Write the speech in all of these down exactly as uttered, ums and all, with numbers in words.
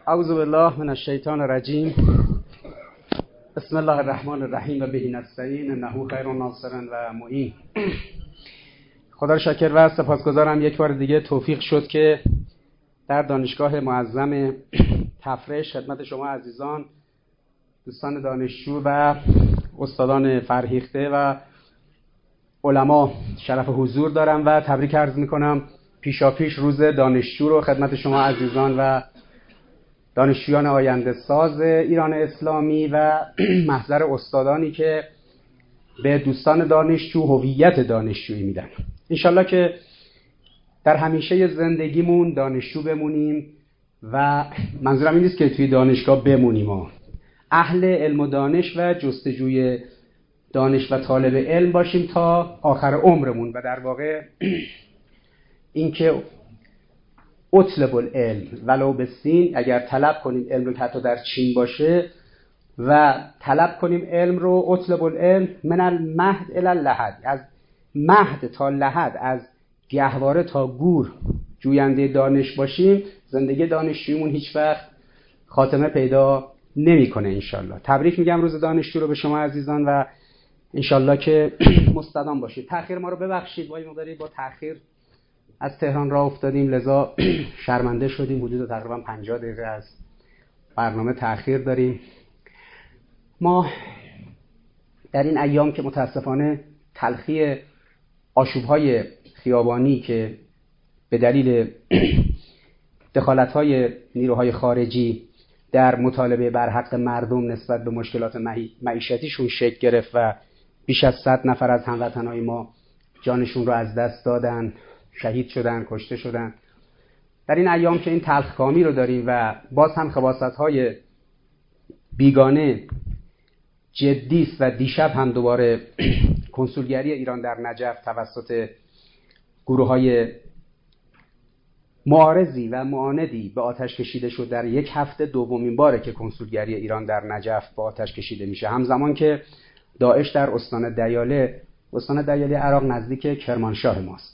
اعوذ بالله من الشیطان الرجیم. بسم الله الرحمن الرحیم و به نستعین انه خیر ناصر و معین. خدا را شکر و سپاسگزارم یک بار دیگه توفیق شد که در دانشگاه معظم تفرش خدمت شما عزیزان، دوستان دانشجو و استادان فرهیخته و علما شرف حضور دارم و تبریک عرض میکنم پیشاپیش روز دانشجو رو خدمت شما عزیزان و دانشجویان آینده ساز ایران اسلامی و محضر استادانی که به دوستان دانشجو هویت دانشجویی میدن. انشالله که در همیشه زندگیمون دانشجو بمونیم و منظورم این نیست که توی دانشگاه بمونیم، ها. اهل علم و دانش و جستجوی دانش و طالب علم باشیم تا آخر عمرمون و در واقع این که اطلب العلم ولو بالصین، اگر طلب کنیم علم رو که حتی در چین باشه و طلب کنیم علم رو، اطلب العلم من المهد الی اللحد، از مهد تا لحد، از گهواره تا گور جوینده دانش باشیم، زندگی دانشجویمون هیچ وقت خاتمه پیدا نمیکنه. انشالله تبریک میگم روز دانشجو رو به شما عزیزان و انشالله که مستدام باشید. تأخیر ما رو ببخشید، با این مقداری با تأخیر از تهران راه افتادیم، لذا شرمنده شدیم. حدود تقریبا پنجاه دقیقه از برنامه تأخیر داریم. ما در این ایام که متاسفانه تلخی آشوب‌های خیابانی که به دلیل دخالت‌های نیروهای خارجی در مطالبه بر حق مردم نسبت به مشکلات معیشتیشون شکل گرفت و بیش از صد نفر از هموطنهای ما جانشون رو از دست دادن، شهید شدن، کشته شدن. در این ایام که این تلخکامی رو داریم و باز هم خباثت‌های بیگانه جدی است و دیشب هم دوباره کنسولگری ایران در نجف توسط گروه‌های معارضی و معاندی به آتش کشیده شد. در یک هفته دومین باره که کنسولگری ایران در نجف به آتش کشیده میشه، همزمان که داعش در استان دیاله، استان دیاله عراق نزدیک کرمانشاه ماست،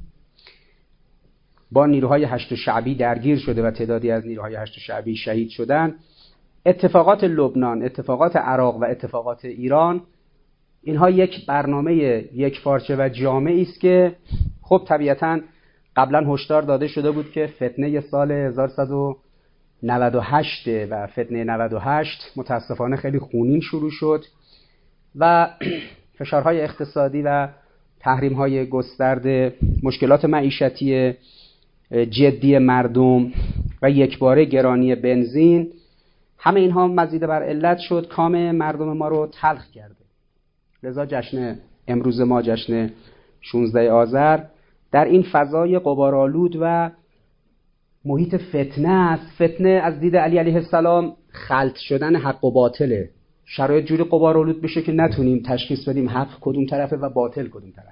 با نیروهای هشت شعبی درگیر شده و تعدادی از نیروهای هشت شعبی شهید شدن. اتفاقات لبنان، اتفاقات عراق و اتفاقات ایران، اینها یک برنامه یک پارچه و جامعی است که خب طبیعتاً قبلا هشدار داده شده بود که فتنه سال هزار و سیصد و نود و هشت و فتنه نود و هشت متاسفانه خیلی خونین شروع شد و فشارهای اقتصادی و تحریم‌های گسترده، مشکلات معیشتی جدی مردم و یکباره گرانی بنزین، همه اینها مزید بر علت شد کام مردم ما رو تلخ کرده. لذا جشن امروز ما، جشن شانزده آذر، در این فضای غبارآلود و محیط فتنه است. فتنه از دید علی علیه السلام خلط شدن حق و باطله. شرایط جوری غبارآلود بشه که نتونیم تشخیص بدیم حق کدوم طرفه و باطل کدوم طرف.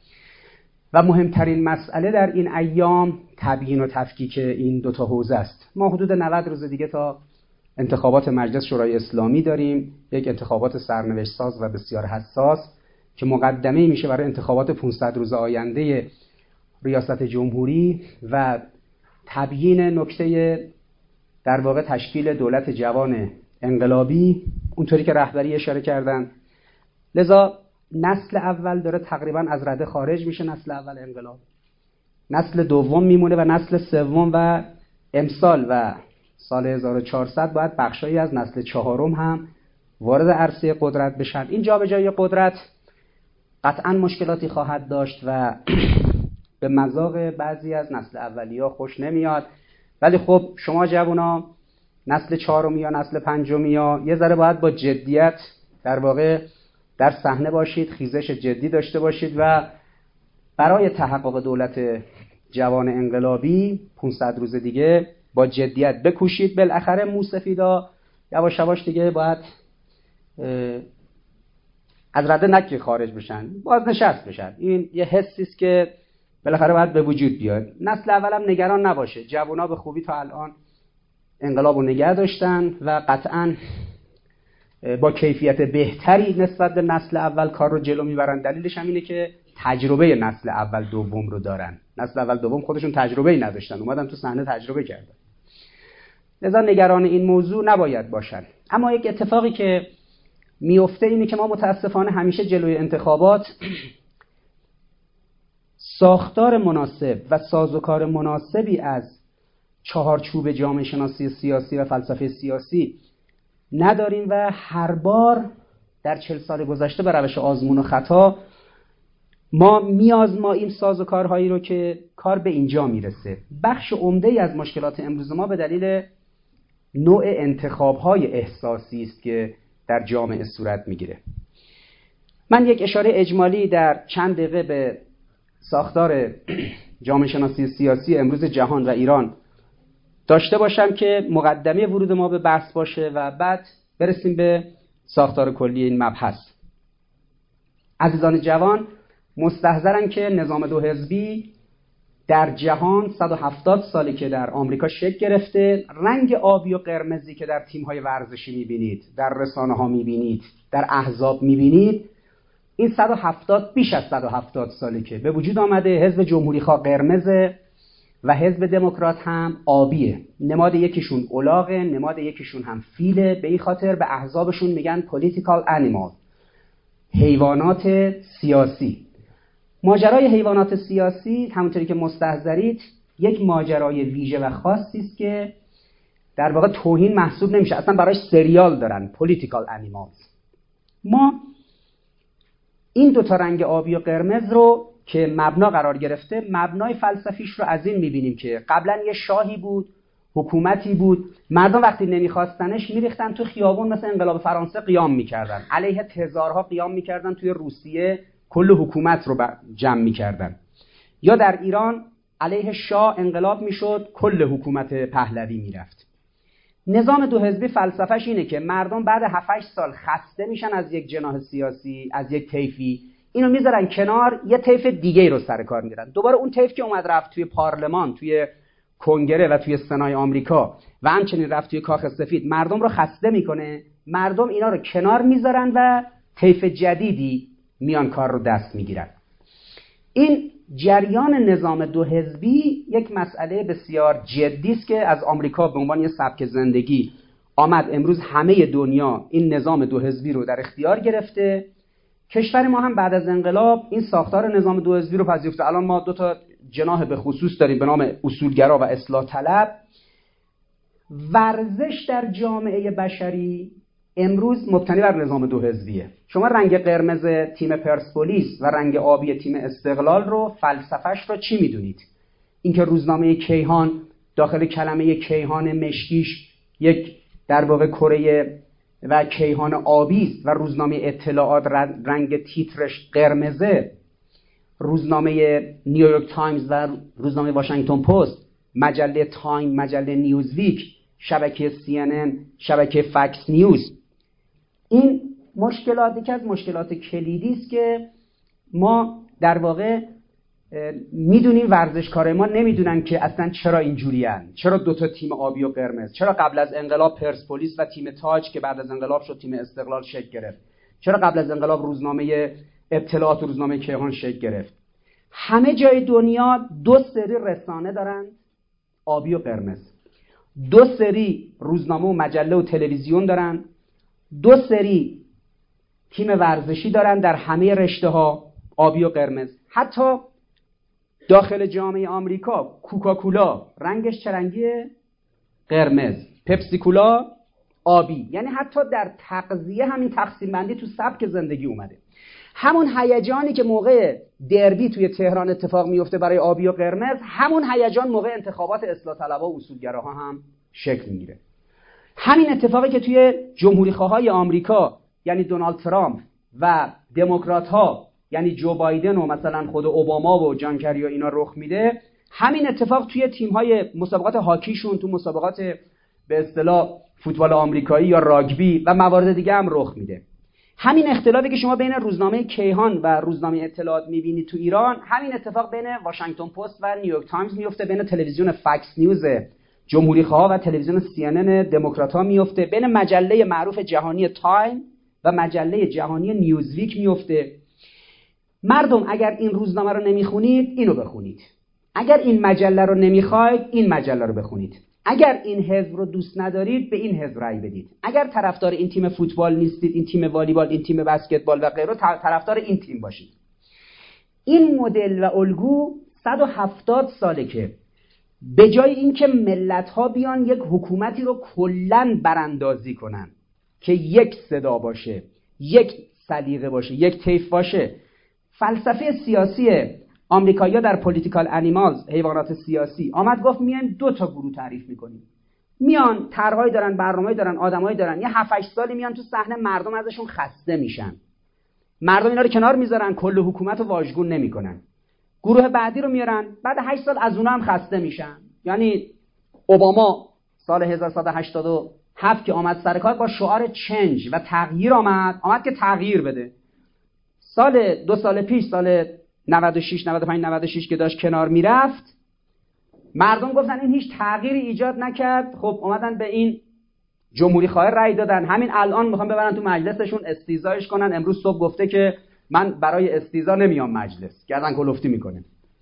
و مهمترین مسئله در این ایام تبیین و تفکیک این دوتا حوزه است. ما حدود نود روز دیگه تا انتخابات مجلس شورای اسلامی داریم، یک انتخابات سرنوشت ساز و بسیار حساس که مقدمه میشه برای انتخابات پانصد روز آینده ریاست جمهوری و تبیین نکته در واقع تشکیل دولت جوان انقلابی اونطوری که رهبری اشاره کردن. لذا نسل اول داره تقریبا از رده خارج میشه، نسل اول انقلاب، نسل دوم میمونه و نسل سوم و امسال و سال هزار و چهارصد باید بخشایی از نسل چهارم هم وارد عرصه قدرت بشن. این جابجایی قدرت قطعا مشکلاتی خواهد داشت و به مذاق بعضی از نسل اولیا خوش نمیاد، ولی خب شما جوونا، نسل چهارمی یا نسل پنجمی یا یه ذره باید با جدیت در واقع در صحنه باشید، خیزش جدی داشته باشید و برای تحقق دولت جوان انقلابی پانصد روز دیگه با جدیت بکوشید. بالاخره موسفیدا یواش یواش دیگه باید از رده نکری خارج بشن، بازنشست بشن. این یه حسی است که بالاخره باید به وجود بیاد. نسل اولم نگران نباشه، جوونا به خوبی تا الان انقلابو نگه داشتن و قطعاً با کیفیت بهتری نسبت به نسل اول کار رو جلو میبرن. دلیلش هم اینه که تجربه نسل اول دوم رو دارن. نسل اول دوم خودشون تجربه‌ای نداشتن، اومدن تو صحنه تجربه کردن. لذا نگران این موضوع نباید باشن. اما یک اتفاقی که میفته اینه که ما متاسفانه همیشه جلوی انتخابات ساختار مناسب و سازوکار مناسبی از چهارچوب جامعه شناسی سیاسی و فلسفه سیاسی نداریم و هر بار در چهل سال گذشته به روش آزمون و خطا ما میازماییم سازوکارهایی رو که کار به اینجا میرسه. بخش عمده‌ای از مشکلات امروز ما به دلیل نوع انتخاب‌های احساسی است که در جامعه صورت میگیره. من یک اشاره اجمالی در چند دقیقه به ساختار جامعه شناسی سیاسی امروز جهان و ایران داشته باشم که مقدمه ورود ما به بحث باشه و بعد برسیم به ساختار کلی این مبحث. عزیزان جوان مستحضرن که نظام دو حزبی در جهان صد و هفتاد ساله که در آمریکا شکل گرفته. رنگ آبی و قرمزی که در تیم‌های ورزشی می‌بینید، در رسانه‌ها می‌بینید، در احزاب می‌بینید، این صد و هفتاد بیش از صد و هفتاد ساله که به وجود آمده. حزب جمهوری‌خواه قرمزه و حزب دموکرات هم آبیه. نماد یکیشون الاغه، نماد یکیشون هم فیله. به این خاطر به احزابشون میگن political animal، حیوانات سیاسی. ماجرای حیوانات سیاسی همونطوری که مستحضرید یک ماجرای ویژه و خاصی است که در واقع توهین محسوب نمیشه، اصلا براش سریال دارن، political animals. ما این دو تا رنگ آبی و قرمز رو که مبنا قرار گرفته، مبنای فلسفیش رو از این میبینیم که قبلا یه شاهی بود، حکومتی بود، مردم وقتی نمیخواستنش میریختن تو خیابون، مثل انقلاب فرانسه قیام میکردن، علیه تزارها قیام میکردن، توی روسیه کل حکومت رو جمع میکردن، یا در ایران علیه شاه انقلاب میشد، کل حکومت پهلوی میرفت. نظام دو حزبی فلسفهش اینه که مردم بعد هفت هشت سال خسته میشن از یک جناح سیاسی، از یک طیفی، اینو میذارن کنار، یه طیف دیگه رو سر کار میرن. دوباره اون طیف که اومد رفت توی پارلمان، توی کنگره و توی سنای آمریکا و همچنین رفت توی کاخ سفید، مردم رو خسته میکنه. مردم اینا رو کنار میذارن و طیف جدیدی میان کار رو دست میگیرن. این جریان نظام دو حزبی یک مسئله بسیار جدی است که از آمریکا به عنوان یک سبک زندگی آمد امروز همه دنیا این نظام دو حزبی رو در اختیار گرفته. کشور ما هم بعد از انقلاب این ساختار نظام دو حزبی رو پذیرفته. الان ما دو تا جناح به خصوص داریم به نام اصولگرا و اصلاح طلب. ورزش در جامعه بشری امروز مبتنی بر نظام دو حزبیه. شما رنگ قرمز تیم پرسپولیس و رنگ آبی تیم استقلال رو، فلسفهش رو چی میدونید؟ اینکه روزنامه کیهان داخل کلمه کیهان مشکیش یک در واقع کره و کیهان آبی است و روزنامه اطلاعات رنگ تیترش قرمزه. روزنامه نیویورک تایمز و روزنامه واشنگتن پست، مجله تایم، مجله نیوزویک، شبکه سی ان ان، شبکه فکس نیوز. این مشکلات که از مشکلات کلیدی است که ما در واقع میدونیم ورزشکارای ما نمیدونن که اصلا چرا اینجوریان، چرا دو تا تیم آبی و قرمز، چرا قبل از انقلاب پرسپولیس و تیم تاج که بعد از انقلاب شد تیم استقلال شکل گرفت، چرا قبل از انقلاب روزنامه اطلاعات و روزنامه کیهان شکل گرفت. همه جای دنیا دو سری رسانه دارن آبی و قرمز، دو سری روزنامه و مجله و تلویزیون دارن، دو سری تیم ورزشی دارن در همه رشته ها آبی و قرمز. حتی داخل جامعه آمریکا کوکاکولا رنگش چه رنگیه؟ قرمز. پپسی کولا آبی. یعنی حتی در تغذیه همین تقسیم بندی تو سبک زندگی اومده. همون هیجانی که موقع دربی توی تهران اتفاق میفته برای آبی و قرمز، همون هیجان موقع انتخابات اصلاح طلبها و اصولگراها هم شکل میگیره. همین اتفاقی که توی جمهوری خواهای آمریکا یعنی دونالد ترامپ و دموکرات ها یعنی جو بایدن و مثلا خود اوباما و جان کری و اینا رخ میده، همین اتفاق توی تیم‌های مسابقات هاکیشون، تو مسابقات به اصطلاح فوتبال آمریکایی یا راگبی و موارد دیگه هم رخ میده. همین اختلافی که شما بین روزنامه کیهان و روزنامه اطلاعات میبینید تو ایران، همین اتفاق بین واشنگتن پست و نیویورک تایمز میفته، بین تلویزیون فکس نیوز جمهوری خواه و تلویزیون سی ان ان دموکرات‌ها میفته، بین مجله معروف جهانی تایم و مجله جهانی نیوزویک میفته. مردم اگر این روزنامه رو نمیخونید اینو بخونید، اگر این مجله رو نمیخواید این مجله رو بخونید. اگر این حزب رو دوست ندارید به این حزب رأی بدید. اگر طرفدار این تیم فوتبال نیستید، این تیم والیبال، این تیم بسکتبال و غیره، طرفدار این تیم باشید. این مدل و الگو صد و هفتاد ساله که به جای اینکه ملت‌ها بیان یک حکومتی رو کلاً براندازی کنن که یک صدا باشه، یک سلیقه باشه، یک طیف باشه، فلسفه سیاسی آمریکایی‌ها در پولیتیکال انیمالز، حیوانات سیاسی، آمد گفت میایم دو تا گروه تعریف میکنیم. میان طرحهایی دارن، برنامه‌ای دارن، آدمایی دارن، یه هفت هشت سالی میان تو صحنه، مردم ازشون خسته میشن. مردم اینا رو کنار میذارن، کل حکومت رو واژگون نمیکنن. گروه بعدی رو میارن، بعد هشت سال از اونها هم خسته میشن. یعنی اوباما سال هزار و سیصد و هشتاد و هفت که آمد سر کار با شعار چنج و تغییر آمد، آمد که تغییر بده. سال دو سال پیش، سال نود و شش نود و پنج نود و شش که داشت کنار میرفت، مردم گفتن این هیچ تغییری ایجاد نکرد. خب اومدن به این جمهوری خواه رأی دادن. همین الان میخوان ببرن تو مجلسشون استیزایش کنن. امروز صبح گفته که من برای استیزا نمیام مجلس، گردن کلفتی میکنه.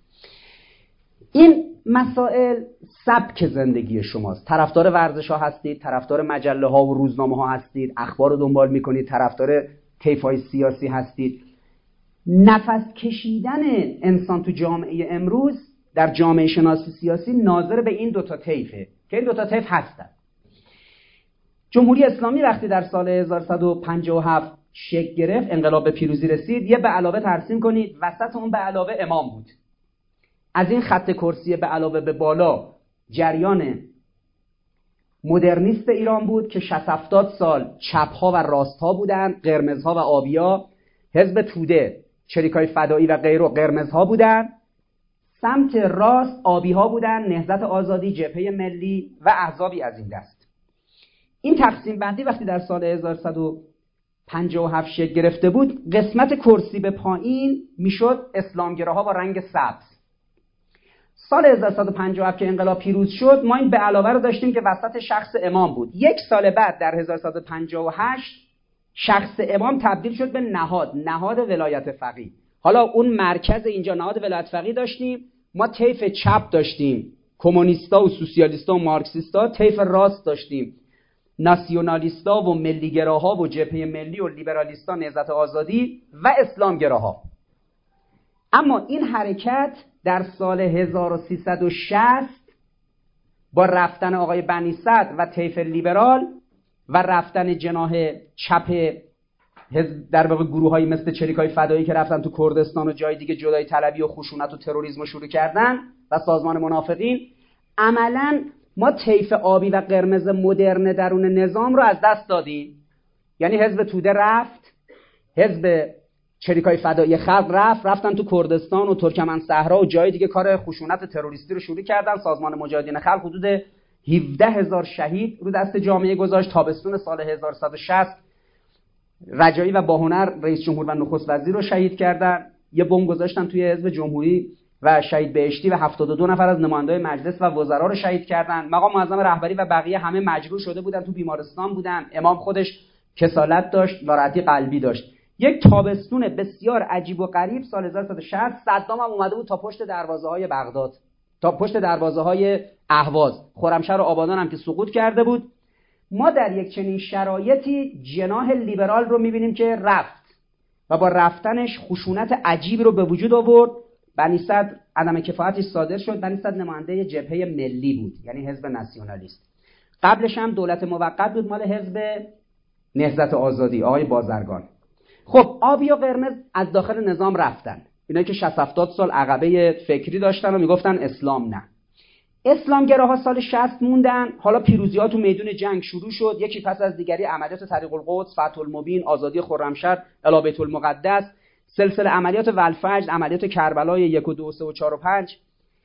این مسائل سبک زندگی شماست. طرفدار ورزش ها هستید، طرفدار مجله ها و روزنامه ها هستید، اخبار رو دنبال میکنید، طرفدار طیف‌های سیاسی هستید. نفس کشیدن انسان تو جامعه امروز در جامعه شناسی سیاسی ناظر به این دوتا طیفه که این دوتا طیف هستن. جمهوری اسلامی وقتی در سال هزار و سیصد و پنجاه و هفت شکل گرفت، انقلاب به پیروزی رسید، یه به علاوه ترسیم کنید، وسط اون به علاوه امام بود. از این خط کرسی به علاوه به بالا جریان مدرنیست ایران بود که شصت هفتاد سال چپ‌ها و راست‌ها بودن، قرمزها و آبیا. حزب توده، چریکای فدایی و غیره قرمزها بودن، سمت راست آبی‌ها بودن، نهضت آزادی، جبهه ملی و احزابی از این دست. این تقسیم بندی وقتی در سال هزار و سیصد و پنجاه و هفت شکل گرفته بود، قسمت کرسی به پایین میشد اسلامگراها با رنگ سبز. سال هزار و سیصد و پنجاه و هفت که انقلاب پیروز شد، ما این به علاوه رو داشتیم که وسط شخص امام بود. یک سال بعد در هزار و سیصد و پنجاه و هشت شخص امام تبدیل شد به نهاد، نهاد ولایت فقیه. حالا اون مرکز اینجا نهاد ولایت فقیه داشتیم، ما طیف چپ داشتیم، کمونیستا و سوسیالیستا و مارکسیستا، طیف راست داشتیم، ناسیونالیستا و ملیگراها و جبهه ملی و لیبرالیستا، نهضت آزادی و اسلامگراها. اما این حرکت در سال هزار و سیصد و شصت با رفتن آقای بنی صدر و طیف لیبرال و رفتن جناح چپ در واقع گروه‌هایی مثل چریکای فدایی که رفتن تو کردستان و جای دیگه جدایی طلبی و خشونت و تروریسم رو شروع کردن و سازمان منافقین، عملاً ما طیف آبی و قرمز مدرن درون نظام رو از دست دادیم. یعنی حزب توده رفت، حزب چریکای فدایی خلق رفت، رفتن تو کردستان و ترکمن صحرا و جای دیگه کار خشونت تروریستی رو شروع کردن. سازمان مجاهدین خلق حدود هفده هزار شهید رو دست جامعه گذاشت. تابستون سال هزار و سیصد و شصت رجایی و باهنر رئیس جمهور و نخست وزیر رو شهید کردن. یه بمب گذاشتن توی حزب جمهوری و شهید بهشتی و هفتاد و دو نفر از نمایندگان مجلس و وزرا رو شهید کردن. مقام معظم رهبری و بقیه همه مجروح شده بودن، تو بیمارستان بودن. امام خودش کسالت داشت، ناراحتی قلبی داشت. یک تابستون بسیار عجیب و غریب سال هزار و سیصد و شصت، صدام هم اومده بود تا پشت دروازه‌های بغداد، تا پشت دروازه‌های اهواز. خرمشهر و آبادان هم که سقوط کرده بود. ما در یک چنین شرایطی جناح لیبرال رو می‌بینیم که رفت و با رفتنش خشونت عجیبی رو به وجود آورد. بنی صدر عدم کفایتش صادر شد. بنی صدر نماینده جبهه ملی بود، یعنی حزب ناسیونالیست. قبلش هم دولت موقت بود مال حزب نهضت آزادی، آقای بازرگان. خب آبی و قرمز از داخل نظام رفتن، اینایی که شصت هفتاد سال عقبه فکری داشتن و میگفتن اسلام نه. اسلامگراها سال شصت موندن. حالا پیروزی‌ها تو میدون جنگ شروع شد، یکی پس از دیگری. عملیات طریق القدس، فتح المبین، آزادی خرمشهر، الی بیت المقدس، سلسله عملیات ولفجر، عملیات کربلای یک و دو و سه و چهار و پنج.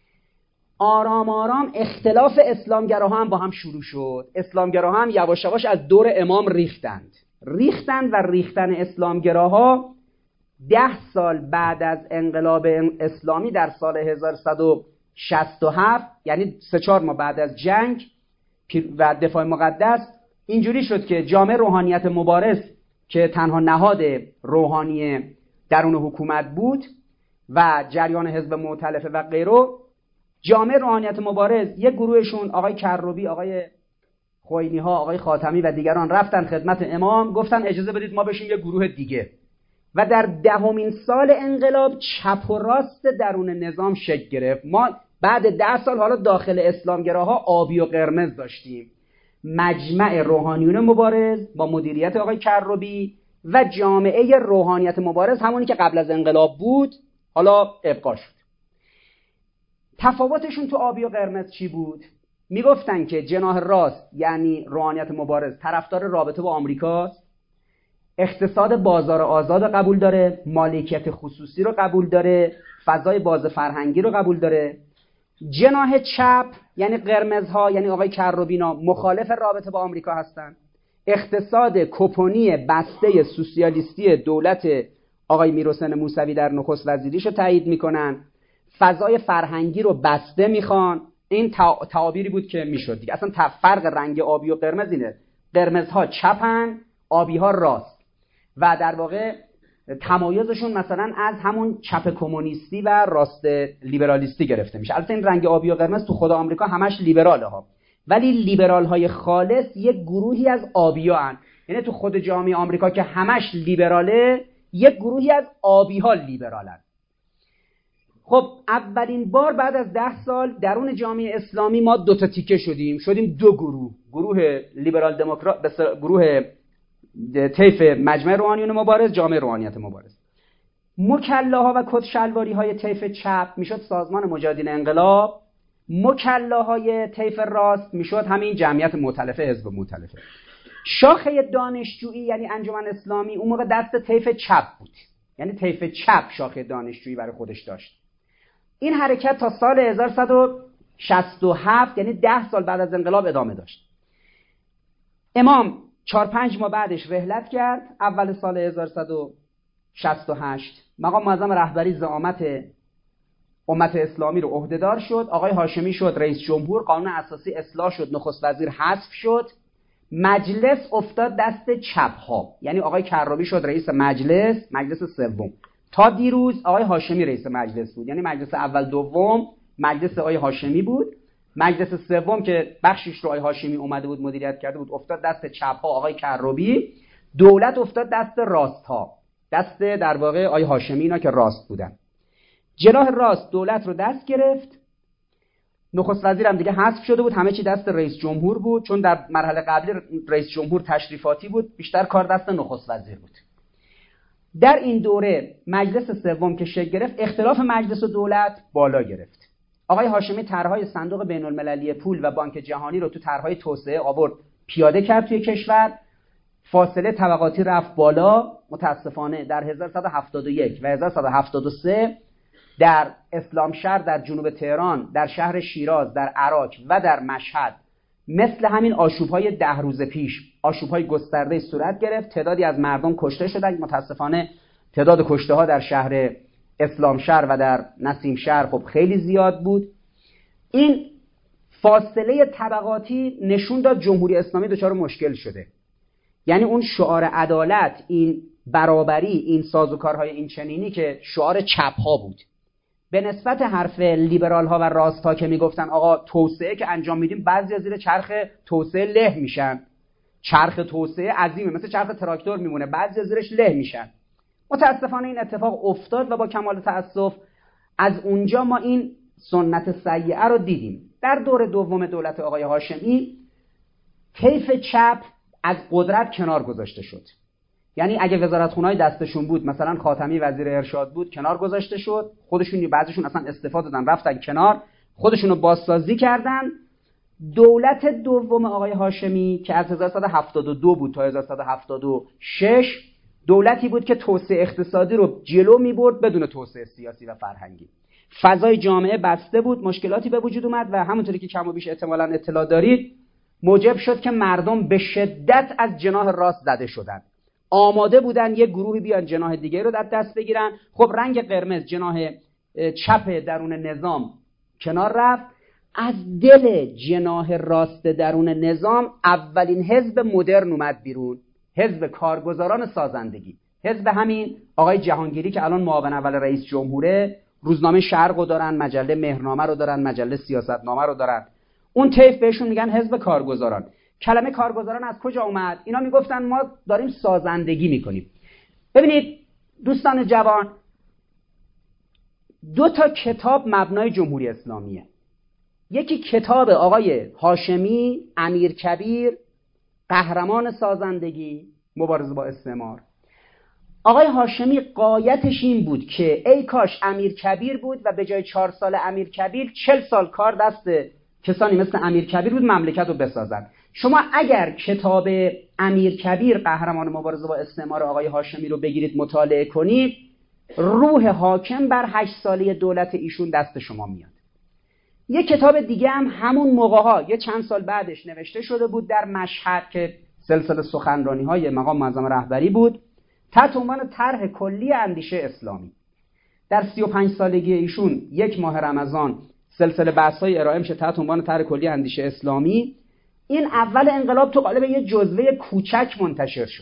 آرام آرام اختلاف اسلامگراها هم با هم شروع شد. اسلامگراها هم یواش یواش از دور امام ریختند. ریختند و ریختن اسلامگراها ده سال بعد از انقلاب اسلامی در سال هزار و سیصد و شصت و هفت، یعنی سه چهار ماه بعد از جنگ و دفاع مقدس، اینجوری شد که جامعه روحانیت مبارز که تنها نهاد روحانی درون حکومت بود و جریان حزب مؤتلفه و غیره، جامعه روحانیت مبارز یک گروهشون آقای کروبی، آقای خوئینی ها، آقای خاتمی و دیگران رفتن خدمت امام، گفتن اجازه بدید ما بشیم یک گروه دیگه. و در دهمین سال انقلاب چپ و راست درون نظام شکل گرفت. ما بعد ده سال حالا داخل اسلامگراها آبی و قرمز داشتیم. مجمع روحانیون مبارز با مدیریت آقای کروبی و جامعه روحانیت مبارز، همونی که قبل از انقلاب بود، حالا ابقا شد. تفاوتشون تو آبی و قرمز چی بود؟ میگفتن که جناح راست یعنی روحانیت مبارز طرفدار رابطه با آمریکاست، اقتصاد بازار آزاد رو قبول داره، مالکیت خصوصی رو قبول داره، فضای باز فرهنگی رو قبول داره. جناح چپ یعنی قرمزها، یعنی آقای کروبینا، مخالف رابطه با آمریکا هستن. اقتصاد کپونی بسته سوسیالیستی دولت آقای میرحسین موسوی در نخست وزیریش رو تایید میکنن. فضای فرهنگی رو بسته میخوان. این تعابیری بود که میشد دیگه. اصلا فرق رنگ آبی و قرمز اینه، قرمزها چپن، آبی ها راست. و در واقع تمایزشون مثلا از همون چپ کمونیستی و راست لیبرالیستی گرفته میشه. البته این رنگ آبی و قرمز تو خود آمریکا همش لیبراله ها، ولی لیبرال های خالص یک گروهی از آبی ها هن. یعنی تو خود جامعه آمریکا که همش لیبراله، یک گروهی از آبی ها لیبرالن. خب اولین بار بعد از ده سال درون جامعه اسلامی ما دو تا تیکه شدیم شدیم دو گروه، گروه لیبرال دموکرات، گروه طیف مجمع روحانیون مبارز، جامعه روحانیت مبارز. مکلاها و کدشلواری های طیف چپ میشد سازمان مجاهدین انقلاب، مکلاهای طیف راست میشد همین جمعیت مؤتلفه، حزب مؤتلفه. شاخه دانشجویی یعنی انجمن اسلامی اون موقع دست طیف چپ بود، یعنی طیف چپ شاخه دانشجویی برای خودش داشت. این حرکت تا سال هزار و صد و شصت و هفت یعنی ده سال بعد از انقلاب ادامه داشت. امام چهار پنج ماه بعدش رحلت کرد، اول سال هزار و صد و شصت و هشت مقام معظم رهبری زعامت امت اسلامی رو عهدهدار شد. آقای هاشمی شد رئیس جمهور، قانون اساسی اصلاح شد، نخست وزیر حذف شد، مجلس افتاد دست چپ ها، یعنی آقای کروبی شد رئیس مجلس، مجلس سوم. تا دیروز آقای هاشمی رئیس مجلس بود، یعنی مجلس اول دوم مجلس آقای هاشمی بود. مجلس سوم که بخشش رو آقای هاشمی اومده بود مدیریت کرده بود افتاد دست چپ ها آقای کروبی. دولت افتاد دست راست ها، دست در واقع آقای هاشمی، اینا که راست بودن. جناح راست دولت رو دست گرفت، نخست وزیر هم دیگه حذف شده بود، همه چی دست رئیس جمهور بود، چون در مرحله قبلی رئیس جمهور تشریفاتی بود، بیشتر کار دست نخست وزیر بود. در این دوره مجلس سوم که شکل گرفت، اختلاف مجلس و دولت بالا گرفت. آقای هاشمی طرحهای صندوق بین المللی پول و بانک جهانی رو تو طرحهای توسعه آورد پیاده کرد توی کشور. فاصله طبقاتی رفت بالا. متاسفانه در هزار و صد و هفتاد و یک و هزار و صد و هفتاد و سه در اسلامشهر، در جنوب تهران، در شهر شیراز، در عراق و در مشهد مثل همین آشوب‌های ده روز پیش آشوب‌های گسترده صورت گرفت. تعدادی از مردم کشته شدند. متاسفانه تعداد کشته‌ها در شهر اسلامشهر و در نسیمشهر خب خیلی زیاد بود. این فاصله طبقاتی نشون داد جمهوری اسلامی دچار مشکل شده. یعنی اون شعار عدالت، این برابری، این سازوکارهای این چنینی که شعار چپ‌ها بود، به نسبت حرف لیبرال ها و راست ها که میگفتن آقا توسعه که انجام میدیم بعضی زیر چرخ توسعه له میشن، چرخ توسعه عظیمه مثل چرخ تراکتور میمونه، بعضی زیرش له میشن. متاسفانه این اتفاق افتاد و با کمال تأسف از اونجا ما این سنت سیئه رو دیدیم. در دور دوم دولت آقای هاشمی طیف چپ از قدرت کنار گذاشته شد. یعنی اگه وزارتخونه‌های دستشون بود، مثلا خاتمی وزیر ارشاد بود، کنار گذاشته شد. خودشون بعضیشون اصلا استعفا دادن رفتن کنار، خودشونو بازسازی کردن. دولت دوم آقای هاشمی که از هزار و صد و هفتاد و دو بود تا هزار و صد و هفتاد و شش دولتی بود که توسعه اقتصادی رو جلو می‌برد بدون توسعه سیاسی و فرهنگی. فضای جامعه بسته بود، مشکلاتی به وجود اومد و همونطوری که کم و بیش احتمالاً اطلاع دارید موجب شد که مردم به شدت از جناح راست زده شدند. آماده بودن یک گروهی بیان جناح دیگه رو در دست بگیرن. خب رنگ قرمز جناح چپ درون نظام کنار رفت. از دل جناح راست درون نظام اولین حزب مدرن اومد بیرون، حزب کارگزاران سازندگی، حزب همین آقای جهانگیری که الان معاون اول رئیس جمهوره، روزنامه شرق رو دارن، مجله مهرنامه رو دارن، مجله سیاستنامه رو دارن. اون طیف بهشون میگن حزب کارگزاران. کلمه کارگزاران از کجا اومد؟ اینا میگفتن ما داریم سازندگی میکنیم. ببینید دوستان جوان، دو تا کتاب مبنای جمهوری اسلامیه. یکی کتاب آقای هاشمی امیرکبیر، قهرمان سازندگی، مبارزه با استعمار. آقای هاشمی غایتش این بود که ای کاش امیرکبیر بود و به جای چهار سال امیرکبیر چل سال کار دست کسانی مثل امیرکبیر بود مملکت رو بسازن. شما اگر کتاب امیرکبیر قهرمان مبارزه با استعمار آقای هاشمی رو بگیرید مطالعه کنید، روح حاکم بر هشت ساله دولت ایشون دست شما میاد. یه کتاب دیگه هم همون موقع‌ها یه چند سال بعدش نوشته شده بود در مشهد که سلسله سخنرانی‌های مقام معظم رهبری بود، تحت عنوان طرح کلی اندیشه اسلامی. در سی و پنج سالگی ایشون یک ماه رمضان سلسله بحث‌های ارائه میشه تحت عنوان طرح کلی اندیشه اسلامی. این اول انقلاب تو قالب یه جزوه کوچک منتشر شد.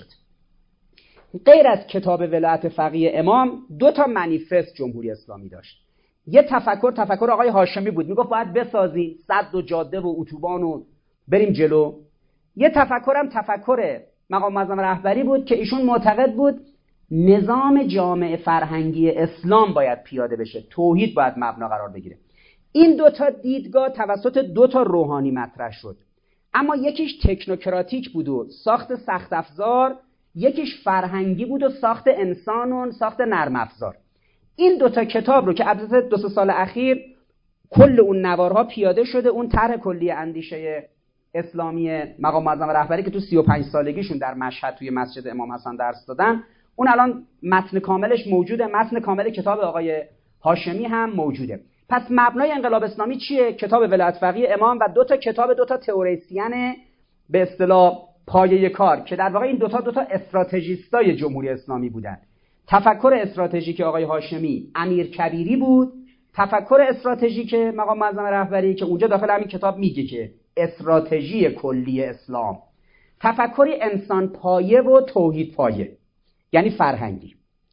غیر از کتاب ولایت فقیه امام، دو تا منیفست جمهوری اسلامی داشت. یه تفکر تفکر آقای هاشمی بود، میگفت باید بسازیم سد و جاده و اتوبان و بریم جلو. یه تفکرم تفکر مقام معظم رهبری بود که ایشون معتقد بود نظام جامع فرهنگی اسلام باید پیاده بشه، توحید باید مبنا قرار بگیره. این دو تا دیدگاه توسط دو تا روحانی مطرح شد، اما یکیش تکنوکراتیک بود و ساخت سخت افزار، یکیش فرهنگی بود و ساخت انسان و ساخت نرم افزار. این دو تا کتاب رو که البته دو سه سال اخیر کل اون نوارها پیاده شده، اون طرح کلی اندیشه اسلامی مقام معظم رهبری که تو سی و پنج سالگیشون در مشهد توی مسجد امام حسن درس دادن، اون الان متن کاملش موجوده، متن کامل کتاب آقای هاشمی هم موجوده. پس مبنای انقلاب اسلامی چیه؟ کتاب ولایت فقیه امام و دو تا کتاب دو تا تئوریسین به اصطلاح پایه کار که در واقع این دو تا دو تا استراتژیستای جمهوری اسلامی بودن. تفکر استراتژیک آقای هاشمی امیرکبیری بود، تفکر استراتژیک مقام معظم رهبری که اونجا داخل همین کتاب میگه که استراتژی کلی اسلام، تفکری انسان پایه و توحید پایه، یعنی فرهنگی.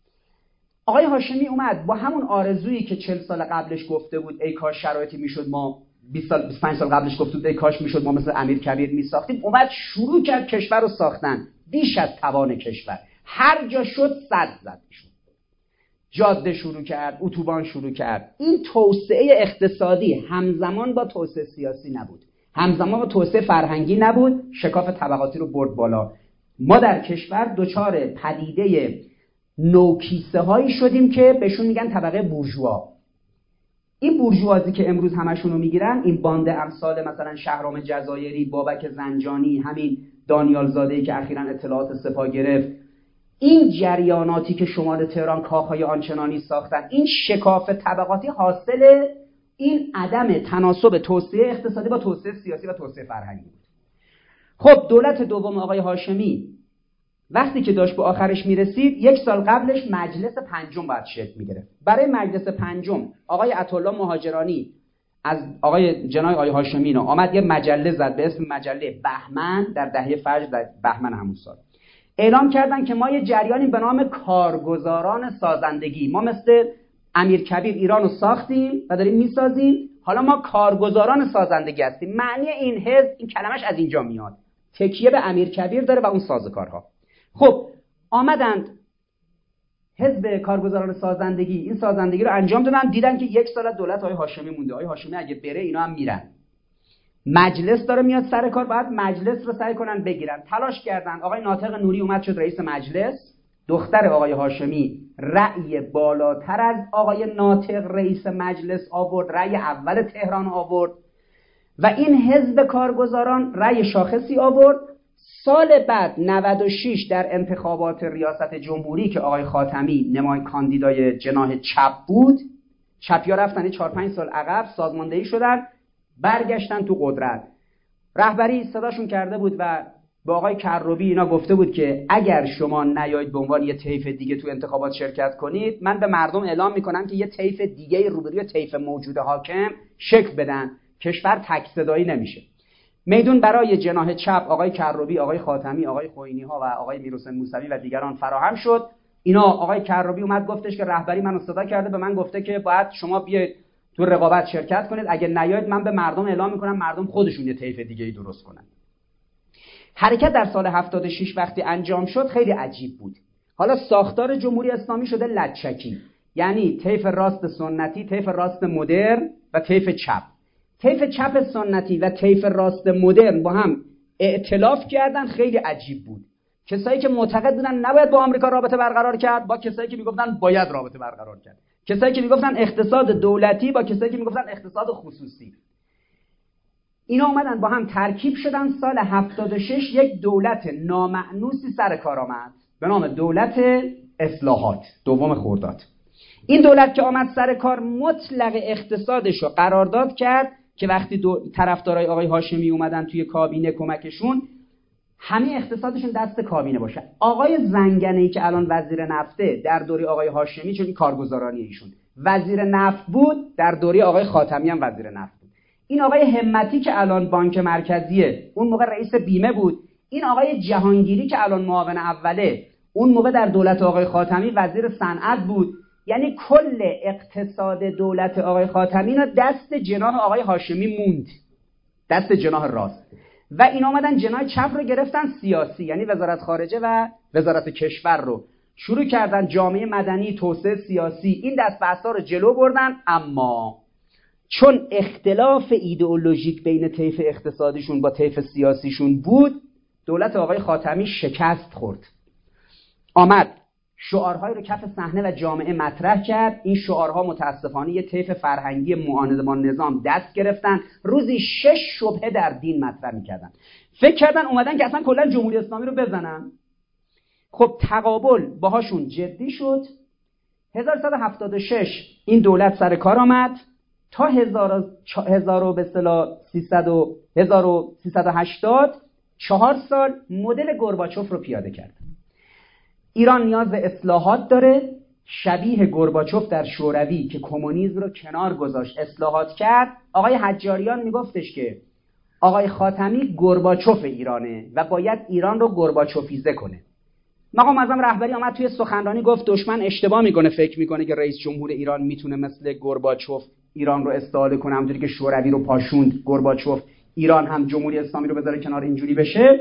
آقای هاشمی اومد با همون آرزویی که چهل سال قبلش گفته بود ای کاش شرایطی میشد ما بیست سال بیست و پنج سال قبلش گفته بود ای کاش میشد ما مثل امیرکبیر میساختیم، اومد شروع کرد کشور رو ساختن بیش از توان کشور. هر جا شد صد زد شد، جاده شروع کرد، اتوبان شروع کرد. این توسعه اقتصادی همزمان با توسعه سیاسی نبود، همزمان با توسعه فرهنگی نبود، شکاف طبقاتی رو برد بالا. ما در کشور دچار پدیده نوکیسه هایی شدیم که بهشون میگن طبقه بورژوا. این بورژوازی که امروز همشون رو میگیرن، این باند امثال مثلا شهرام جزایری، بابک زنجانی، همین دانیال زاده‌ای که اخیراً اطلاعات سپاه گرفت، این جریاناتی که شمال تهران کاخهای آنچنانی ساختن، این شکاف طبقاتی حاصل این عدم تناسب توسعه اقتصادی با توسعه سیاسی و توسعه فرهنگی بود. خب دولت دوم آقای هاشمی وقتی که داشت به آخرش میرسید، یک سال قبلش مجلس پنجم باید شکل میگرفت. برای مجلس پنجم آقای عطاالله مهاجرانی از آقای جنای آقای هاشمی نو آمد یه مجله زد به اسم مجله بهمن در دهه فجر در بهمن همون سال. اعلام کردن که ما یه جریانی به نام کارگزاران سازندگی، ما مثل امیرکبیر ایران رو ساختیم و داریم میسازیم، حالا ما کارگزاران سازندگی هستیم. معنی این حزب، این کلمش از اینجا میاد، تکیه به امیرکبیر داره و اون سازوکارها. خب آمدند حزب کارگزاران سازندگی این سازندگی رو انجام دادن، دیدن که یک سال دولت آقای هاشمی مونده، آقای هاشمی اگه بره اینا هم میرن، مجلس داره میاد سر کار، باید مجلس رو سعی کنن بگیرن. تلاش کردن، آقای ناطق نوری اومد شد رئیس مجلس، دختر آقای هاشمی رأی بالاتر از آقای ناطق رئیس مجلس آورد، رأی اول تهران آورد و این حزب کارگزاران رأی شاخصی آورد. سال بعد نود و شش در انتخابات ریاست جمهوری که آقای خاتمی نمای کاندیدای جناح چپ بود، چپیا رفتن چهار پنج سال عقب، سازماندهی شدن، برگشتن تو قدرت. رهبری صداشون کرده بود و به آقای کروبی اینا گفته بود که اگر شما نیایید به عنوان یه طیف دیگه تو انتخابات شرکت کنید، من به مردم اعلام میکنم که یه طیف دیگه روبروی طیف موجود حاکم شکل بدن، کشور تک صدایی نمیشه. میدون برای جناح چپ آقای کروبی، آقای خاتمی، آقای خوئینی ها و آقای میرحسین موسوی و دیگران فراهم شد. اینا آقای کرابی اومد گفتش که رهبری منو صدا کرده، به من گفته که باید شما بیاید تو رقابت شرکت کنید، اگه نیاید من به مردم اعلام میکنم مردم خودشون یه طیف دیگه ای درست کنن. حرکت در سال هفتاد و شش وقتی انجام شد خیلی عجیب بود. حالا ساختار جمهوری اسلامی شده لچکی، یعنی طیف راست سنتی، طیف راست مدرن و طیف چپ. طیف چپ سنتی و طیف راست مدرن با هم ائتلاف کردن، خیلی عجیب بود. کسایی که معتقد بودن نباید با آمریکا رابطه برقرار کرد با کسایی که میگفتن باید رابطه برقرار کرد، کسایی که میگفتن اقتصاد دولتی با کسایی که میگفتن اقتصاد خصوصی. اینا اومدن با هم ترکیب شدن. سال هفتاد و شش یک دولت نامأنوسی سر کار آمد به نام دولت اصلاحات، دوم خرداد. این دولت که آمد سر کار مطلق اقتصادش رو قرارداد کرد که وقتی طرفدارای آقای هاشمی اومدن توی کابینه کمکشون، همه اقتصادشون دست کابینه باشه. آقای زنگنه‌ای که الان وزیر نفته در دوره آقای هاشمی، چون این کارگزارانی ایشون وزیر نفت بود، در دوره آقای خاتمی هم وزیر نفت بود. این آقای همتی که الان بانک مرکزیه، اون موقع رئیس بیمه بود. این آقای جهانگیری که الان معاون اوله، اون موقع در دولت آقای خاتمی وزیر صنعت بود. یعنی کل اقتصاد دولت آقای خاتمی رو دست جناح آقای هاشمی موند، دست جناح راست. و این آمدن جناح چپ رو گرفتن سیاسی، یعنی وزارت خارجه و وزارت کشور رو شروع کردن، جامعه مدنی، توسعه سیاسی، این دست بحثا رو جلو بردن. اما چون اختلاف ایدئولوژیک بین طیف اقتصادیشون با طیف سیاسیشون بود، دولت آقای خاتمی شکست خورد. آمد شعارهای رو کف صحنه و جامعه مطرح کرد. این شعارها متاسفانه یه طیف فرهنگی معاند با نظام دست گرفتن، روزی شش شبهه در دین مطرح می‌کردن. فکر کردن اومدن که اصلا کلا جمهوری اسلامی رو بزنن. خب تقابل باهاشون جدی شد. هزار و سیصد و هفتاد و شش این دولت سر کار آمد تا هزار و سیصد و هشتاد، چهار سال مدل گورباچوف رو پیاده کرد. ایران نیاز به اصلاحات داره، شبیه گورباچوف در شوروی که کمونیسم رو کنار گذاشت اصلاحات کرد. آقای حجاریان میگفتش که آقای خاتمی گورباچوف ایرانه و باید ایران رو گورباچوفیزه کنه. مقام معظم رهبری آمد توی سخنرانی گفت دشمن اشتباه میکنه، فکر میکنه که رئیس جمهور ایران میتونه مثل گورباچوف ایران رو استحاله کنه، همونجوری که شوروی رو پاشوند گورباچوف ایران هم جمهوری اسلامی رو بذاره کنار اینجوری بشه.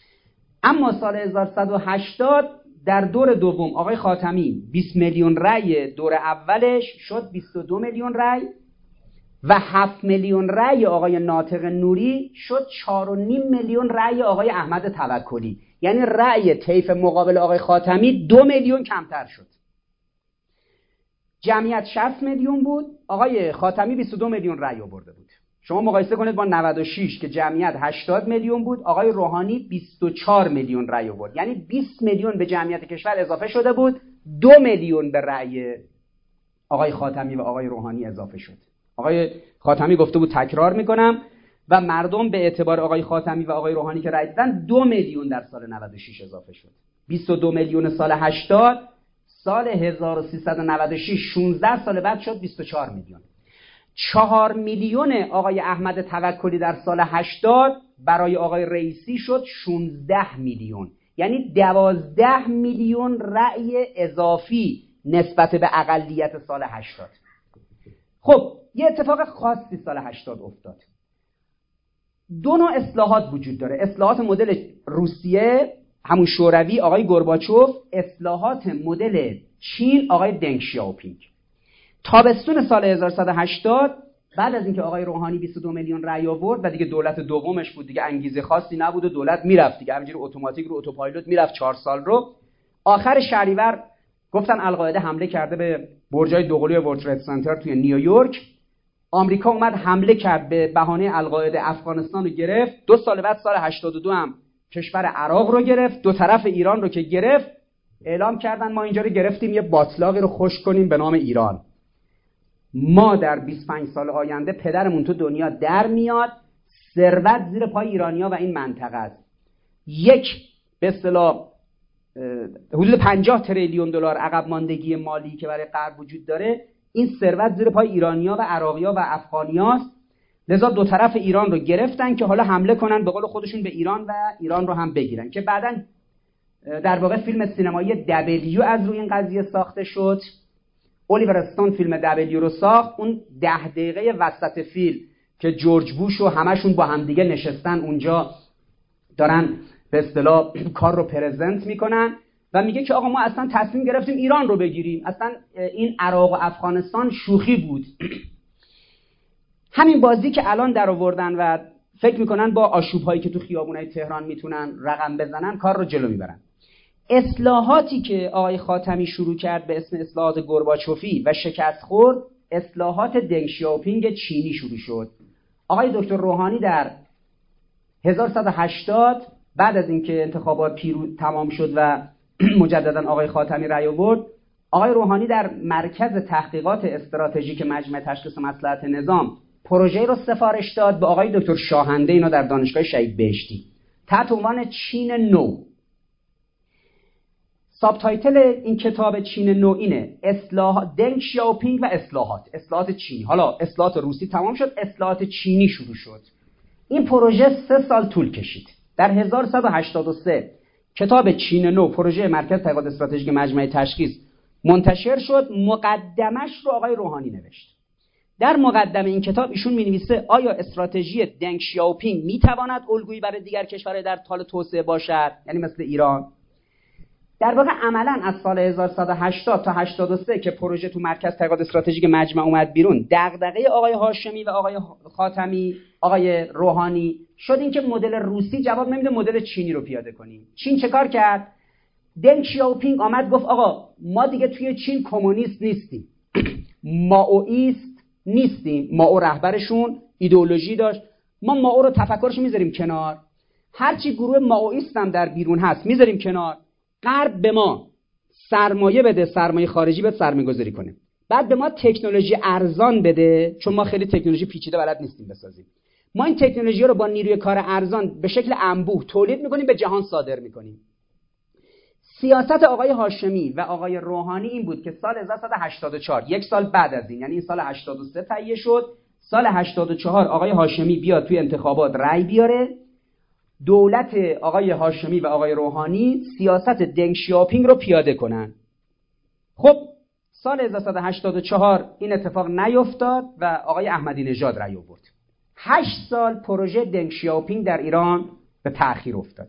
اما سال هزار و سیصد و هشتاد در دور دوم آقای خاتمی بیست میلیون رأی دور اولش شد بیست و دو میلیون رأی و هفت میلیون رأی آقای ناطق نوری شد چهار و نیم میلیون رأی آقای احمد توکلی. یعنی رأی طیف مقابل آقای خاتمی دو میلیون کمتر شد. جمعیت شصت میلیون بود، آقای خاتمی بیست و دو میلیون رأی آورده بود. شما مقایسه کنید با نود و شش که جمعیت هشتاد میلیون بود، آقای روحانی بیست و چهار میلیون رأی آورد. یعنی بیست میلیون به جمعیت کشور اضافه شده بود، دو میلیون به رأی آقای خاتمی و آقای روحانی اضافه شد. آقای خاتمی گفته بود تکرار میکنم و مردم به اعتبار آقای خاتمی و آقای روحانی که رأی دادن دو میلیون در سال نود و شش اضافه شد. بیست و دو میلیون سال هشتاد، سال هزار و سیصد و نود و شش شانزده سال بعد شد بیست و چهار میلیون. چهار میلیون آقای احمد توکلی در سال هشتاد برای آقای رئیسی شد شانزده میلیون. یعنی دوازده میلیون رأی اضافی نسبت به اقلیت سال هشتاد. خب یه اتفاق خاصی سال هشتاد افتاد. دو نوع اصلاحات وجود داره، اصلاحات مدل روسیه همون شوروی آقای گورباچوف، اصلاحات مدل چین آقای دنگ شیائوپینگ. تابستون سال هزار و سیصد و هشتاد بعد از اینکه آقای روحانی بیست و دو میلیون رأی آورد و دیگه دولت دومش بود، دیگه انگیزه خاصی نبود و دولت میرفت دیگه، همینجوری اتوماتیک رو اتوپایلوت میرفت چهار سال رو. آخر شهریور گفتن القاعده حمله کرده به برجای دوقلوی ورلد ترید سنتر توی نیویورک. آمریکا اومد حمله کرد به بهانه القاعده، افغانستان رو گرفت. دو سال بعد سال هشتاد و دو هم کشور عراق رو گرفت، دو طرف ایران رو که گرفت اعلام کردن ما اینجا رو گرفتیم یه باطلاقی رو خشک کنیم به نام ایران. ما در بیست و پنج سال آینده پدرمون تو دنیا در میاد، ثروت زیر پای ایرانیا و این منطقه است. یک به اصطلاح حدود پنجاه تریلیون دلار عقب ماندگی مالی که برای غرب وجود داره، این ثروت زیر پای ایرانیا و عراقیا و افغانیاست. لذا دو طرف ایران رو گرفتن که حالا حمله کنن به قول خودشون به ایران و ایران رو هم بگیرن، که بعداً در واقع فیلم سینمایی دبلیو از روی این قضیه ساخته شد. الیور استون فیلم دبلیو رو ساخت. اون ده دقیقه وسط فیلم که جورج بوش و همشون با همدیگه نشستن اونجا دارن به اصطلاح کار رو پرزنت میکنن و میگه که آقا ما اصلا تصمیم گرفتیم ایران رو بگیریم، اصلا این عراق و افغانستان شوخی بود. همین بازی که الان در آوردن و فکر میکنن با آشوب هایی که تو خیابونای تهران میتونن رقم بزنن کار رو جلو میبرن. اصلاحاتی که آقای خاتمی شروع کرد به اسم اصلاحات گورباچوفی و شکست خورد، اصلاحات دنگ شیائوپینگ چینی شروع شد. آقای دکتر روحانی در هزار و صد و هشتاد بعد از اینکه انتخابات پیروز تمام شد و مجددا آقای خاتمی رأی آورد، آقای روحانی در مرکز تحقیقات استراتژیک مجمع تشخیص مصلحت نظام پروژه رو سفارش داد به آقای دکتر شاهنده، اینا در دانشگاه شهید بهشتی، تحت عنوان چین نو. ساب تایتل این کتاب چین نو اینه: اصلاح دنگ شیائوپینگ و اصلاحات اصلاحات چینی. حالا اصلاحات روسی تمام شد، اصلاحات چینی شروع شد. این پروژه سه سال طول کشید. در هزار و صد و هشتاد و سه کتاب چین نو، پروژه مرکز تحقیقات استراتژیک مجمع تشخیص، منتشر شد. مقدمش رو آقای روحانی نوشت. در مقدمه این کتاب ایشون می‌نویسه آیا استراتژی دنگ شیائوپینگ می‌تواند الگویی برای دیگر کشورهای در حال توسعه باشد، یعنی مثل ایران؟ در واقع عملاً از سال هزار و صد و هشتاد تا هشتاد و سه که پروژه تو مرکز تحقیقات استراتژیک مجمع اومد بیرون، دغدغه آقای هاشمی و آقای خاتمی، آقای روحانی شد این که مدل روسی جواب نمیده، مدل چینی رو پیاده کنیم. چین چه کار کرد؟ دنگ شیائوپینگ آمد گفت آقا ما دیگه توی چین کمونیست نیستیم، مائویست نیستیم. مائو رهبرشون ایدئولوژی داشت، ما مائو رو تفکرش میذاریم کنار، هرچی گروه مائویست هم در بیرون هست میذاریم کنار. غرب به ما سرمایه بده، سرمایه خارجی بده، سرمایه گذاری کنه، بعد به ما تکنولوژی ارزان بده، چون ما خیلی تکنولوژی پیچیده بلد نیستیم بسازیم. ما این تکنولوژی رو با نیروی کار ارزان به شکل انبوه تولید میکنیم، به جهان صادر میکنیم. سیاست آقای هاشمی و آقای روحانی این بود که سال هزار و صد و هشتاد و چهار، یک سال بعد از این، یعنی این سال هشتاد و سه تهیه شد، سال هشتاد و چهار آقای هاشمی بیاد توی انتخابات رأی بیاره، دولت آقای هاشمی و آقای روحانی سیاست دنگ شیائوپینگ رو پیاده کنن. خب سال هزار و صد و هشتاد و چهار این اتفاق نیفتاد و آقای احمدی نژاد رأی آورد. هشت سال پروژه دنگ شیائوپینگ در ایران به تأخیر افتاد.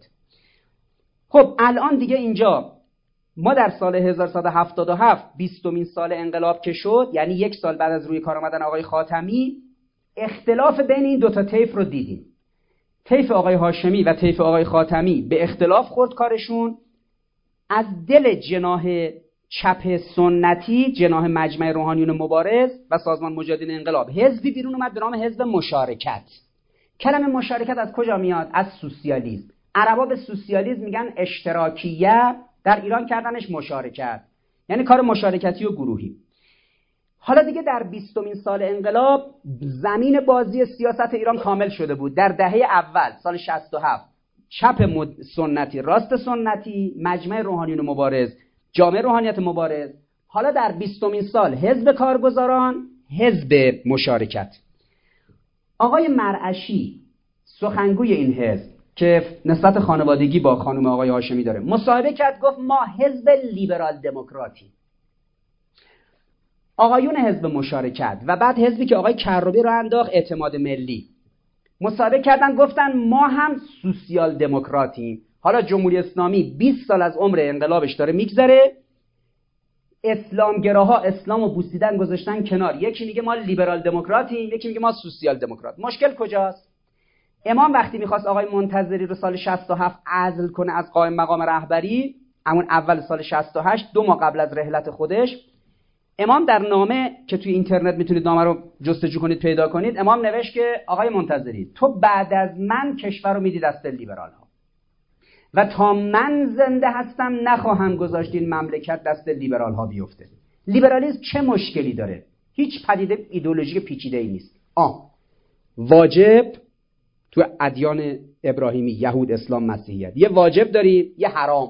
خب الان دیگه اینجا ما در سال هزار و صد و هفتاد و هفت، بیستمین سال انقلاب که شد، یعنی یک سال بعد از روی کار آمدن آقای خاتمی، اختلاف بین این دوتا طیف رو دیدیم. طیف آقای هاشمی و طیف آقای خاتمی به اختلاف خورد کارشون. از دل جناح چپ سنتی، جناح مجمع روحانیون مبارز و سازمان مجاهدین انقلاب، حزبی بیرون اومد به نام حزب مشارکت. کلمه مشارکت از کجا میاد؟ از سوسیالیسم. عربا به سوسیالیسم میگن اشتراکیه، در ایران کردنش مشارکت، یعنی کار مشارکتی و گروهی. حالا دیگه در بیستمین سال انقلاب زمین بازی سیاست ایران کامل شده بود. در دهه اول سال شصت و هفت چپ سنتی، راست سنتی، مجمع روحانیون مبارز، جامعه روحانیت مبارز. حالا در بیستمین سال حزب کارگزاران، حزب مشارکت. آقای مرعشی سخنگوی این حزب که نسبت خانوادگی با خانم آقای هاشمی داره، مصاحبه کرد، گفت ما حزب لیبرال دموکراتی. آقایون حزب مشارکت و بعد حزبی که آقای کروبی رو انداخت، اعتماد ملی، مصاحبه کردن گفتن ما هم سوسیال دموکراتیم. حالا جمهوری اسلامی بیست سال از عمر انقلابش داره میگذره، اسلامگراها اسلامو بوسیدن گذاشتن کنار، یکی میگه ما لیبرال دموکراتیم، یکی میگه ما سوسیال دموکرات. مشکل کجاست؟ امام وقتی میخواست آقای منتظری رو سال شصت و هفت عزل کنه از قائم مقام رهبری، همون اول سال شصت و هشت، دو ماه قبل از رحلت خودش، امام در نامه که توی اینترنت میتونید نامه رو جستجو کنید پیدا کنید، امام نوشت که آقای منتظری تو بعد از من کشور رو میدی دست لیبرال ها و تا من زنده هستم نخواهم گذاشت این مملکت دست لیبرال ها بیفته. لیبرالیسم چه مشکلی داره؟ هیچ پدیده ایدئولوژیک پیچیده ای نیست. آه واجب تو ادیان ابراهیمی، یهود، اسلام، مسیحیت، یه واجب داریم، یه حرام.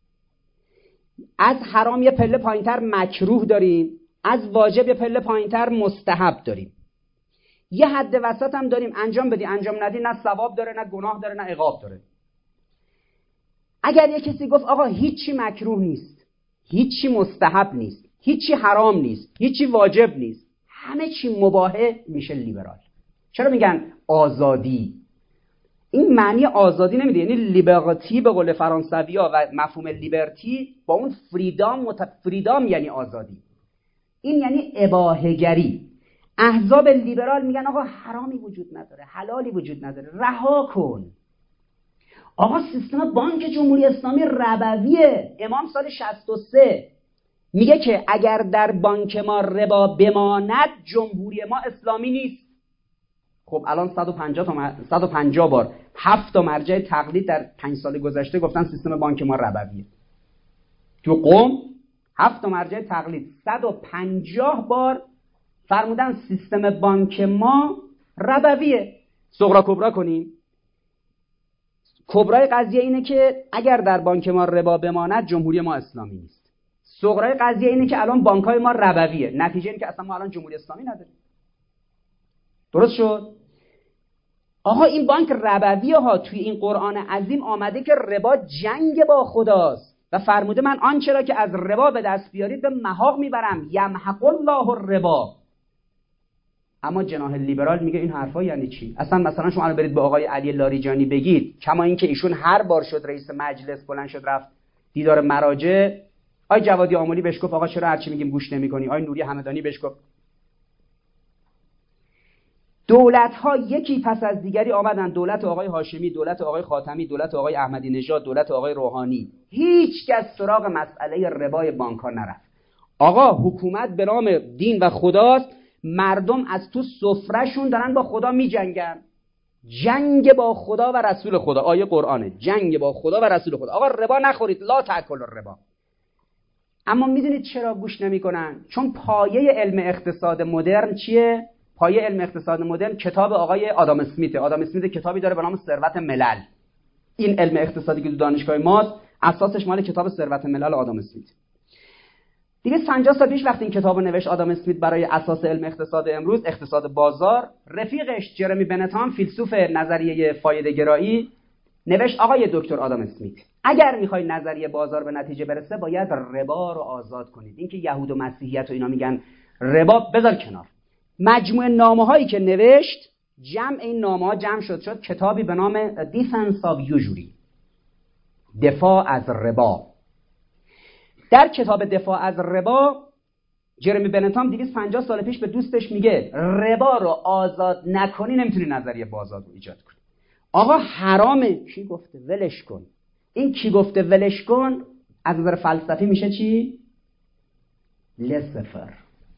از حرام یه پله پایینتر مکروه داریم، از واجب یه پله پایینتر مستحب داریم، یه حد وسط هم داریم، انجام بدی انجام ندی نه ثواب داره نه گناه داره نه عقاب داره. اگر یک کسی گفت آقا هیچی مکروه نیست، هیچی مستحب نیست، هیچی حرام نیست، هیچی واجب نیست، همه چی مباحه، میشه لیبرال. چرا میگن آزادی؟ این معنی آزادی نمیده، یعنی لیبرتی به قول فرانسوی‌ها و مفهوم لیبرتی با اون فریدام مت... فریدام یعنی آزادی، این یعنی اباحه‌گری. احزاب لیبرال میگن آقا حرامی وجود نداره، حلالی وجود نداره، رها کن. آقا سیستم بانک جمهوری اسلامی ربویه. امام سال شصت و سه میگه که اگر در بانک ما ربا بماند جمهوری ما اسلامی نیست. خب الان صد و پنجاه تا م... صد و پنجاه بار هفت تا مرجع تقلید در پنج سال گذشته گفتن سیستم بانک ما ربویه. تو قم هفت تا مرجع تقلید صد و پنجاه بار فرمودن سیستم بانک ما ربویه. صغرا کبرا کنیم. کبرای قضیه اینه که اگر در بانک ما ربا بماند جمهوری ما اسلامی نیست. صغرای قضیه اینه که الان بانک‌های ما ربویه، نتیجه اینه که اصلا ما الان جمهوری اسلامی نداریم. درست شد؟ آقا این بانک ربویه ها توی این قرآن عظیم آمده که ربا جنگ با خداست و فرموده من آنچه را که از ربا به دست بیارید به محاق میبرم، یمحق الله الربا. اما جناح لیبرال میگه این حرفا یعنی چی؟ اصلا مثلا شما الان برید به آقای علی لاریجانی بگید، کما اینکه ایشون هر بار شد رئیس مجلس بلند شد رفت دیدار مراجع، آقای جوادی آملی بهش گفت آقا چرا هر چی میگیم گوش نمی‌کنی؟ آقای نوری همدانی بهش گفت. دولت‌ها یکی پس از دیگری آمدن، دولت آقای هاشمی، دولت آقای خاتمی، دولت آقای احمدی نژاد، دولت آقای روحانی، هیچ کس سراغ مسئله ربای بانک‌ها نرفت. آقا حکومت به نام دین و خداست، مردم از تو سفرهشون دارن با خدا میجنگن. جنگ با خدا و رسول خدا، آیه قرآنه، جنگ با خدا و رسول خدا. آقا ربا نخورید، لا تاکلوا الربا. اما میدونید چرا گوش نمیکنن؟ چون پایه علم اقتصاد مدرن چیه؟ پایه علم اقتصاد مدرن کتاب آقای آدام اسمیت. آدام اسمیت کتابی داره به نام ثروت ملل. این علم اقتصادی که تو دانشگاه ماست اساسش مال کتاب ثروت ملل آدام اسمیت. دویست و پنجاه سال پیش وقتی این کتابو نوشت آدام اسمیت برای اساس علم اقتصاد امروز، اقتصاد بازار، رفیقش جرمی بنتام فیلسوف نظریه فایده گرایی نوشت آقای دکتر آدام اسمیت، اگر میخوای نظریه بازار به نتیجه برسه باید ربا رو آزاد کنید. این که یهود و مسیحیت و اینا میگن ربا بذار کنار. مجموعه نامه‌هایی که نوشت، جمع این نامه‌ها جمع شد شد کتابی به نام دیفنس آف یوزوری، دفاع از ربا. در کتاب دفاع از ربا جرمی بنتام دویست و پنجاه سال پیش به دوستش میگه ربا رو آزاد نکنی نمیتونی نظریه بازار رو ایجاد کنی. آقا حرامه، کی گفته ولش کن. این کی گفته ولش کن از نظر فلسفی میشه چی؟ لسفر.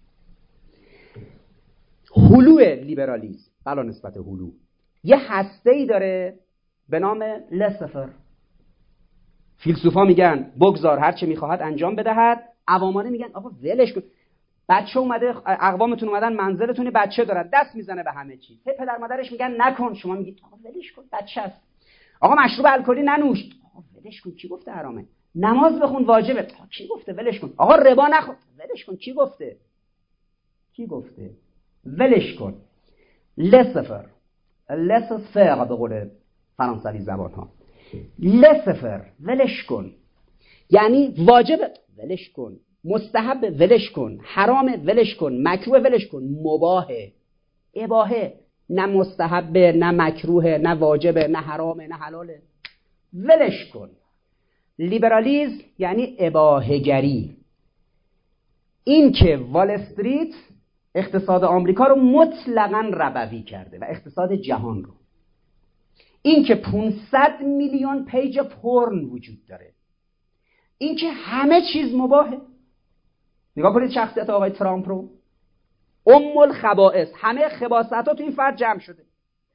هلو لیبرالیسم بلا نسبت هلو یه هسته‌ای داره به نام لسفر. فیلسوفا میگن بگذار هر چه میخواهد انجام بدهد، عوامانه میگن آقا ولش کن. بچه اومده، اقوامتون اومدن منزلتون، بچه دارن دست میزنه به همه چی، هی پدر مادرش میگن نکن، شما میگید آقا ولش کن بچه است. آقا مشروب الکلی ننوش، آقا ولش کن کی گفته حرامه. نماز بخون واجبه، آقا کی گفته ولش کن. آقا ربا نخور، ولش کن کی گفته کی گفته ولش کن. لسفر لسفر به قول فرانسوی زبان ها، لسفر ولش کن یعنی واجبه ولش کن، مستحب ولش کن، حرام ولش کن، مکروه ولش کن، مباحه اباحه، نه مستحبه نه مکروه نه واجبه نه حرامه نه حلاله، ولش کن. لیبرالیسم یعنی اباحه گری. این که وال استریت اقتصاد آمریکا رو مطلقاً ربوی کرده و اقتصاد جهان رو، این که پانصد میلیون پیج پورن وجود داره، این که همه چیز مباحه. نگاه کنید شخصیت آقای ترامپ رو، ام الخبائث، همه خباثت‌ها تو این فرد جمع شده.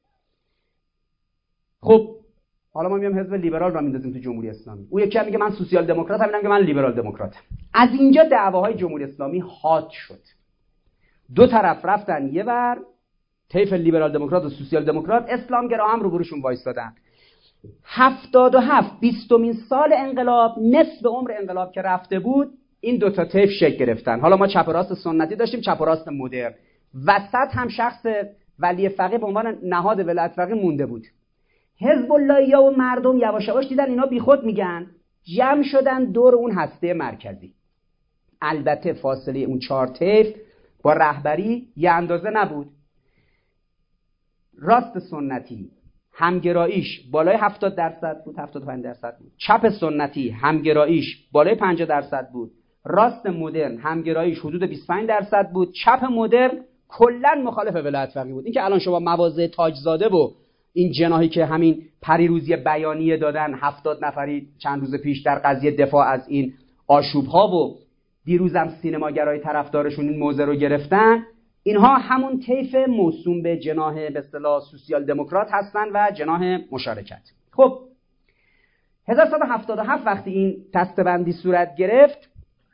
خب حالا ما میام حزب لیبرال رو میندازیم تو جمهوری اسلامی، او یکی میگه من سوسیال دموکراتم، اینم میگه من لیبرال دموکراتم. از اینجا دعواهای جمهوری اسلامی حاد شد. دو طرف رفتن یه ور، طیف لیبرال دموکرات و سوسیال دموکرات، اسلام گرا هم رو بروشون وایستادن. هفتاد و هفت بیستمین سال انقلاب، نصف عمر انقلاب که رفته بود، این دوتا طیف شکل گرفتن. حالا ما چپ و راست سنتی داشتیم، چپ و راست مدرن، وسط هم شخص ولی فقیه به عنوان نهاد ولایت فقیه مونده بود. حزب اللهیا و مردم یواش یواش دیدن اینا بیخود میگن، جمع شدن دور اون هسته مرکزی. البته فاصله اون چهار طیف با رهبری یه اندازه نبود. راست سنتی همگراییش بالای هفتاد درصد بود، هفتاد و پنج درصد بود. چپ سنتی همگراییش بالای پنجاه درصد بود. راست مدرن همگراییش حدود بیست و پنج درصد بود. چپ مدرن کلا مخالف ولایت فقیه بود. این که الان شما مواضع تاجزاده و این جناحی که همین پریروزی بیانیه دادن هفتاد نفری چند روز پیش در قضیه دفاع از این آشوب‌ها و دیروزم سینماگرای طرفدارشون این موضع رو گرفتن، اینها همون طیف موسوم به جناح به اصطلاح سوسیال دموکرات هستن و جناح مشارکت. خب هزار و سیصد و هفتاد و هفت وقتی این دسته‌بندی صورت گرفت،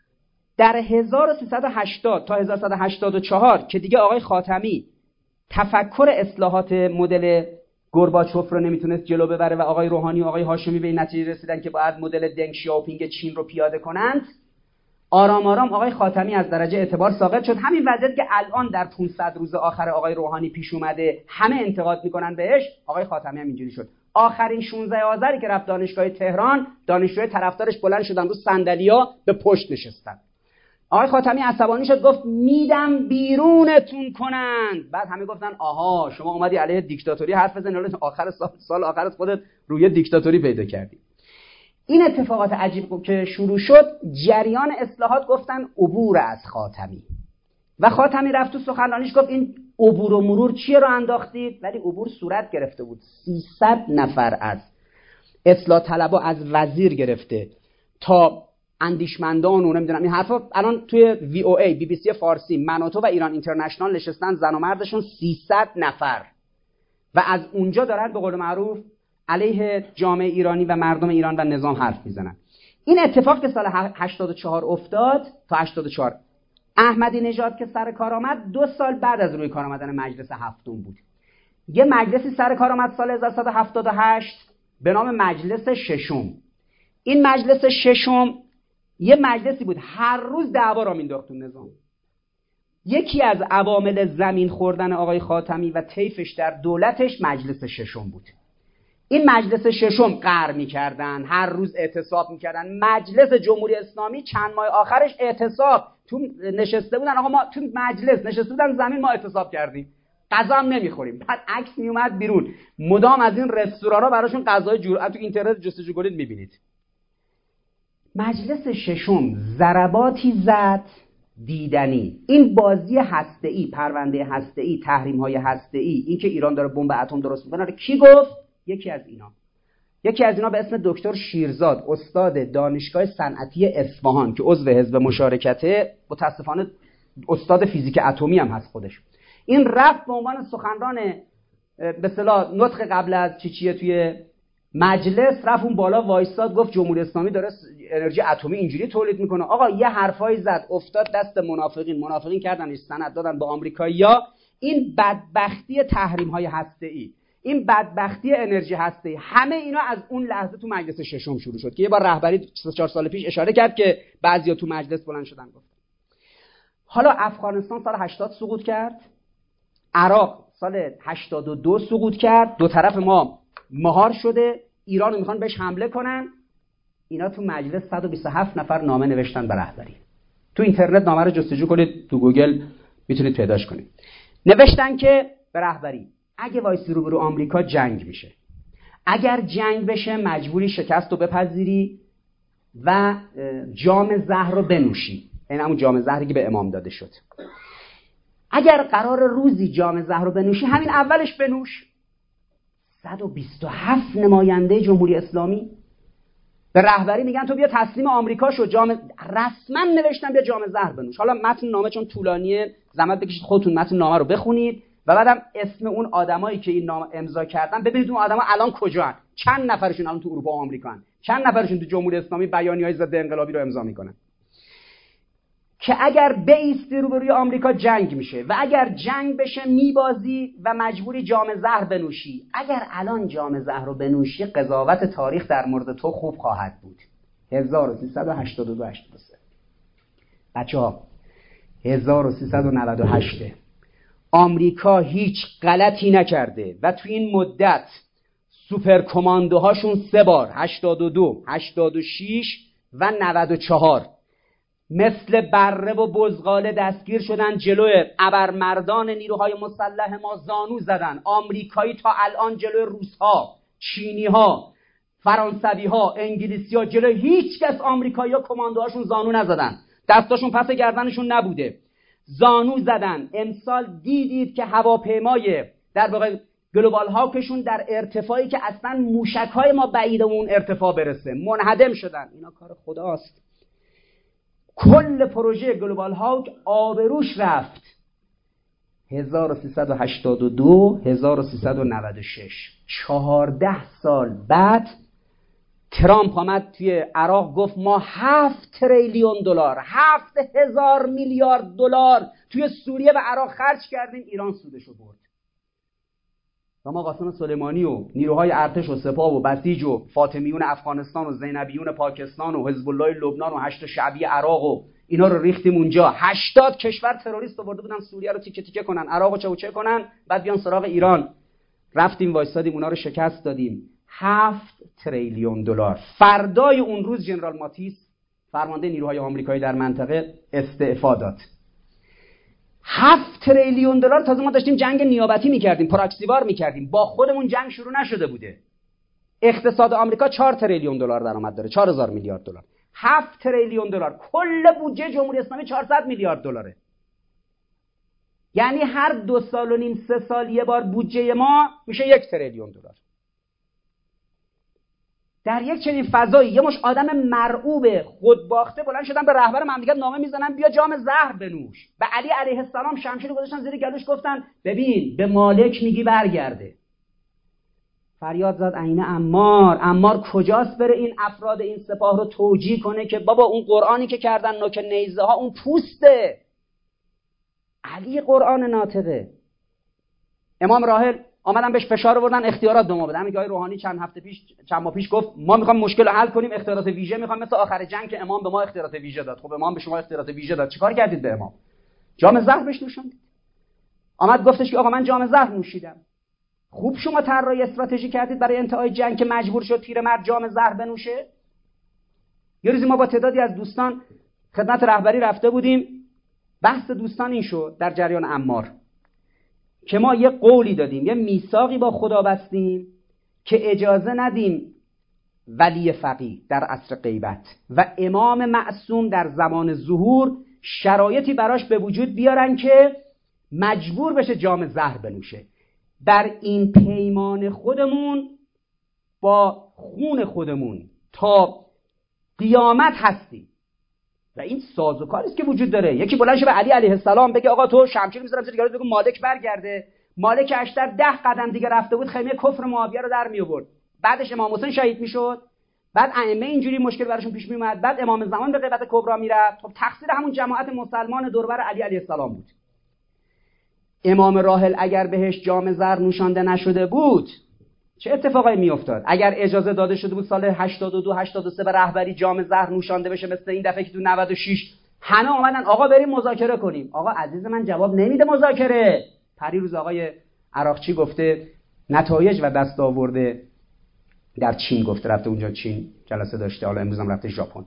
در هزار و سیصد و هشتاد تا هزار و سیصد و هشتاد و چهار که دیگه آقای خاتمی تفکر اصلاحات مدل گورباچوف رو نمیتونست جلو ببره و آقای روحانی و آقای هاشمی به این نتیجه رسیدن که باید مدل دنگ شیاوپینگ چین رو پیاده کنند. آرام آرام آقای خاتمی از درجه اعتبار ساقط شد. همین وضعیت که الان در پانصد روز آخر آقای روحانی پیش اومده همه انتقاد میکنن بهش، آقای خاتمی هم اینجوری شد. آخرین شانزده آذری که رفت دانشگاه تهران، دانشجوی طرفدارش بلند شدن رو صندلی‌ها به پشت نشستن. آقای خاتمی عصبانی شد، گفت میدم بیرونتون کنند. بعد همه گفتن آها شما اومدی علیه دیکتاتوری حرف بزنی، حالا آخر سال سال آخر از خودت روی دیکتاتوری پیدا کردی. این اتفاقات عجیب که شروع شد، جریان اصلاحات گفتن عبور از خاتمی و خاتمی رفت تو سخنرانیش گفت این عبور و مرور چیه رو انداختید، ولی عبور صورت گرفته بود. سیصد نفر از اصلاح طلبا از وزیر گرفته تا اندیشمندان و نمیدونم این حرفا الان توی وی او ای بی بی سی فارسی منوتو و ایران اینترنشنال نشستن، زن و مردشون سیصد نفر و از اونجا دارن به قول معروف علیه جامعه ایرانی و مردم ایران و نظام حرف میزنن. این اتفاق که سال هشتاد و چهار افتاد تا هشتاد و چهار، احمدی نژاد که سر کار آمد دو سال بعد از روی کار آمدن مجلس هفتم بود. یه مجلسی سر کار آمد سال هزار و سیصد و هفتاد و هشت به نام مجلس ششم. این مجلس ششم یه مجلسی بود هر روز دعوا را مینداخت تو نظام. یکی از عوامل زمین خوردن آقای خاتمی و طیفش در دولتش مجلس ششم بود. این مجلس ششم قهر می‌کردن، هر روز اعتصاب می‌کردن. مجلس جمهوری اسلامی چند ماه آخرش اعتصاب تو نشسته بودن، آقا ما تو مجلس نشسته بودن زمین ما اعتصاب کردیم، غذا هم نمی‌خوریم. بعد عکس میومد بیرون، مدام از این رستوران‌ها براشون غذای جور تو اینترنت جستجو کنید می‌بینید. مجلس ششم ضرباتی زد دیدنی. این بازی هسته‌ای، پرونده هسته‌ای، تحریم‌های هسته‌ای، این که ایران داره بمب اتم درست می‌کنه، کی گفت؟ یکی از اینا. یکی از اینا به اسم دکتر شیرزاد، استاد دانشگاه صنعتی اصفهان که عضو حزب مشارکته، متاسفانه استاد فیزیک اتمی هم هست خودش. این رفت به عنوان سخنران به اصطلاح نطق قبل از چی چیه توی مجلس، رفت اون بالا وایساد گفت جمهوری اسلامی داره انرژی اتمی اینجوری تولید میکنه. آقا یه حرفایی زد افتاد دست منافقین، منافقین کردنش سند دادن به آمریکایی‌ها. این بدبختی تحریم‌های هسته‌ای، این بدبختی انرژی هسته‌ای، همه اینا از اون لحظه تو مجلس ششم شروع شد که یه بار رهبری چهار سال پیش اشاره کرد که بعضیا تو مجلس بلند شدن گفت. حالا افغانستان سال هشتاد سقوط کرد، عراق سال هشتاد و دو سقوط کرد، دو طرف ما مهار شده، ایران رو میخوان بهش حمله کنن. اینا تو مجلس صد و بیست و هفت نفر نامه نوشتن به رهبری. تو اینترنت نامه رو جستجو کنید، تو گوگل میتونید پیداش کنید. نوشتن که به رهبری اگه وایسی روبرو آمریکا جنگ میشه، اگر جنگ بشه مجبوری شکست رو بپذیری و جام زهر رو بنوشی. این همون جام زهری که به امام داده شد. اگر قرار روزی جام زهر رو بنوشی، همین اولش بنوش. صد و بیست و هفت نماینده جمهوری اسلامی به رهبری میگن تو بیا تسلیم آمریکا شو، جام رسما نوشتن بیا جام زهر بنوش. حالا متن نامه چون طولانیه زحمت بکشید خودتون متن نامه رو بخونید و بعدم اسم اون آدمایی که این نامه امضا کردن ببینید اون آدما الان کجان، چند نفرشون الان تو اروپا و آمریکا هستن، چند نفرشون تو جمهوری اسلامی بیانیه‌های ضد انقلابی رو امضا میکنن که اگر بایستی روبروی آمریکا جنگ میشه و اگر جنگ بشه میبازی و مجبوری جام زهر بنوشی. اگر الان جام زهر رو بنوشی قضاوت تاریخ در مورد تو خوب خواهد بود. هزار و سیصد و هشتاد و دو هشتاد و سه بچه‌ها هزار و سیصد و نود و هشت آمریکا هیچ غلطی نکرده و تو این مدت سوپر کماندوهاشون سه بار هشتاد و دو، هشتاد و شش و نود و چهار مثل بره و بزغاله دستگیر شدن، جلوی ابرمردان نیروهای مسلح ما زانو زدن. آمریکایی تا الان جلوی روس‌ها، چینی‌ها، فرانسوی‌ها، انگلیسی‌ها، جلوی هیچ کس آمریکایی‌ها کماندوهاشون زانو نزدن، دستاشون پس گردنشون نبوده، زانو زدن. امسال دیدید که هواپیمای در واقع گلوبال هاکشون در ارتفاعی که اصلا موشک‌های ما بعید اون ارتفاع برسه منهدم شدن. اینا کار خداست. کل پروژه گلوبال هاک آبروش رفت. هزار و سیصد و هشتاد و دو، هزار و سیصد و نود و شش، چهارده سال بعد ترامپ آمد توی عراق گفت ما هفت تریلیون دلار، هفت هزار میلیارد دلار توی سوریه و عراق خرج کردیم، ایران سودشو برد. و ما قاسم سلیمانی و نیروهای ارتش و سپاه و بسیج و فاطمیون افغانستان و زینبیون پاکستان و حزب الله لبنان و هشت شعبی عراق و اینا رو ریختیم اونجا. هشتاد کشور تروریست آورده بودن سوریه رو تیکه تیکه کنن، عراق رو چوچه کنن، بعد بیان سراغ ایران. رفتیم وایسادیم اونا رو شکست دادیم. هفت تریلیون دلار. فردای اون روز ژنرال ماتیس فرمانده نیروهای آمریکایی در منطقه استعفا داد. هفت تریلیون دلار. تازه ما داشتیم جنگ نیابتی میکردیم، پراکسیوار میکردیم، با خودمون جنگ شروع نشده بوده. اقتصاد آمریکا چهار تریلیون دلار درآمد داره، چهار هزار میلیارد دلار. هفت تریلیون دلار. کل بودجه جمهوری اسلامی چهارصد میلیارد دلاره. یعنی هر دو سال و نیم سه سال یه بار بودجه ما میشه یک تریلیون دلار. در یک چنین فضایی یه مش آدم مرعوب خودباخته بلند شدن به رهبر مملکت نامه میزنن بیا جام زهر بنوش. به علی علیه السلام شمشیر گذاشتن زیر گلوش گفتن ببین به مالک میگی برگرده. فریاد زد عین عمار، عمار کجاست بره این افراد این سپاه رو توجیه کنه که بابا اون قرآنی که کردن نوک نیزه ها اون پوسته. علی قرآن ناطقه. امام راحل آمدن بهش فشار آوردن اختیارات به ما بده. همین که آقای روحانی چند هفته پیش چند ماه پیش گفت ما میخوام مشکل رو حل کنیم، اختیارات ویژه میخوام، مثل آخر جنگ که امام به ما اختیارات ویژه داد. خب امام به شما اختیارات ویژه داد، چیکار کردید به امام؟ جام زهر بهش نوشوندید. آمد گفتش که آقا من جام زهر نوشیدم. خوب شما طراحی استراتژی کردید برای انتهای جنگ که مجبور شد پیرمرد جام زهر بنوشه. یه روزی ما با تعدادی از دوستان خدمت رهبری رفته بودیم. بحث دوستان این شد در جریان عمار که ما یه قولی دادیم، یه میثاقی با خدا بستیم که اجازه ندیم ولی فقیه در عصر غیبت و امام معصوم در زمان ظهور شرایطی براش به وجود بیارن که مجبور بشه جام زهر بنوشه. در این پیمان خودمون با خون خودمون تا قیامت هستیم و این سازوکاری است که وجود داره. یکی بلند شه به علی علیه السلام بگه آقا تو شمشیر می‌ذارم زیر گلوت، بگو مالک برگرده. مالک اشتر ده قدم دیگه رفته بود خیمه کفر معاویه رو در می آورد. بعدش امام حسین شهید میشد، بعد ائمه اینجوری مشکل براشون پیش می اومد، بعد امام زمان به غیبت کبرا میرفت. خب تقصیر همون جماعت مسلمان دور بر علی علیه السلام بود. امام راحل اگر بهش جام زر نوشانده نشده بود چه اتفاقی میافتاد؟ اگر اجازه داده شده بود سال هشتاد و دو هشتاد و سه به رهبری جام زهر نوشانده بشه مثل این دفعه که تو نود و شش همه اومدن آقا بریم مذاکره کنیم. آقا عزیز من جواب نمیده مذاکره. پریروز آقای عراقچی گفته نتایج و دستاورد در چین گفته، رفته اونجا چین جلسه داشته، حالا امروز هم رفته ژاپن،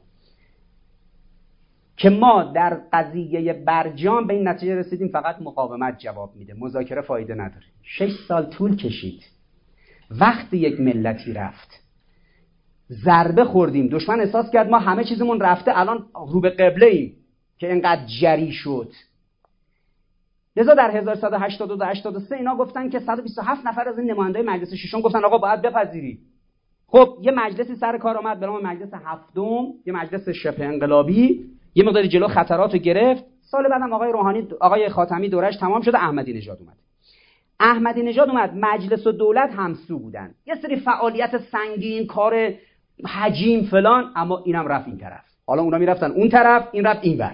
که ما در قضیه برجام به این نتیجه رسیدیم فقط مقاومت جواب میده، مذاکره فایده نداره. شش سال طول کشید. وقتی یک ملتی رفت ضربه خوردیم، دشمن احساس کرد ما همه چیزمون رفته، الان رو به قبله ایم که اینقدر جری شد. لذا در هزار و سیصد و هشتاد و دو هشتاد و سه اینا گفتن که صد و بیست و هفت نفر از این نمایندای مجلس ششم گفتن آقا باید بپذیری. خب یه مجلسی سر کار آمد به نام مجلس هفتم، یه مجلس شبه انقلابی، یه مقدار جلو خطراتو گرفت. سال بعدم آقای روحانی آقای خاتمی دورش تمام شد، احمدی نژاد اومد. احمدی نژاد اومد، مجلس و دولت همسو بودن، یه سری فعالیت سنگین، کار حجیم فلان، اما اینم رفت این طرف. حالا اونا میرفتن اون طرف، این رفت این ور.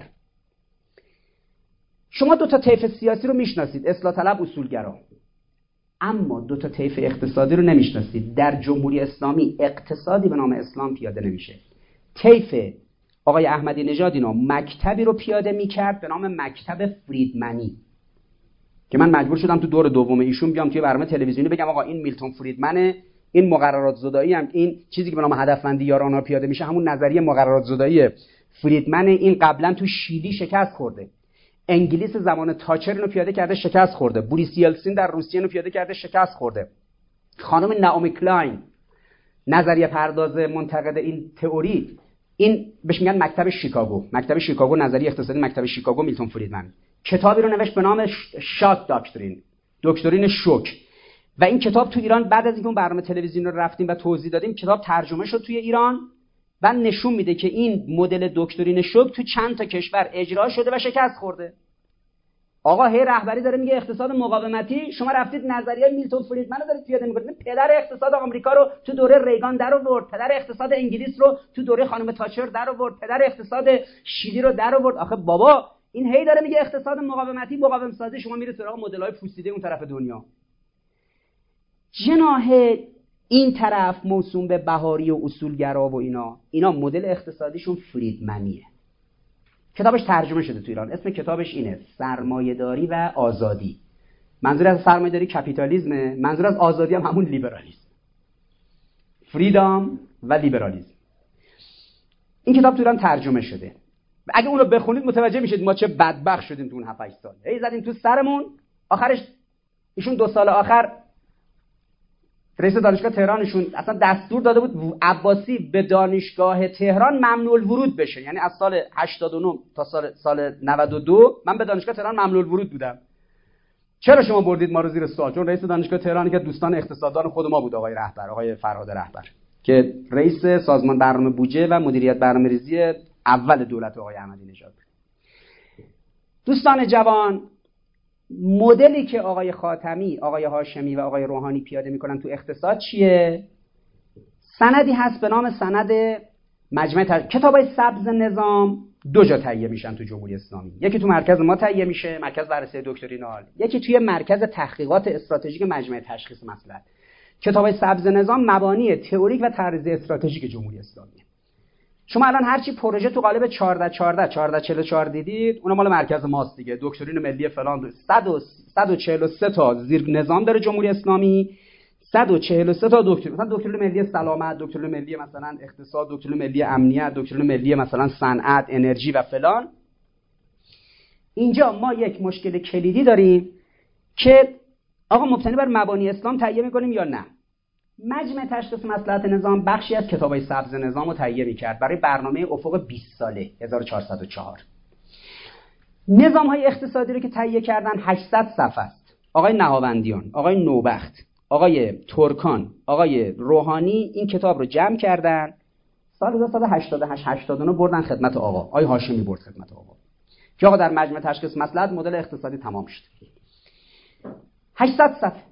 شما دو تا طیف سیاسی رو میشناسید، اصلاح طلب، اصولگرا، اما دو تا طیف اقتصادی رو نمیشناسید. در جمهوری اسلامی اقتصادی به نام اسلام پیاده نمیشه. طیف آقای احمدی نژاد اینا مکتبی رو پیاده میکرد به نام مکتب فریدمنی که من مجبور شدم تو دور دوم ایشون بیام توی برنامه تلویزیونی بگم آقا این میلتون فریدمنه، این مقررات زدایی هم، این چیزی که به نام هدفمندی یارانه پیاده میشه، همون نظریه مقررات زدایی فریدمن. این قبلا تو شیلی شکست خورده، انگلیس زمان تاچر اینو پیاده کرده شکست خورده، بوریس یلتسین در روسیه اینو پیاده کرده شکست خورده. خانم نائومی کلاین نظریه پرداز منتقد این تئوری، این بهش میگن مکتب شیکاگو، مکتب شیکاگو نظریه اقتصادی مکتب شیکاگو، میلتون فریدمن کتابی رو نوشت به نام شاک داکترین، دکترین شوک. و این کتاب تو ایران بعد از اینکه اون برنامه تلویزیون رو رفتیم و توضیح دادیم، کتاب ترجمه شد توی ایران و نشون میده که این مدل دکترین شوک تو چند تا کشور اجرا شده و شکست خورده. آقا هی رهبری داره میگه اقتصاد مقاومتی، شما رفتید نظریه میلتون فریدمن رو دارید پیاده میکنید. پدر اقتصاد آمریکا رو تو دوره ریگان در آورد، پدر اقتصاد انگلیس رو تو دوره خانم تاچر در آورد، پدر اقتصاد شیلی رو در آورد. آخه بابا این هی داره میگه اقتصاد مقاومتی، مقاوم سازی، شما میرید سراغ مدل‌های پوسیده اون طرف دنیا. جناح این طرف موسوم به بهاری و اصولگرا و اینا، اینا مدل اقتصادیشون فریدمنیه. کتابش ترجمه شده تو ایران، اسم کتابش اینه سرمایه‌داری و آزادی. منظور از سرمایه‌داری کپیتالیسمه، منظور از آزادی هم همون لیبرالیسم، فریدام و لیبرالیسم. این کتاب تو ایران ترجمه شده. اگه اون رو بخونید متوجه میشید ما چه بدبخت شدیم تو اون هفت هشت سال. هی زدیم تو سرمون، آخرش ایشون دو سال آخر رئیس دانشگاه تهرانشون اصلا دستور داده بود عباسی به دانشگاه تهران ممنوع الورود بشه. یعنی از سال هشتاد و نه تا سال سال نود و دو من به دانشگاه تهران ممنوع الورود بودم. چرا شما بردید ما رو زیر سوال؟ چون رئیس دانشگاه تهران که دوستان اقتصاددان خود ما بود، آقای رهبر، آقای فرهاد رهبر، که رئیس سازمان برنامه بودجه و مدیریت برنامه‌ریزی اول دولت آقای احمدی نژاد. دوستان جوان، مدلی که آقای خاتمی، آقای هاشمی و آقای روحانی پیاده میکنن تو اقتصاد چیه؟ سندی هست به نام سند مجمع تر... کتابای سبز نظام دو جا تهیه میشن تو جمهوری اسلامی. یکی تو مرکز ما تهیه میشه، مرکز بررسی دکترینال، یکی توی مرکز تحقیقات استراتژیک مجمع تشخیص مصلحت. کتابای سبز نظام مبانی تئوریک و طرز استراتژیک جمهوری اسلامی. شما الان هر چی پروژه تو قالب چهارده چهارده چهارده چهل و چهار دیدید، اون مال مرکز ماست دیگه. دکترین ملی فلان صد و چهل و سه تا زیر نظام داره جمهوری اسلامی، صد و چهل و سه تا دکترین، مثلا دکترین ملی سلامت، دکترین ملی مثلا اقتصاد، دکترین ملی امنیت، دکترین ملی مثلا صنعت، انرژی و فلان. اینجا ما یک مشکل کلیدی داریم که آقا مبتنی بر مبانی اسلام تهیه می‌کنیم یا نه؟ مجمع تشخیص مصلحت نظام بخشی از کتابای سبز نظام رو تهیه می‌کرد برای برنامه افق بیست ساله هزار و چهارصد و چهار. نظام‌های اقتصادی رو که تهیه کردن هشتصد صفحه است. آقای نهاوندیان، آقای نوبخت، آقای ترکان، آقای روحانی این کتاب رو جمع کردن، سال هزار و سیصد و هشتاد و هشت هشتاد و نه بردن خدمت آقا. آقای هاشمی برد خدمت آقا که آقا در مجمع تشخیص مصلحت مدل اقتصادی تمام شد. هشتصد صفحه.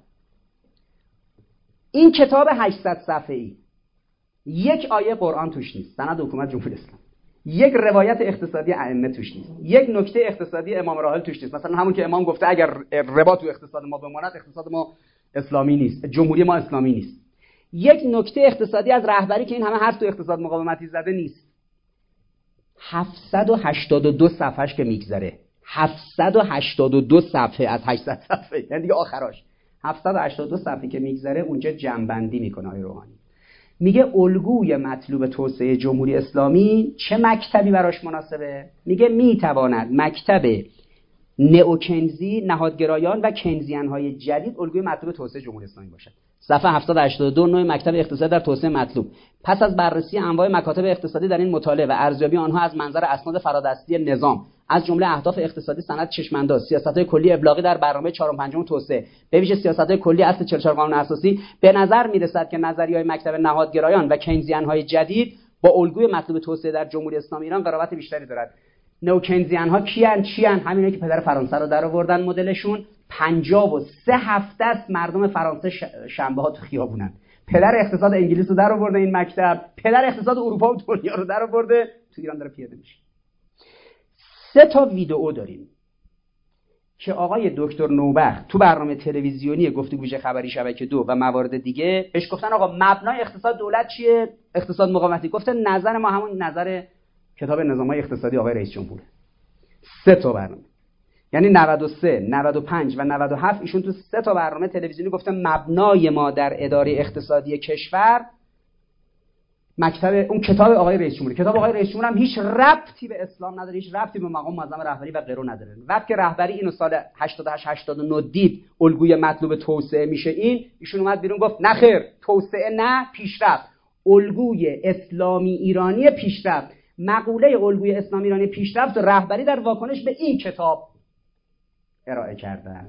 این کتاب هشتصد صفحه‌ای یک آیه قرآن توش نیست، سند حکومت جمهوری اسلامی، یک روایت اقتصادی ائمه توش نیست، یک نکته اقتصادی امام راحل توش نیست. مثلا همون که امام گفته اگر ربا تو اقتصاد ما بماند اقتصاد ما اسلامی نیست، جمهوری ما اسلامی نیست. یک نکته اقتصادی از رهبری که این همه حرف تو اقتصاد مقاومتی زده نیست. هفتصد و هشتاد و دو صفحه‌اش که میگذره، هفتصد و هشتاد و دو صفحه از هشتصد صفحه، یعنی دیگه آخراش هفتصد و هشتاد و دو صفحه که میگذره اونجا جمع‌بندی میکنه آقای روحانی. میگه الگوی مطلوب توسعه جمهوری اسلامی چه مکتبی براش مناسبه؟ میگه میتواند مکتب نئوکنزی، نهادگرایان و کنزیان‌های جدید الگوی مطلوب توسعه جمهوری اسلامی باشد. صفحه هفتصد و هشتاد و دو، نوع مکتب اقتصادی در توسعه مطلوب. پس از بررسی انواع مکاتب اقتصادی در این مطالعه و ارزیابی آنها از منظر اسناد فرادستی نظام، از جمله اهداف اقتصادی سند چشم‌انداز، سیاست‌های کلی ابلاغی در برنامه چهارم پنجم توسعه، به ویژه سیاست‌های کلی اصل چهل و چهار قانون اساسی، به نظر می‌رسد که نظریه‌های مکتب نهادگرایان و کینزیان‌های جدید با الگوی مطلوب توسعه در جمهوری اسلامی ایران قرابت بیشتری دارد. نوکنزیان‌ها کیان؟ چیان؟ همینه که پدر فرانسه رو در آوردن مدلشون. پنجاه و سه هفته است مردم فرانسه شنبه‌ها تو خیابونن. پدر اقتصاد انگلیس رو در آورده این مکتب، پدر اقتصاد اروپا و دنیا رو در آورده، تو ایران داره پیاده میشه. سه تا ویدئو داریم که آقای دکتر نوبخت تو برنامه تلویزیونی گفتگوی خبری شبکه دو و موارد دیگه بهش گفتن آقا مبنای اقتصاد دولت چیه؟ اقتصاد مقاومتی. گفته نظر ما همون نظر کتاب نظام‌های اقتصادی آقای رئیس جمهور. سه تا برنامه. یعنی نود و سه، نود و پنج و نود و هفت ایشون تو سه تا برنامه تلویزیونی گفته مبنای ما در اداره اقتصادی کشور مکتب اون کتاب آقای رئیس جمهور. کتاب آقای رئیس جمهور هم هیچ ربطی به اسلام نداره، هیچ ربطی به مقام معظم رهبری و غیره نداره. وقتی رهبری اینو سال هشتاد و هشت هشتاد و نه دید الگوی مطلوب توسعه میشه این، ایشون اومد بیرون گفت نه خیر، توسعه نه، پیشرفت. الگوی اسلامی ایرانی پیشرفت. مقوله الگوی اسلامی ایرانی پیشرفت و رهبری در واکنش به این کتاب ارائه کردن.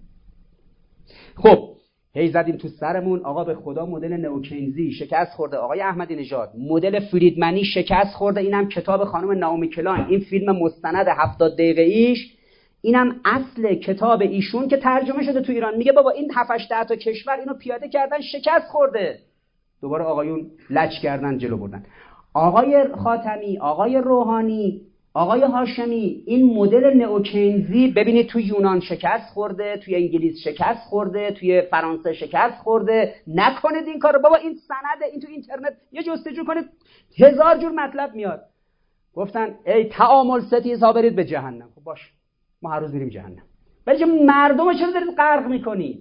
خب هی زدیم تو سرمون آقا به خدا مدل نئوکینزی شکست خورده، آقای احمدی نژاد مدل فریدمنی شکست خورده، اینم کتاب خانم ناومی کلاین، این فیلم مستند هفتاد دقیقه ایش، اینم اصل کتاب ایشون که ترجمه شده تو ایران. میگه بابا این هفت هشت تا کشور اینو پیاده کردن شکست خورده، دوباره آقایون لج کردن جلو بردن. آقای خاتمی، آقای روحانی، آقای هاشمی، این مدل نئوکینزی ببینید تو یونان شکست خورده، توی انگلیس شکست خورده، توی فرانسه شکست خورده. نکنید این کارو بابا، این سند این تو اینترنت یه جستجو کنید هزار جور مطلب میاد. گفتن ای تعامل ستیزها برید به جهنم. خب باش، ما هر روز میریم جهنم، ولی چه مردم چرا دارید غرق میکنید؟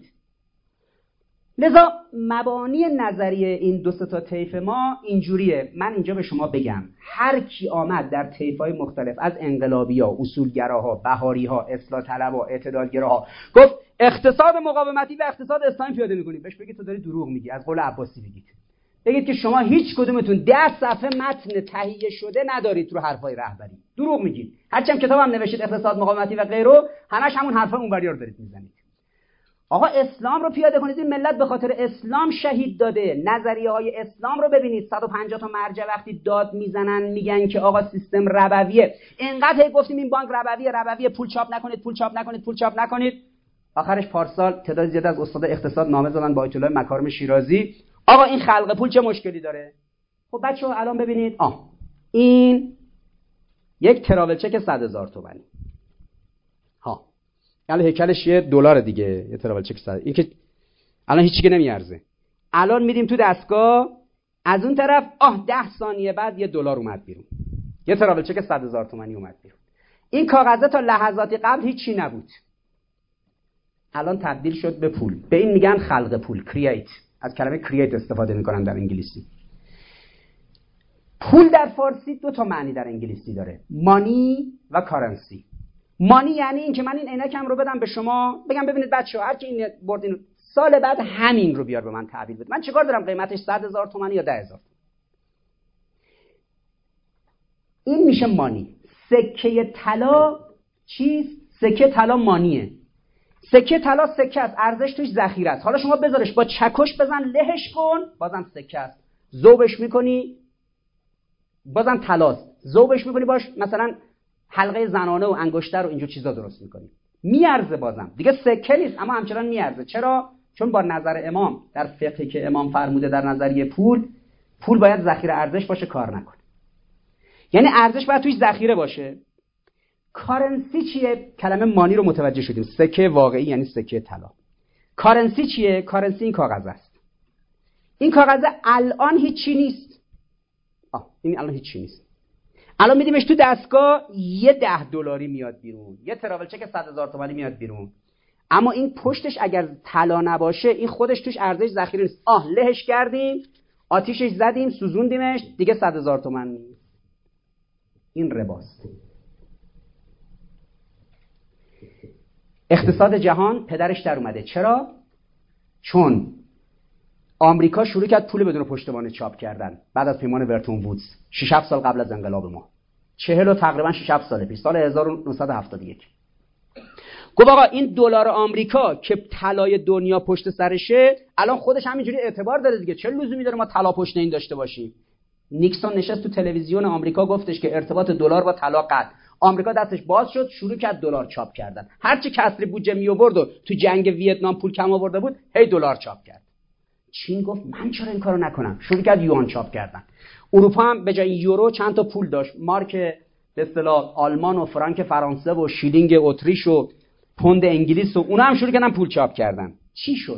لذا مبانی نظریه این دو سه تا طیف ما اینجوریه. من اینجا به شما بگم هر کی آمد در طیف‌های مختلف از انقلابی‌ها، اصولگراها، بهاری‌ها، اصلاح طلب‌ها، اعتدالگراها گفت اقتصاد مقاومتی و اقتصاد اسلامی پیاده می‌کنیم، بهش بگید تو داری دروغ میگی. از قول عباسی بگید بگید که شما هیچ کدومتون ده صفحه متن تهیه شده ندارید رو حرفای رهبری، دروغ میگید. هرچند کتابم نوشتید اقتصاد مقاومتی و غیره، همش همون حرفا اونوری‌ها رو دارید میزنید. آقا اسلام رو پیاده کنید، این ملت به خاطر اسلام شهید داده. نظریه های اسلام رو ببینید، صد و پنجاه تا مرجع وقتی داد میزنن میگن که آقا سیستم ربویه، اینقدر گفتیم این بانک ربویه ربویه، پول چاپ نکنید پول چاپ نکنید پول چاپ نکنید. آخرش پارسال تعداد زیاد از استاد اقتصاد نامه زدن با آیت الله مکارم شیرازی، آقا این خلق پول چه مشکلی داره؟ خب بچه‌ها الان ببینید، آه این یک تراول چک صد هزار تومانی، ها یعنی هیکلش یه دلار دیگه، یه تراول چک صد، این که الان هیچی که نمیارزه. الان میریم تو دستگاه، از اون طرف آه ده ثانیه بعد یه دلار اومد بیرون، یه تراول چک صد هزار تومانی اومد بیرون. این کاغذه تا لحظاتی قبل هیچی نبود، الان تبدیل شد به پول. به این میگن خلق پول، کرییت. از کلمه کرییت استفاده میکنن در انگلیسی. پول در فارسی دو تا معنی در انگلیسی داره، مانی و کارنسی. مانی یعنی این که من این عینکم رو بدم به شما، بگم ببینید بچه‌ها هر کی این بردین سال بعد همین رو بیار به من تحویل بده، من چیکار دارم قیمتش صد هزار تومانی یا ده هزار. این میشه مانی. سکه طلا چیز؟ سکه طلا مانیه. سکه طلا سکه است، ارزش توش ذخیره است. حالا شما بذارش با چکش بزن لهش کن، بازم سکه است. ذوبش میکنی بازم طلاست، ذوبش میکنی باش مثلا حلقه زنانه و انگشتر و اینجور چیزا درست میکنی، میارزه، بازم دیگه سکه نیست اما همچنان میارزه. چرا؟ چون با نظر امام در فقهی که امام فرموده در نظریه پول، پول باید ذخیره ارزش باشه، کار نکنه. یعنی ارزش باید توش ذخیره باشه. کارنسی چیه؟ کلمه مانی رو متوجه شدیم، سکه واقعی یعنی سکه طلا. کارنسی چیه؟ کارنسی این کاغذ است. این کاغذ الان هیچی نیست. آه این الان هیچی نیست. الان میدیمش تو دستگاه یه ده دلاری میاد بیرون، یه تراول چک صد هزار تومانی میاد بیرون. اما این پشتش اگر طلا نباشه این خودش توش ارزش ذخیره نیست. آه لهش کردیم، آتیشش زدیم، سوزوندیمش، دیگه صد هزار تومان نیست. این رباست. اقتصاد جهان پدرش در اومده. چرا؟ چون آمریکا شروع کرد پول بدون پشتوانه چاپ کردن بعد از پیمان ورتون وودز شش هفت سال قبل از انقلاب ما، چهل و تقریبا شش هفت سال پیش، سال هزار و نهصد و هفتاد و یک. گفت آقا این دلار آمریکا که طلای دنیا پشت سرشه الان خودش همینجوری اعتبار داره دیگه، چه لزومی داره ما طلا پشت این داشته باشیم؟ نیکسون نشست تو تلویزیون آمریکا گفتش که ارتباط دلار با طلا قطع. آمریکا دستش باز شد، شروع کرد دلار چاپ کردن. هرچی کسری بودجه می آورد و تو جنگ ویتنام پول کم آورده بود، هی دلار چاپ کرد. چین گفت من چرا این کارو نکنم؟ شروع کرد یوان چاپ کردن. اروپا هم به جای یورو چند تا پول داشت، مارک به اصطلاح آلمان و فرانک فرانسه و شیلینگ اتریش و پوند انگلیس و اونا هم شروع کردن پول چاپ کردن. چی شد؟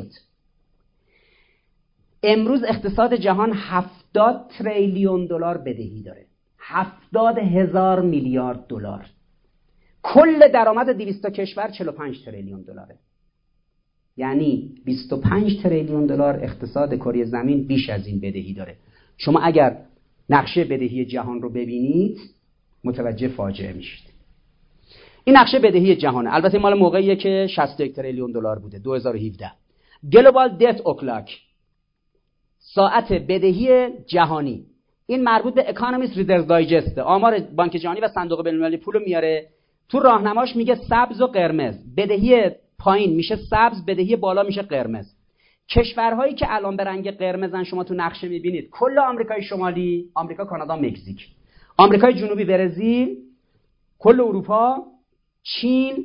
امروز اقتصاد جهان هفتاد تریلیون دلار بدهی داره، هفتاد هزار میلیارد دلار. کل درآمد دویست تا کشور چهل و پنج تریلیون دلاره. یعنی بیست و پنج تریلیون دلار اقتصاد کره زمین بیش از این بدهی داره. شما اگر نقشه بدهی جهان رو ببینید متوجه فاجعه میشید. این نقشه بدهی جهانه. البته مال موقعیه که شصت و یک تریلیون دلار بوده دو هزار و هفده. گلوبال دت اوکلاک، ساعت بدهی جهانی. این مربوط به اکانومیست ریدرز دایجست، آمار بانک جهانی و صندوق بین‌المللی پول رو میاره. تو راهنماش میگه سبز و قرمز، بدهی پایین میشه سبز، بدهی بالا میشه قرمز. کشورهایی که الان به رنگ قرمزن شما تو نقشه میبینید کل آمریکای شمالی، آمریکا، کانادا، مکزیک، آمریکای جنوبی، برزیل، کل اروپا، چین،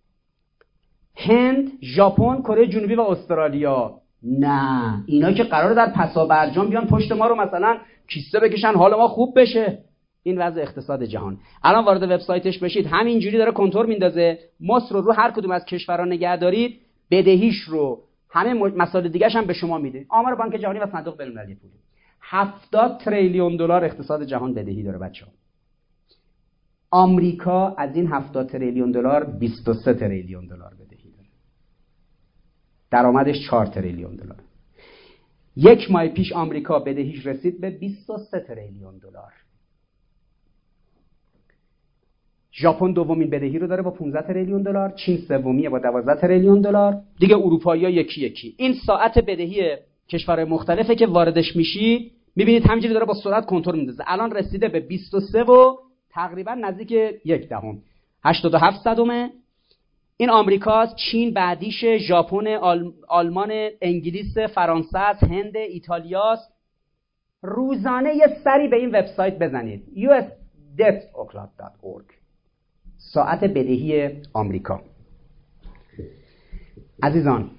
هند، ژاپن، کره جنوبی و استرالیا. نه، اینا که قراره در پسا برجام بیان پشت ما رو مثلا کیسه بکشن حال ما خوب بشه. این وضع اقتصاد جهان. الان وارد وبسایتش بشید همینجوری داره کنتور میندازه. مصر رو رو هر کدوم از کشورها نگه دارید، بدهیش رو، همه مسائل دیگه‌ش هم به شما میده. آمار بانک جهانی و صندوق بین‌المللی پول. هفتاد تریلیون دلار اقتصاد جهان بدهی داره بچه‌ها. آمریکا از این هفتاد تریلیون دلار بیست و سه تریلیون دلار بدهی داره. درآمدش چهار تریلیون دلار. یک ماه پیش آمریکا بدهیش رسید به بیست و سه تریلیون دلار. ژاپن دومین بدهی رو داره با پانزده تریلیون دلار، چین سومیه با دوازده تریلیون دلار، دیگه اروپایی‌ها یکی یکی. این ساعت بدهی کشورهای مختلفه که واردش میشید، میبینید همینجوری داره با سرعت کنتور میندازه. الان رسیده به بیست و سه و تقریبا نزدیک یک دهم، هشتاد و هفت صدمه. این آمریکاست، چین بعدیشه، ژاپن، آل... آلمان، انگلیس، فرانسه است، هند، ایتالیاست. روزانه یه سری به این وبسایت بزنید یو اس debt اوکلاک دات اورگ، ساعت بدهی آمریکا. عزیزان،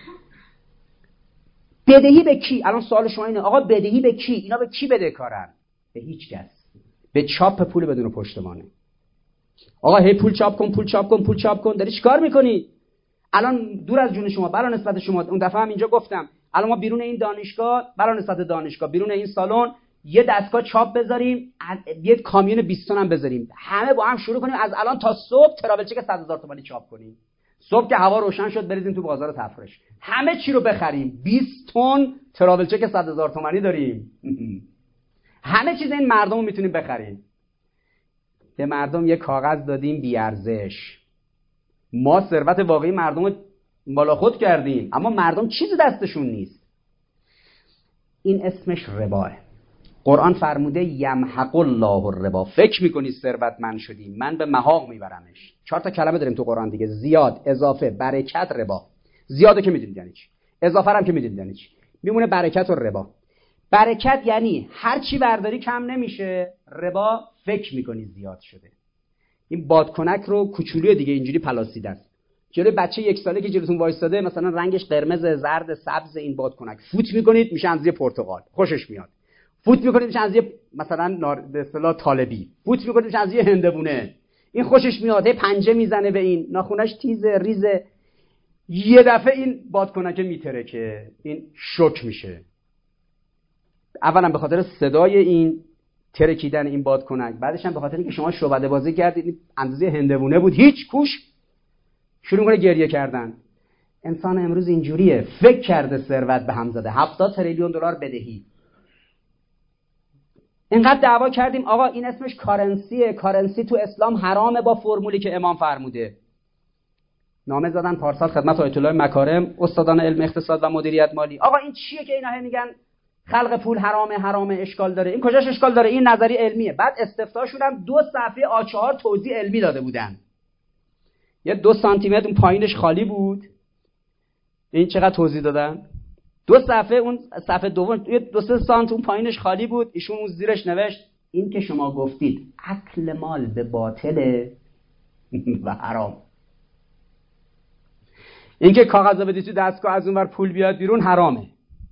بدهی به کی؟ الان سوال شما اینه آقا بدهی به کی؟ اینا به کی بدهکارن؟ به هیچ کس. به چاپ پول بدون پشتوانه. آقا هی پول چاپ کن، پول چاپ کن، پول چاپ کن. داری چیکار میکنی؟ الان دور از جون شما، برای نسبت شما، اون دفعه هم اینجا گفتم، الان ما بیرون این دانشگاه، برای نسبت دانشگاه، بیرون این سالن یه دستگاه چاپ بذاریم، یه کامیون بیست تن هم بذاریم، همه با هم شروع کنیم از الان تا صبح تراول چک صد هزار تومانی چاپ کنیم. صبح که هوا روشن شد بریزیم تو بازار تفرش، همه چی رو بخریم. بیست تن تراول چک صد هزار تومانی داریم. همه چیز این مردم رو میتونیم بخریم. به مردم یه کاغذ دادیم بی ارزش. ما ثروت واقعی مردم رو بالا خود کردیم، اما مردم چیزی دستشون نیست. این اسمش رباه. قرآن فرموده یمحق الله الربا. فکر میکنی ثروتمند شدی، من به محاق میبرمش. چهار تا کلمه داریم تو قرآن دیگه: زیاد، اضافه، برکت، ربا. زیادو که میدونید یعنی چی، اضافه هم که میدونید یعنی چی. میمونه برکت و ربا. برکت یعنی هر چی برداری کم نمیشه، ربا فکر میکنی زیاد شده. این بادکنک رو کوچولوی دیگه اینجوری پلاسیده است. جلوی بچه یک ساله که جلوتون وایساده، مثلا رنگش قرمز، زرد، سبز، این بادکنک فوت میکنید میشه اندازه پرتقال، خوشش میاد. فوت میکنید میشه اندازه مثلا نار... به اصطلاح طالبی. فوت میکنید میشه اندازه هندوونه. این خوشش میاد، پنجه میزنه به این، ناخونش تیزه، ریزه. یه دفعه این بادکنک میترکه، این شوک میشه. اولا به خاطر صدای این ترکیدن این بادکنک، بعدش هم به خاطر اینکه شما شعبده بازی کردید، اندازه هندوونه بود، هیچ کوش، شروع کنه گریه کردن. انسان امروز اینجوریه، فکر کرده ثروت به هم زده. هفتاد تریلیون دلار بدهی. اینقدر دعوا کردیم آقا این اسمش کارنسیه، کارنسی تو اسلام حرامه با فرمولی که امام فرموده. نامه زدن پارسال خدمت آیت الله مکارم، استادان علم اقتصاد و مدیریت مالی. آقا این چیه که اینا میگن خلق پول حرامه، حرامه، اشکال داره؟ این کجاش اشکال داره؟ این نظری علمیه. بعد استفتاشون هم دو صفحه آ چهار توضیح علمی داده بودن. یه دو سانتی متر اون پایینش خالی بود. این چقدر توضیح دادن؟ دو صفحه، اون صفحه دوم یه دو سه سانت اون پایینش خالی بود. ایشون اون زیرش نوشت این که شما گفتید اکل مال به باطل و حرام. این که کاغذا بدی تو دستگاه از اونور پول بیاد بیرون حرامه.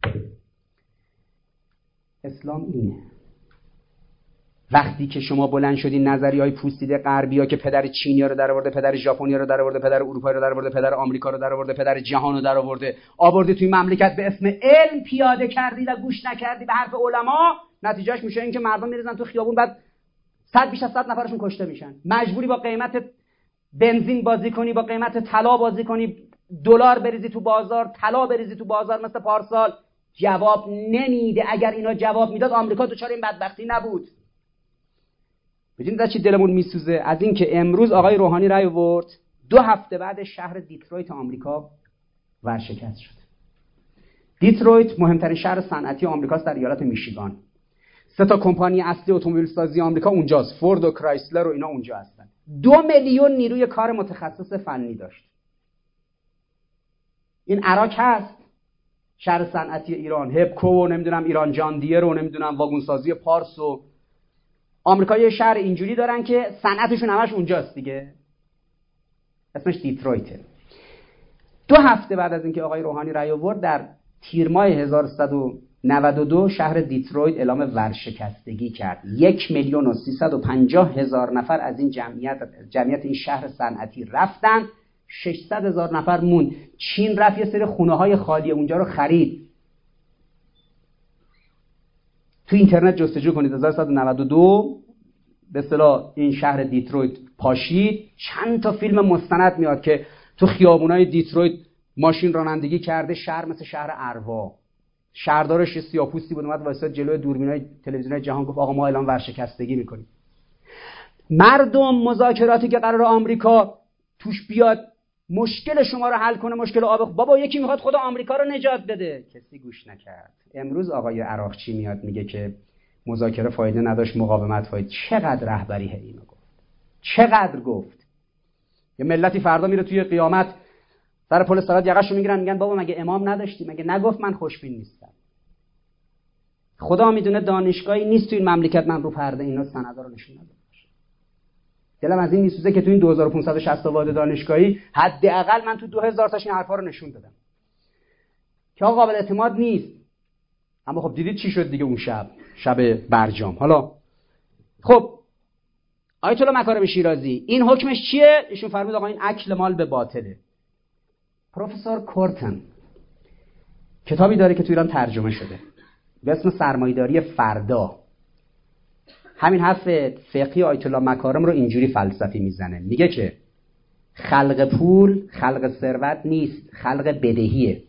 اسلام اینه. وقتی که شما بلند شدین نظریه‌های پوسیده غربی‌ها که پدر چینی‌ها رو درآورده، پدر ژاپنی‌ها رو درآورده، پدر اروپایی رو درآورده، پدر آمریکا رو درآورده، پدر جهان رو درآورده، آورده توی مملکت به اسم علم پیاده کردی و گوش نکردی به حرف علما، نتیجهش میشه این که مردم میریزن تو خیابون، بعد صد بیش از صد نفرشون کشته میشن. مجبوری با قیمت بنزین بازی کنی، با قیمت طلا بازی کنی، دلار بریزی تو بازار، طلا بریزی تو بازار مثل پارسال؟ جواب نمیده. اگر اینا جواب میداد آمریکا دچار این بدبختی نبود. ببینید از چی دلمون میسوزه؟ از این که امروز آقای روحانی رأی آورد، دو هفته بعد شهر دیترویت آمریکا ورشکست شد. دیترویت مهمترین شهر صنعتی آمریکاست در ایالت میشیگان. سه تا کمپانی اصلی اتومبیل سازی آمریکا اونجاست، فورد و کرایسلر و اینا اونجا هستن. دو میلیون نیروی کار متخصص فنی داشت. این عراق هست، شهر صنعتی ایران، هپکو و نمیدونم ایران جان دیر و نمیدونم واگن سازی پارس و آمریکا یه شهر اینجوری دارن که صنعتشون همش اونجاست دیگه. اسمش دیترویته. دو هفته بعد از اینکه آقای روحانی رأی آورد، در تیر ماه هزار و سیصد و نود و دو شهر دیترویت اعلام ورشکستگی کرد. یک میلیون و سیصد و پنجاه هزار نفر از این جمعیت جمعیت این شهر صنعتی رفتن، ششصد هزار نفر موند. چین رفت یه سری خونه های خالی اونجا رو خرید. تو اینترنت جستجو کنید هزار و سیصد و نود و دو به اصطلاح این شهر دیترویت پاشید، چند تا فیلم مستند میاد که تو خیابونای دیترویت ماشین رانندگی کرده، شهر مثل شهر اروا. شهردارش سیاه‌پوستی بود، اومد وایساد جلوی دوربینای تلویزیونای جهان گفت آقا ما اعلام ورشکستگی میکنیم. مردم مذاکراتی که قرار آمریکا توش بیاد مشکل شما رو حل کنه، مشکل آب، بابا یکی میخواد خود آمریکا رو نجات بده، کسی گوش نکرد. امروز آقای عراقچی میاد میگه که مذاکره فایده نداشت، مقاومت فایده. چقدر رهبری ہے اینو گفت، چقدر گفت. یه ملتی فردا میره توی قیامت سر پل صراط یقه‌شو میگیرن میگن بابا مگه امام نداشتی؟ مگه نگفت من خوشبین نیستم؟ خدا میدونه دانشگاهی نیست تو این مملکت من رو پرده اینا سندا رو نشون ندم. دلم از این میسوزه که تو این دو هزار و پانصد و شصت تا واد دانشگاهی حداقل من تو دو هزار تاش این حرفا رو نشون دادم که آقا قابل اعتماد نیست. اما خب دیدید چی شد دیگه اون شب، شب برجام. حالا خب آیت الله مکارم شیرازی این حکمش چیه؟ ایشون فرمود آقا این اکل مال به باطله. پروفسور کورتن کتابی داره که تو ایران ترجمه شده به اسم سرمایه‌داری فردا. همین حرف فقهی آیت الله مکارم رو اینجوری فلسفی میزنه، میگه که خلق پول خلق ثروت نیست، خلق بدهیه.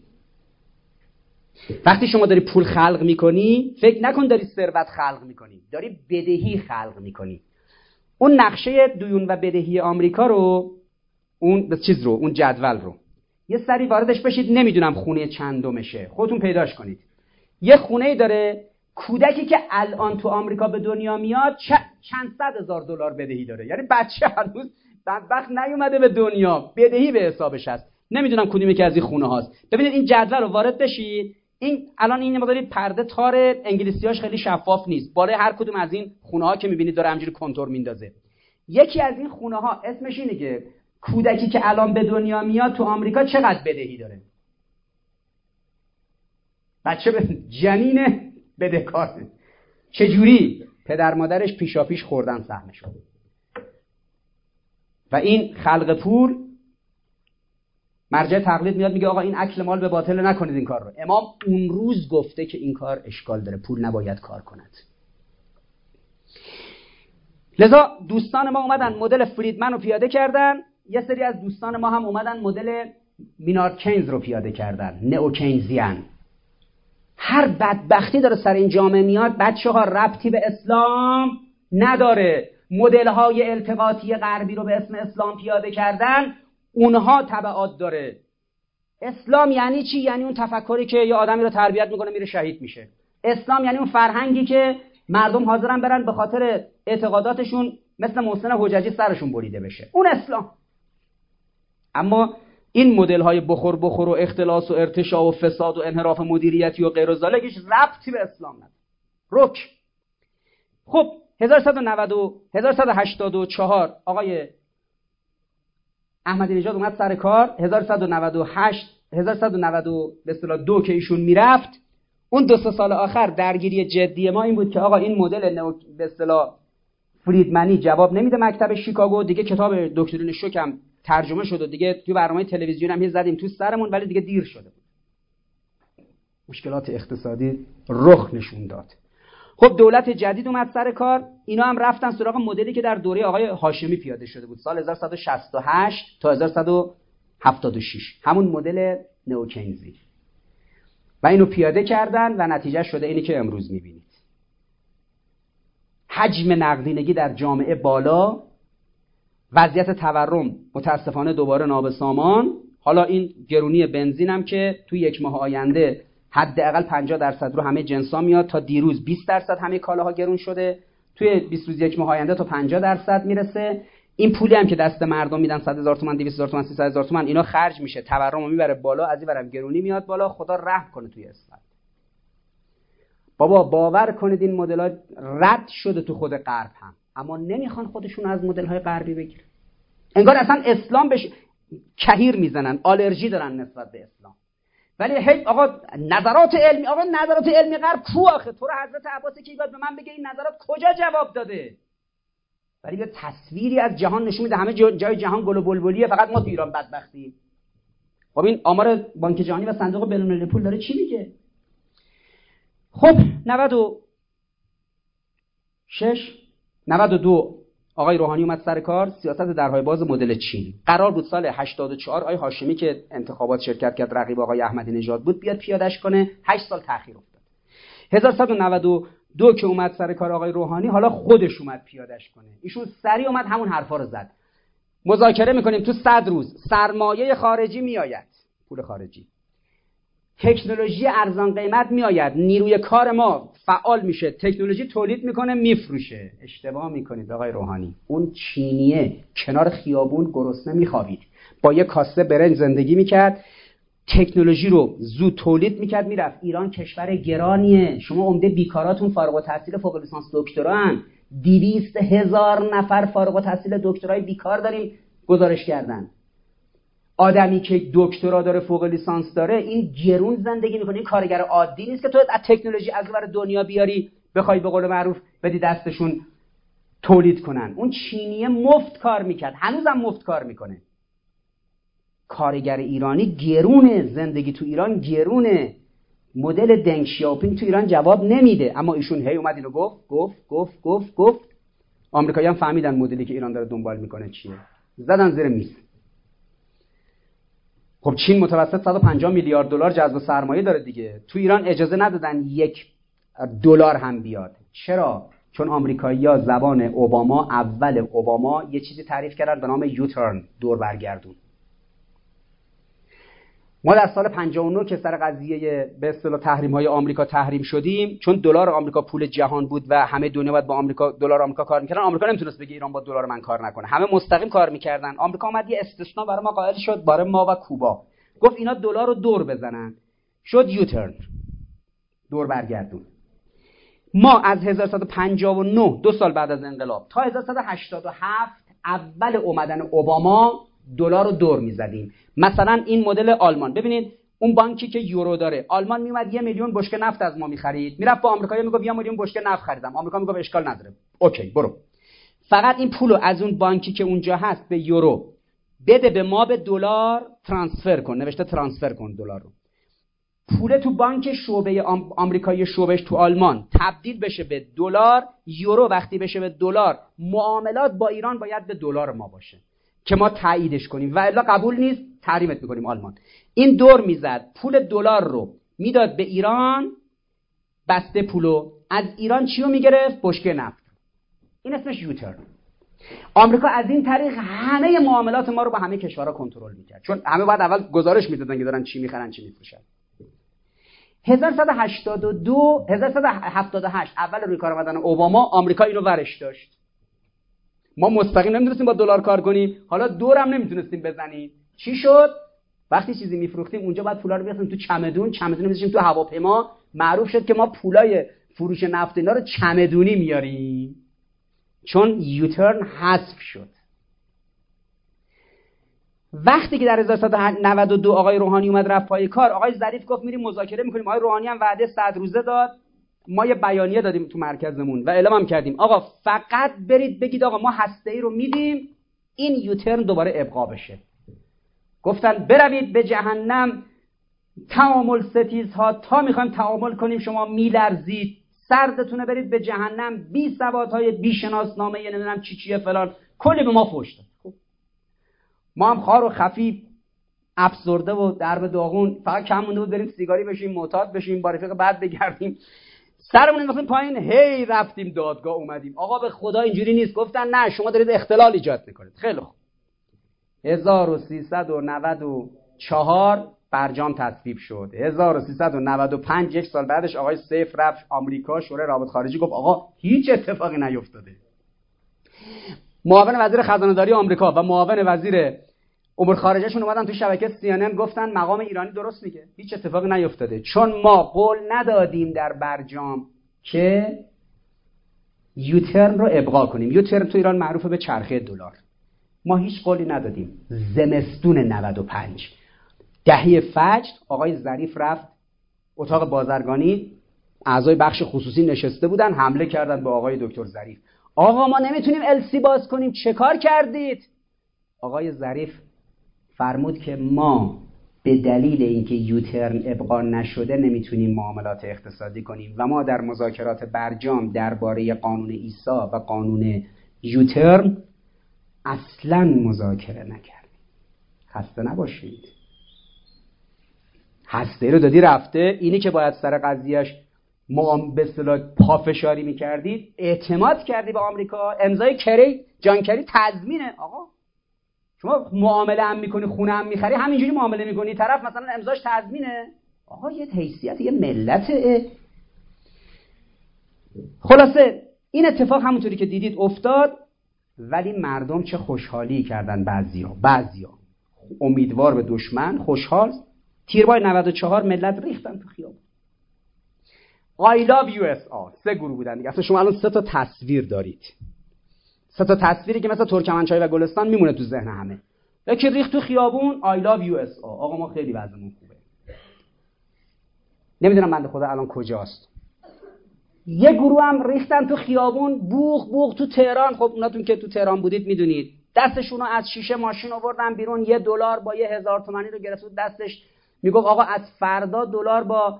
وقتی شما داری پول خلق میکنی فکر نکن داری ثروت خلق میکنی، داری بدهی خلق میکنی. اون نقشه دیون و بدهی آمریکا رو، اون به چیز رو، اون جدول رو یه سری واردش بشید، نمیدونم خونه چندمشه، خودتون پیداش کنید. یه خونه‌ای داره، کودکی که الان تو آمریکا به دنیا میاد چند صد هزار دلار بدهی داره، یعنی بچه هنوز بدبخت نیومده به دنیا، بدهی به حسابش هست. نمیدونم کدومی که از این خونه هاست. ببینید این جدول رو وارد بشید. این الان این مقداری پرده تار انگلیسیاش خیلی شفاف نیست، بالای هر کدوم از این خونه ها که میبینید داره همینجوری کنتور میندازه. یکی از این خونه ها اسمش اینه که کودکی که الان به دنیا میاد تو آمریکا چقدر بدهی داره. بچه به جنین بدهکاره. چجوری؟ پدر مادرش پیشاپیش خوردن سهمشو. و این خلق پول، مرجع تقلید میاد میگه آقا این اکل مال به باطل نکنید این کار رو. امام اون روز گفته که این کار اشکال داره، پول نباید کار کند. لذا دوستان ما اومدن مدل فریدمن رو پیاده کردن، یه سری از دوستان ما هم اومدن مدل مینارد کینز رو پیاده کردن، نئو کینزیان. هر بدبختی داره سر این جامعه میاد، بچه‌ها ربطی به اسلام نداره. مدل‌های التقاطی غربی رو به اسم اسلام پیاده کردن، اونها تبعات داره. اسلام یعنی چی؟ یعنی اون تفکری که یه آدمی رو تربیت میکنه میره شهید میشه. اسلام یعنی اون فرهنگی که مردم حاضرن برن به خاطر اعتقاداتشون مثل محسن حججی سرشون بریده بشه، اون اسلام. اما این مدل‌های بخور بخور و اختلاس و ارتشاء و فساد و انحراف مدیریتی و غیر و ذالکش ربطی به اسلام نداره. رک. خب هزار و سیصد و نود و هزار و سیصد و هشتاد و چهار آقای احمدی نژاد اومد سر کار. هزار و سیصد و نود و هشت هزار و سیصد و نود به اصطلاح دو که ایشون میرفت، اون دو سه سال آخر درگیری جدی ما این بود که آقا این مدل نو به اصطلاح فریدمنی جواب نمیده مکتب شیکاگو دیگه. کتاب دکترین شوک هم ترجمه شد و دیگه توی برنامه تلویزیون هم زدیم تو سرمون، ولی دیگه دیر شده بود. مشکلات اقتصادی رخ نشون داد. خب دولت جدید اومد سر کار، اینا هم رفتن سراغ مدلی که در دوره آقای هاشمی پیاده شده بود سال هزار و صد و شصت و هشت تا هزار و صد و هفتاد و شش، همون مدل نئوکینزی، و اینو پیاده کردن و نتیجه شده اینی که امروز میبینید. حجم نقدینگی در جامعه بالا، وضعیت تورم متاسفانه دوباره نابسامان. حالا این گرونی بنزین هم که توی یک ماه آینده حداقل پنجاه درصد رو همه جنسا میاد، تا دیروز بیست درصد همه کالاها گرون شده، توی بیست روز یک ماه آینده تا پنجاه درصد میرسه. این پولی هم که دست مردم میدن صد هزار تومان، دویست هزار تومان، سیصد هزار تومان، اینا خرج میشه، تورم رو میبره بالا، از این برم گرونی میاد بالا. خدا رحم کنه توی اسفند. بابا باور کنید این مدل‌ها رد شده تو خود غرب هم، اما نمیخوان خودشون از مدل‌های غربی بگیرن. انگار اصلا اسلام بهش کهیر میزنن، آلرژی دارن نسبت به اسلام. ولی هی آقا نظرات علمی، آقا نظرات علمی غرب کو آخه؟ تو رو حضرت عباس کی باید به من بگه این نظرات کجا جواب داده؟ ولی یه تصویری از جهان نشون میده همه جای جهان گل و بلبلیه، فقط ما تو ایران بدبختیم. خب این آمار بانک جهانی و صندوق بین‌المللی پول داره چی میگه؟ خب نود و شش نود و دو آقای روحانی اومد سر کار، سیاست درهای باز مدل چین. قرار بود سال هشتاد و چهار آقای هاشمی که انتخابات شرکت کرد، رقیب آقای احمدی نژاد بود، بیاد پیادهش کنه. هشت سال تأخیر افتاد. هزار و صد و نود و دو که اومد سر کار آقای روحانی، حالا خودش اومد پیادهش کنه. ایشون سریع اومد همون حرفا رو زد. مذاکره میکنیم تو صد روز سرمایه خارجی میآید، پول خارجی، تکنولوژی ارزان قیمت میآید، نیروی کار ما فعال میشه، تکنولوژی تولید میکنه میفروشه. اشتباه میکنید آقای روحانی. اون چینیه کنار خیابون گرسنه میخوابید، با یه کاسه برنج زندگی میکرد، تکنولوژی رو زود تولید میکرد میرفت. ایران کشور گرانیه، شما عمده بیکاراتون فارغ التحصیل فوق لیسانس دکترا ان، دویست هزار نفر فارغ التحصیل دکترای بیکار داریم گزارش کردن. آدمی که دکترا داره فوق لیسانس داره این گرون زندگی میکنه، این کارگر عادی نیست که تو از تکنولوژی از اون ور دنیا بیاری بخوای به قول معروف بدی دستشون تولید کنن. اون چینیه مفت کار میکرد، هنوزم مفت کار میکنه. کارگر ایرانی گرونه، زندگی تو ایران گرونه. مدل دنگ شیاوپینگ تو ایران جواب نمیده، اما ایشون هی اومد اینو گفت گفت گفت گفت گفت آمریکایی‌ها هم فهمیدن مدلی که ایران داره دنبال میکنه چیه، زدن زیر میز. خب چین متوسط صد و پنجاه میلیارد دلار جذب سرمایه داره دیگه. تو ایران اجازه ندادن یک دلار هم بیاد. چرا؟ چون آمریکایی‌ها زبان اوباما، اول اوباما یه چیزی تعریف کردن به نام یوترن، دور برگردون. ما در سال پنجاه و نه که سر قضیه به اصطلاح تحریم‌های آمریکا تحریم شدیم، چون دلار آمریکا پول جهان بود و همه دنیا باید با آمریکا دلار آمریکا کار می‌کردن، آمریکا نمیتونست بگه ایران با دلار من کار نکنه، همه مستقیم کار می‌کردن. آمریکا اومد یه استثناء برای ما قائل شد، برای ما و کوبا، گفت اینا دلار رو دور بزنن، شد یوترن، دور برگردون. ما از هزار و صد و پنجاه و نه، دو سال بعد از انقلاب، تا هزار و صد و هشتاد و هفت اول اومدن اوباما دلار رو دور می‌زدیم. مثلا این مدل آلمان، ببینید اون بانکی که یورو داره، آلمان میومد یه میلیون بشکه نفت از ما می‌خرید، میرفت با آمریکایی‌ها میگفت یه میلیون بشکه نفت خریدم، آمریکا میگفت اشکال نداره، اوکی برو. فقط این پولو از اون بانکی که اونجا هست به یورو بده، به ما به دلار ترانسفر کن، نوشته ترانسفر کن دلار رو. پول تو بانک شعبه آمریکایی شعبهش تو آلمان تبدیل بشه به دلار، یورو وقتی بشه به دلار، معاملات با ایران باید به دلار ما باشه که ما تاییدش کنیم و الا قبول نیست، تحریمت میکنیم آلمان. این دور میزد، پول دلار رو میداد به ایران، بسته پولو از ایران چیو میگرفت؟ بشکه نفت. این اسمش یوترن. آمریکا از این طریق همه معاملات ما رو با همه کشورها کنترل میکرد، چون همه بعد اول گزارش میدادن که دارن چی میخرن چی میفروشن. هزار و صد و هشتاد و دو هزار و صد و هفتاد و هشت اول روی کار آمدن اوباما، آمریکا اینو ورش داشت. ما مستقیم نمیتونستیم با دلار کار کنیم، حالا دورم نمیتونستیم بزنیم. چی شد؟ وقتی چیزی میفروختیم اونجا بعد پولا رو بیاریم تو چمدون، چمدون میذاشیم تو هواپیما. معروف شد که ما پولای فروش نفت اینا رو چمدونی میاریم، چون یوترن حذف شد. وقتی که در هزار و صد و نود و دو آقای روحانی اومد رفت پای کار، آقای ظریف گفت میریم مذاکره میکنیم. آقای روحانی هم وعده صد روزه داد، ما یه بیانیه دادیم تو مرکزمون و اعلام هم کردیم آقا فقط برید بگید آقا ما هسته‌ای رو میدیم، این یوترن دوباره ابقا بشه. گفتن بروید به جهنم تعامل ستیزها، تا میخوایم تعامل کنیم شما میلرزید، سردتونه برید به جهنم، بی سوادهای بی شناسنامه نمیدونم چی چیه فلان، کلی به ما فحش داد. خب ما هم خار و خفیف افسرده و درب داغون، فقط کم مونده بود بریم سیگاری بشیم، معتاد بشیم، با رفیق بعد بگردیم، سرمون انداختیم پایین، هی رفتیم دادگاه اومدیم. آقا به خدا اینجوری نیست. گفتن نه شما دارید اختلال ایجاد میکنید. خیلی خوب. هزار و سیصد و نود و چهار برجام تصویب شد. هزار و سیصد و نود و پنج یک سال بعدش آقای سیف رفت آمریکا، شورای روابط خارجی گفت آقا هیچ اتفاقی نیفتاده. معاون وزیر خزانه داری آمریکا و معاون وزیر امور خارجهشون اومدن تو شبکه سی ان ان گفتن مقام ایرانی درست میگه، هیچ اتفاقی نیفتاده، چون ما قول ندادیم در برجام که یوترن رو ابقا کنیم. یوترن تو ایران معروفه به چرخه دلار. ما هیچ قولی ندادیم. زمستون نود و پنج دهه فجر آقای ظریف رفت اتاق بازرگانی، اعضای بخش خصوصی نشسته بودن، حمله کردن به آقای دکتر ظریف. آقا ما نمیتونیم السی باز کنیم، چه کار کردید؟ آقای ظریف فرمود که ما به دلیل اینکه یوترن ابقا نشده نمیتونیم معاملات اقتصادی کنیم و ما در مذاکرات برجام درباره قانون ایسا و قانون یوترن اصلا مذاکره نکردیم. خسته نباشید. هسته رو دادی رفته، اینی که باید سر قضیهش ما به اصطلاح پافشاری میکردید، اعتماد کردی به آمریکا، امضای کری، جان کری تضمینه. آقا شما معامله هم میکنی، خونه هم میخری، همینجوری معامله میکنی، طرف مثلا امضاش تضمینه. آقا یه حیثیت یه ملته. خلاصه این اتفاق همونطوری که دیدید افتاد، ولی مردم چه خوشحالی کردن. بعضیا بعضیا امیدوار به دشمن، خوشحال. تیربای نود و چهار ملت ریختن تو خیابون. I love یو اس آر. سه گروه بودن دیگه. اصلا شما الان سه تا تصویر دارید. سه تا تصویری که مثلا ترکمنچای و گلستان میمونه تو ذهن همه. یکی ریخت تو خیابون I love یو اس آر. آقا ما خیلی وضعمون خوبه. نمیدونم بنده خدا الان کجاست. یه گروه هم ریختن تو خیابون، بوق بوق تو تهران. خب اوناتون که تو تهران بودید میدونید. دستشونو از شیشه ماشین آوردن بیرون، یه دلار با یه هزار تومانی رو گرفت دستش، میگفت آقا از فردا دلار با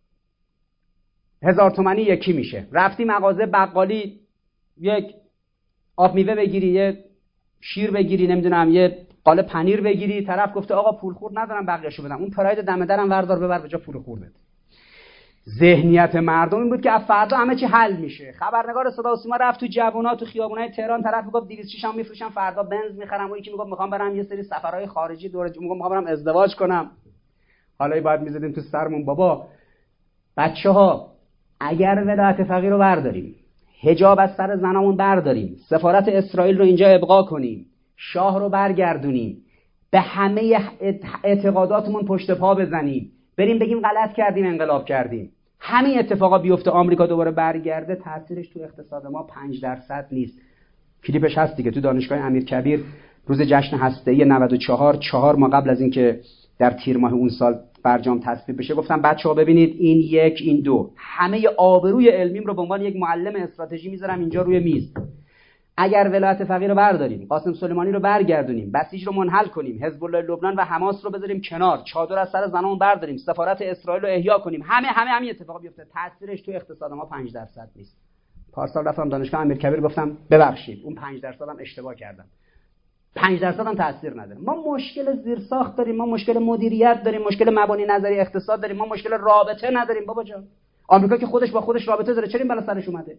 هزار تومانی یکی میشه. رفتی مغازه بقالی یک آب میوه بگیری، یه شیر بگیری، نمیدونم یه قالب پنیر بگیری، طرف گفته آقا پول خورد ندارم بقیه‌شو بدم. اون پراید دم درم وردار ببر به جا پول خوردت. ذهنیت مردم این بود که از فردا همه چی حل میشه. خبرنگار صدا و سیما رفت تو جوونا تو خیابونای تهران، طرف میگفت دویست و شش هم میفروشم فردا بنز میخرم، اون یکی میگفت میخوام برم یه سری سفرهای خارجی دوره، میگم میخوام برم ازدواج کنم. حالا باید میزدیم تو سرمون بابا بچه‌ها اگر ولایت فقیه رو برداریم، حجاب از سر زنامون برداریم، سفارت اسرائیل رو اینجا ابقا کنیم، شاه رو برگردونیم، به همه اعتقاداتمون پشت پا بزنیم، بریم بگیم غلط کردیم انقلاب کردیم، همین اتفاقا بیفته، آمریکا دوباره برگرده، تاثیرش تو اقتصاد ما پنج درصد نیست. کلیپش هست دیگه تو دانشگاه امیرکبیر روز جشن هسته‌ای نود و چهار، چهار ماه قبل از اینکه در تیر ماه اون سال برجام تصویب بشه، گفتم بچه‌ها ببینید این یک این دو، همه آبروی علمیم رو به عنوان یک معلم استراتژی میذارم اینجا روی میز. اگر ولایت فقیه رو برداریم، قاسم سلیمانی رو برگردونیم، بسیج رو منحل کنیم، حزب الله لبنان و حماس رو بذاریم کنار، چادر از سر زنامون برداریم، سفارت اسرائیل رو احیا کنیم، همه همه همین اتفاقا بیفته، تاثیرش تو اقتصاد ما پنج درصد نیست. پارسال رفتم دانشگاه امیرکبیر گفتم ببخشید اون پنج درصد هم اشتباه کردم. پنج درصد هم تاثیر نداره. ما مشکل زیرساخت داریم، ما مشکل مدیریت داریم، مشکل مبانی نظری اقتصاد داریم، ما مشکل رابطه نداریم بابا جان. آمریکا که خودش با خودش رابطه داره، چرا این بالا سرش اومده؟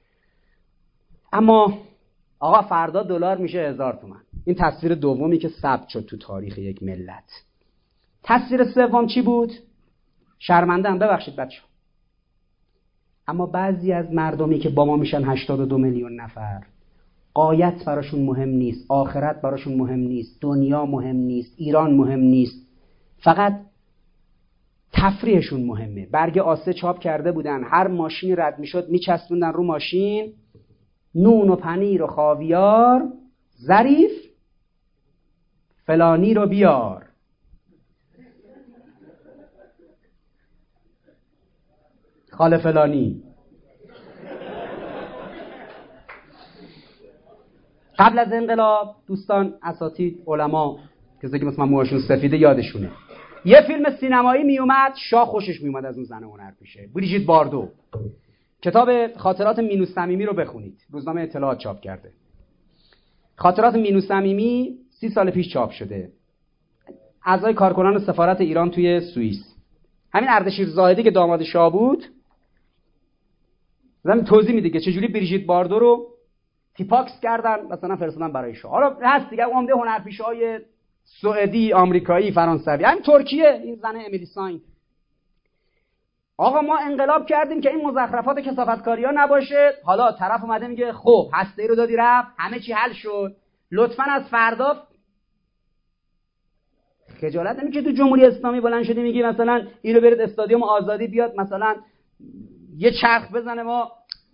اما آقا فردا دلار میشه هزار تومان. این تصویر دومی که ثبت شد تو تاریخ یک ملت. تصویر سوم چی بود؟ شرمنده ام ببخشید بچه. اما بعضی از مردمی که با ما میشن هشتاد و دو میلیون نفر، غایت براشون مهم نیست، آخرت براشون مهم نیست، دنیا مهم نیست، ایران مهم نیست، فقط تفریحشون مهمه. برگ آسه چاپ کرده بودن، هر ماشینی رد میشد میچسبوندن رو ماشین نون و پنیر و خاویار، ظریف فلانی رو بیار. خاله فلانی. قبل از انقلاب دوستان اساتید علما کسی که مثلا موهاشون سفیده یادشونه، یه فیلم سینمایی می اومد، شاه خوشش می اومد از اون زنه هنرپیشه بریژیت باردو. کتاب خاطرات مینو صمیمی رو بخونید، روزنامه اطلاعات چاپ کرده. خاطرات مینو صمیمی سی سال پیش چاپ شده، اعضای کارکنان سفارت ایران توی سوئیس. همین اردشیر زاهدی که داماد شاه بود زمین توضیح میده که چجوری بریژیت باردو رو تیپاکس کردن مثلا فرستادن برای شاه. حالا هست دیگه عمده هنرپیشه‌های سوئدی، آمریکایی، فرانسوی، همین ترکیه، این زن امیلی ساین. آقا ما انقلاب کردیم که این مزخرفات کثافتکاری‌ها نباشه. حالا طرف اومده میگه خب هسته‌ای رو دادی رفت، همه چی حل شد، لطفاً از فردا خجالت نمیکشه تو جمهوری اسلامی بلند شدی میگی مثلا اینو برید استادیوم آزادی بیاد مثلا یه چرخ بزنه. ما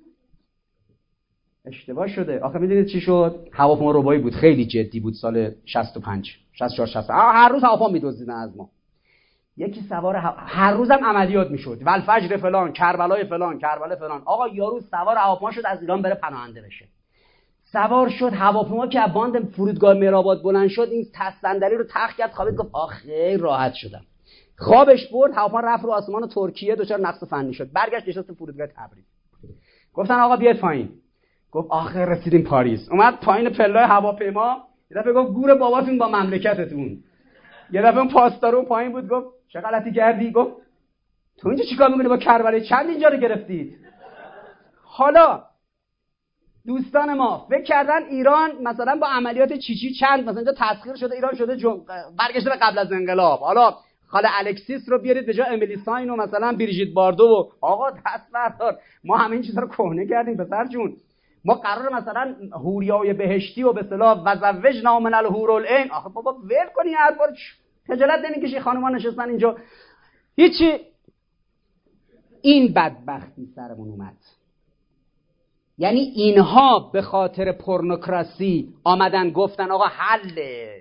اشتباه شده. آخه میدونید چی شد؟ هواپیما ربایی بود، خیلی جدی بود، سال شصت و پنج شصت و چهار شصت. هر روز هواپیما میدزدیدن از ما. یکی سوار ه... هر روزم عملیات میشد، ولفجر فلان، کربلای فلان، کربلا فلان. آقا یارو سوار هواپیما شد از ایران بره پناهنده بشه. سوار شد هواپیما که از باند فرودگاه مهرآباد بلند شد، این تست صندلی رو تخت کرد، خوابید، گفت آخه راحت شدم. خوابش برد، هواپیما رفت رو آسمان ترکیه، دچار نقص فنی شد، برگشت نشست فرودگاه تبریز. گفتن آقا بیاید پایین. گفت آخه رسیدیم پاریس. اومد پایین پله‌های هواپیما، یه دفعه گفت گور باباتون با مملکتتون. یه دفعه اون پاسدارو پایین بود، گفت چه غلطی کردی؟ گفت تو اینجا چیکار می‌کنی با کربلای؟ چند اینجا رو گرفتید؟ حالا دوستان ما فکر کردن ایران مثلا با عملیات چیچی چند مثلا اینجا تسخیر شده، ایران شده جم... برگشته به قبل از انقلاب. حالا خاله الکسیس رو بیارید به جای امیلی ساین و مثلا بریژیت باردو و آقا دست بردار. ما همه این چیزا رو کهنه کردیم پسر جون. ما قرار مثلا حوریای بهشتی و به اصطلاح وزوجنا من الحور العین. آخه بابا ول کنی حرفا، خجالت نمیکشی؟ خانوما نشستن اینجا هیچی. این بدبختی سرمون اومد. یعنی اینها به خاطر پورنوکراسی آمدن گفتن آقا حله.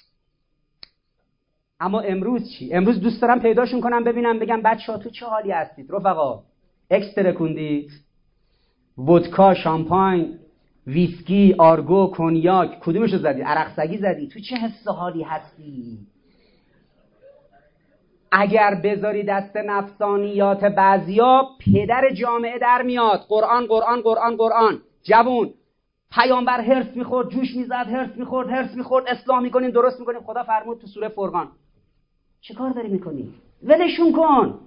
اما امروز چی؟ امروز دوست دارم پیداشون کنم ببینم، بگم بچه‌ها تو چه حالی هستید؟ رفقا اکس ترکوندید؟ ودکا، شامپاین، ویسکی، آرگو، کنیاک، کدومشو زدی؟ عرق سگی زدی؟ تو چه حس و حالی هستی؟ اگر بذاری دست نفسانیات بعضیا، پدر جامعه در میاد. قرآن قرآن قرآن قرآن. جوون پیامبر هرس میخورد، جوش میزد، هرس میخورد، هرس میخورد، اصلاح میکنیم، درست میکنیم. خدا فرمود تو سوره فرقان چه کار داری میکنی؟ ولشون کن.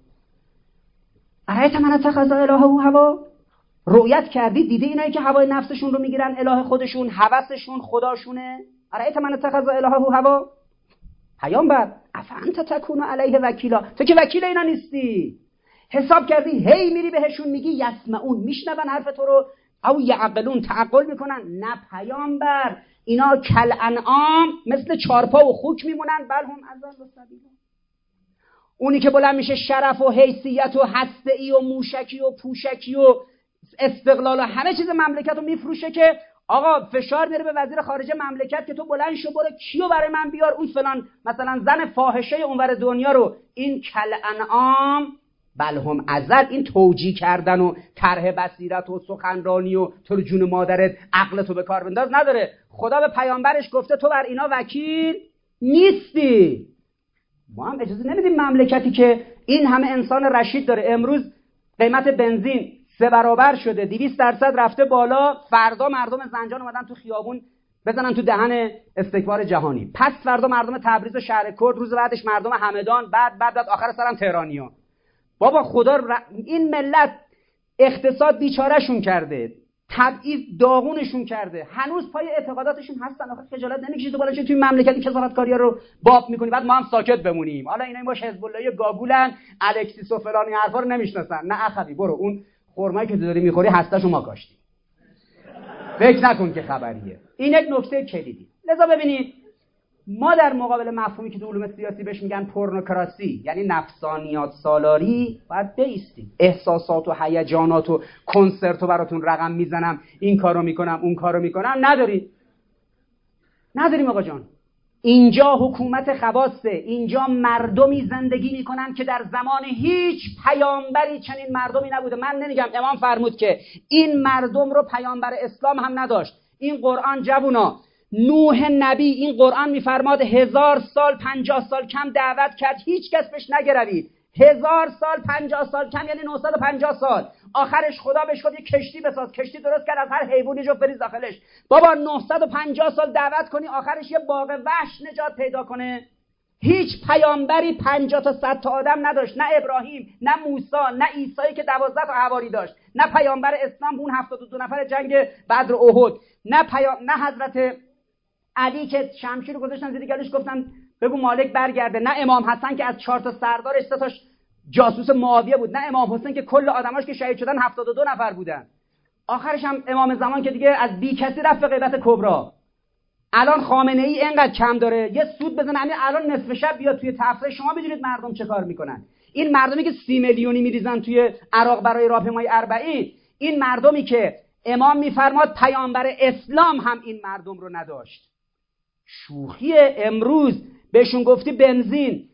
ارایت من اتخذ الهه هوا. رؤیت کردی؟ دیدی اینایی که هوای نفسشون رو میگیرن اله خودشون، هوسشون خداشونه؟ ارایت من اتخذ الهه هوا. پیامبر افانت تکون علیه وکیلا، تو که وکیل اینا نیستی. حساب کردی هی میری بهشون میگی یسمعون، میشنون حرف تو رو، او یعقلون، تعقل میکنن؟ نه پیامبر، اینا کل انعام، مثل چارپا و خوک میمونن، بل هم اضل السبیل. اونی که بلند میشه شرف و حیثیت و هسته‌ای و موشکی و پوشکی و استقلال و همه چیز مملکت رو میفروشه که آقا فشار میاره به وزیر خارجه مملکت که تو بلند شو برو کیو برای من بیار، اون فلان مثلا زن فاحشه اونور دنیا رو. این کل انعام بل هم ازل. این توجیه کردن و طرح بصیرت و سخنرانی و تو رو جون مادرت عقلتو به کار بنداز نداره. خدا به پیامبرش گفته تو بر اینا وکیل نیستی. ما هم اجازه نمیدیم مملکتی که این همه انسان رشید داره. امروز قیمت بنزین سه برابر شده، دویست درصد رفته بالا. فردا مردم زنجان اومدن تو خیابون بزنن تو دهن استکبار جهانی. پس فردا مردم تبریز و شهر کرد، روز بعدش مردم همدان، بعد بعد بعد آخر سرم تهرانیان. بابا خدا ر... این ملت اقتصاد بیچارهشون کرده، تبعیض داغونشون کرده، هنوز پای اعتقاداتشون هستن. آخه خجالت نمیکشید تو بالاش توی مملکتی کثافتکاری‌ها رو باب میکنی بعد ما هم ساکت بمونیم؟ حالا اینا باش حزب اللهی گاگولن، الکسیس و فلان این حرفا رو نمیشناسن. نه اخوی برو اون خرمایی که داری میخوری هسته‌شو ما کاشتیم، فکر نکن که خبریه. این یک نکته کلیدی. لذا ببینید ما در مقابل مفهومی که تو علوم سیاسی بهش میگن پورنوکراسی، یعنی نفسانیات سالاری، باید بایستیم. احساسات و هیجانات و کنسرتو براتون رقم میزنم، این کارو میکنم اون کارو میکنم، نداری نداریم آقا جان. اینجا حکومت خواصه، اینجا مردمی زندگی میکنن که در زمان هیچ پیامبری چنین مردمی نبوده. من نمیگم، امام فرمود که این مردم رو پیامبر اسلام هم نداشت. این قرآن جوونا، نوح نبی این قرآن میفرماد هزار سال پنجاه سال کم دعوت کرد، هیچ کس بهش نگروید. هزار سال پنجاه سال کم یعنی نهصد و پنجاه سال. آخرش خدا بهش گفت یه کشتی بساز، کشتی درست کرد، از هر حیوانی جو بریز داخلش. بابا نهصد و پنجاه سال دعوت کنی آخرش یه باغ وحش نجات پیدا کنه؟ هیچ پیامبری پنجاه تا صد تا آدم نداشت، نه ابراهیم، نه موسی، نه عیسی که دوازده تا حواری داشت، نه پیامبر اسلام اون هفتاد و دو نفر جنگ بدر و احد، نه پیام نه حضرت علی که شمشیر رو گذاشتن زیر گلوش گفتن بگو مالک برگرده، نه امام حسن که از چهار تا سردارش سه تاش جاسوس معاویه بود، نه امام حسین که کل آدماش که شهید شدن هفتاد و دو نفر بودن. آخرش هم امام زمان که دیگه از بی کسی رفت به غیبت کبرا. الان خامنه ای اینقدر کم داره یه سود بزنه همین الان نصف شب بیاد توی تفسیر، شما بدونید مردم چه کار میکنن. این مردمی که سی میلیونی میریزن توی عراق برای راهپیمایی اربعین، این مردمی که امام میفرماد پیامبر اسلام هم این مردم رو نداشت. شوخی امروز بهشون گفتی بنزین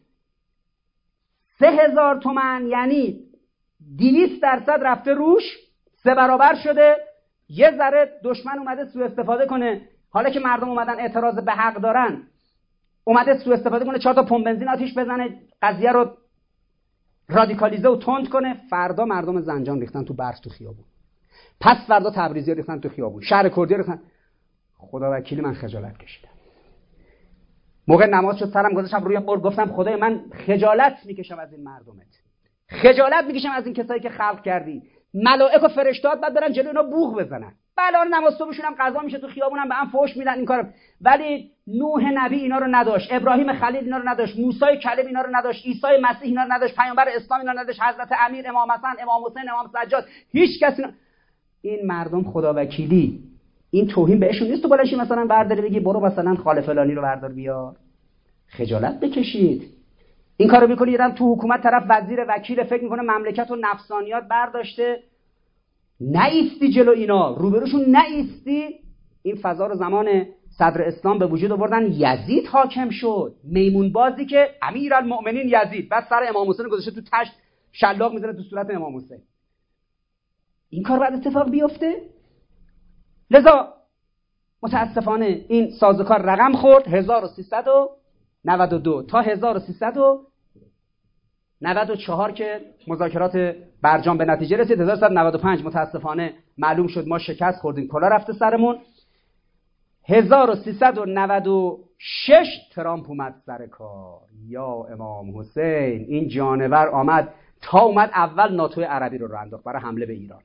سه هزار تومن یعنی دویست درصد رفته روش، سه برابر شده. یه ذره دشمن اومده سوء استفاده کنه، حالا که مردم اومدن اعتراض به حق دارن، اومده سوء استفاده کنه، چهار تا پمپ بنزین آتیش بزنه، قضیه رو رادیکالیزه و تند کنه. فردا مردم زنجان ریختن تو برف تو خیابون، پس فردا تبریزی ریختن تو خیابون، شهر کردی ریختن. خدا وکیلی من خجالت کشیدم. موقع نماز شد سرم گذاشتم روی قبر، گفتم خدای من خجالت میکشم از این مردمت، خجالت میکشم از این کسایی که خلق کردی. ملائک و فرشتات بعد برن جلوی اینا بوق بزنن. بله نماز صبحشون هم قضا میشه تو خیابونم به هم فحش میدن این کارو. ولی نوح نبی اینا رو نداشت، ابراهیم خلیل اینا رو نداشت، موسی کلیم اینا رو نداشت، عیسی مسیح اینا رو نداشت، پیامبر اسلام اینا رو نداشت، حضرت امیر، امام حسن، امام حسین، امام سجاد، هیچ کسی اینا... این مردم خدا وکیلی این توهین بهشون نیست تو بلنشی مثلا برداری بگی برو مثلا خال فلانی رو بردار بیار. خجالت بکشید. این کارو میکنی یادم تو حکومت طرف وزیر وکیل فکر میکنه مملکت و نفسانیات برداشته. نایستی جلو اینا، روبروشون نایستی. این فضا رو زمان صدر اسلام به وجود آوردن، یزید حاکم شد، میمون بازی که امیرالمؤمنین یزید، بعد سر امام حسین گذاشته تو تشت شلاق میزنه تو صورت امام حسین. این کار بعد اتفاق بیفته؟ لذا متاسفانه این سازوکار رقم خورد. هزار و سیصد و نود و دو تا هزار و سیصد و نود و چهار که مذاکرات برجام به نتیجه رسید. هزار و سیصد و نود و پنج متاسفانه معلوم شد ما شکست خوردیم، کلا رفته سرمون. هزار و سیصد و نود و شش ترامپ اومد سر کار. یا امام حسین، این جانور آمد تا اومد اول ناتو عربی رو راه انداخت برای حمله به ایران.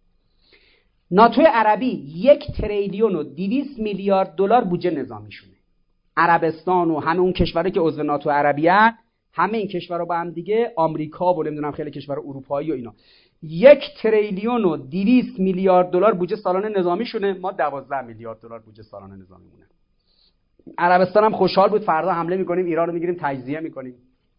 ناتو عربی یک تریلیون و دویست میلیارد دلار بودجه نظامیشونه. عربستان و همه اون کشورها که عضو ناتو عربی هستند، همه این کشورها با هم دیگه، آمریکا و نمیدونم خیلی کشور اروپایی و اینا، یک تریلیون و دویست میلیارد دلار بودجه سالانه نظامیشونه. ما دوازده میلیارد دلار بودجه سالانه نظامیمونه. عربستان هم خوشحال بود فردا حمله میکنیم ایران رو میگیریم تجزیه میکنیم.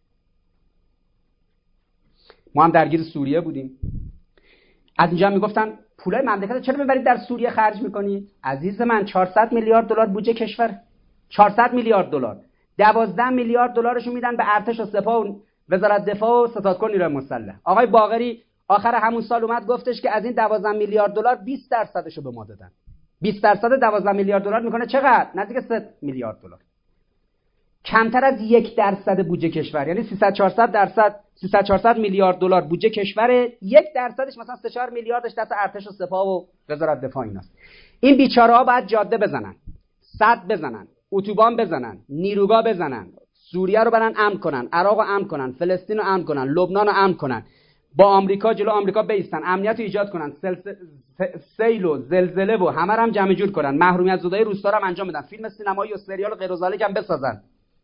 ما هم درگیر سوریه بودیم. از اینجا میگفتن پولای مملکت چرا میبرید در سوریه خرج میکنید؟ عزیز من چهارصد میلیارد دلار بودجه کشور، چهارصد میلیارد دلار، دوازده میلیارد دلارشو میدن به ارتش و سپاه و وزارت دفاع و ستادکن نیروی مسلح. آقای باقری آخر همون سال اومد گفتش که از این دوازده میلیارد دلار بیست درصدشو به ما دادن. بیست درصد دوازده میلیارد دلار میکنه چقدر؟ نزدیک سه میلیارد دلار. کمتر از یک درصد بودجه کشور، یعنی سیصد چهارصد درصد سیصد چهارصد میلیارد دلار بودجه کشور، یک درصدش مثلا سه چهار میلیاردش دست ارتش و سپاه و وزارت دفاع ایناست. این بیچاره‌ها باید جاده بزنن، سد بزنن، اتوبان بزنن، نیروگاه بزنن، سوریه رو برن امن کنن، عراق رو امن کنن، فلسطین رو امن کنن، لبنان رو امن کنن، با آمریکا جلو آمریکا بیستن، امنیت رو ایجاد کنن، سیل و زلزله و همه رو هم جمع جور کنن، محرومیت زدای روستا رو هم انجام بدن، فیلم سینمایی و سریال و غیر و ذالک هم بسازن،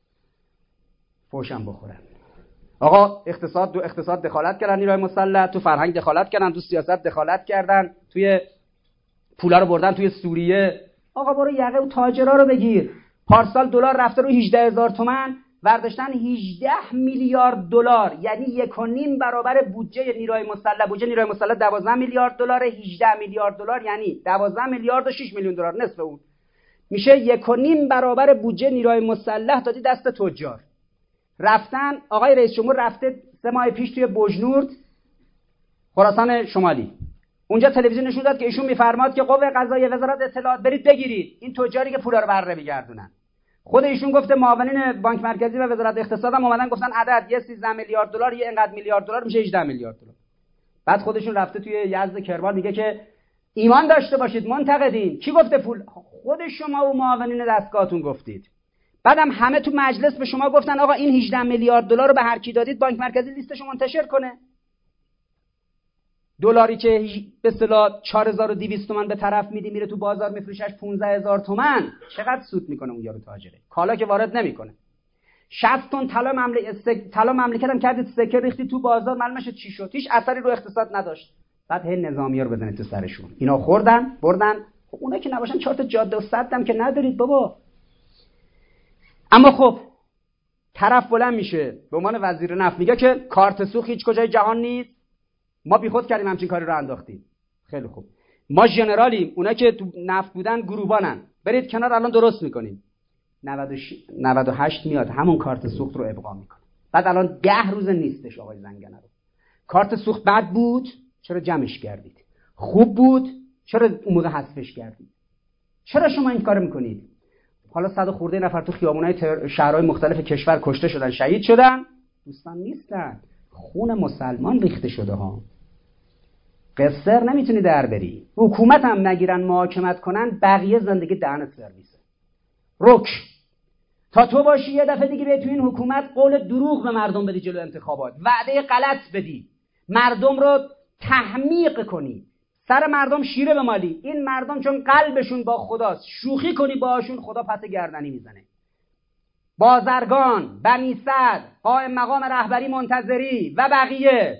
فوشم بخورن. آقا اقتصاد دو اقتصاد دخالت کردن، نیروی مسلح تو فرهنگ دخالت کردن، تو سیاست دخالت کردن، توی پولا رو بردن توی سوریه. آقا برو یقه و تاجرا رو بگیر. پارسال دلار رفته رو هجده هزار تومان، برداشتن هجده میلیارد دلار، یعنی یک و نیم برابر بودجه نیروی مسلح. بودجه نیروی مسلح دوازده میلیارد دلار، هجده میلیارد دلار یعنی دوازده میلیارد و شش میلیون دلار، نصف اون میشه یک و نیم برابر بودجه نیروی مسلح دادی دست تجار. رفتن آقای رئیس جمهور رفته سه ماه پیش توی بوجنورد خراسان شمالی، اونجا تلویزیون نشون داد که ایشون میفرماد که قوه قضاییه وزارت اطلاعات برید بگیرید این تجاری که پولا رو بره میگردونن. خود ایشون گفته معاونین بانک مرکزی و وزارت اقتصاد هم اومدن گفتن عدد یه سیزده میلیارد دلار، یه اینقدر میلیارد دلار میشه هجده میلیارد دلار. بعد خودشون رفته توی یزد کرمان میگه که ایمان داشته باشید منتقدین. کی گفته پول؟ خود شما و معاونین دستگاهتون گفتید. بعدم همه تو مجلس به شما گفتن آقا این هجده میلیارد دلار رو به هر کی دادید بانک مرکزی لیستشو منتشر کنه. دلاری که به اصطلاح چهار هزار و دویست تومان به طرف میدی میره تو بازار میفروشش پانزده هزار تومان، چقدر سود میکنه اون یارو تاجره؟ کالا که وارد نمیکنه. شصت تن طلا مملکت طلا مملکت هم کردید سکه ریختی تو بازار، معلومه چی شد؟ هیچ اثری رو اقتصاد نداشت. بعد هی نظامی‌ها رو بزنید تو سرشون. اینا خوردن بردن. خب اونا که نباشن چهار تا جاده و سد هم که ندارید بابا. اما خب طرف بلند میشه به عنوان وزیر نفت میگه که کارت سوخت هیچ کجای جهان نیست، ما بیخود کردیم همچین کاری رو انداختیم. خیلی خوب، ما ژنرالیم، اونا که تو نفت بودن گروبانن، برید کنار الان درست میکنیم. نود و هشت میاد همون کارت سوخت رو ابقا میکنه. بعد الان ده روز نیستش آقای زنگنه رو. کارت سوخت بد بود چرا جمعش کردید؟ خوب بود چرا اون موقع حذفش کردید؟ چرا شما این کارو میکنید؟ حالا صد و خورده نفر تو خیابونای تر... شهرهای مختلف کشور کشته شدن، شهید شدن، دوستان نیستن، خون مسلمان ریخته شده ها. قصر نمیتونی در بری. حکومت هم نگیرن محاکمت کنن، بقیه زندگی دهن سرویسه. رک تا تو باشی یه دفعه دیگه به تو این حکومت قول دروغ به مردم بدی جلو انتخابات، وعده غلط بدی، مردم رو تحمیق کنی، سر مردم شیره بمالی. این مردم چون قلبشون با خداست، شوخی کنی باهاشون خدا پس گردنی میزنه. بازرگان، بنی صدر، قائم مقام رهبری منتظری و بقیه،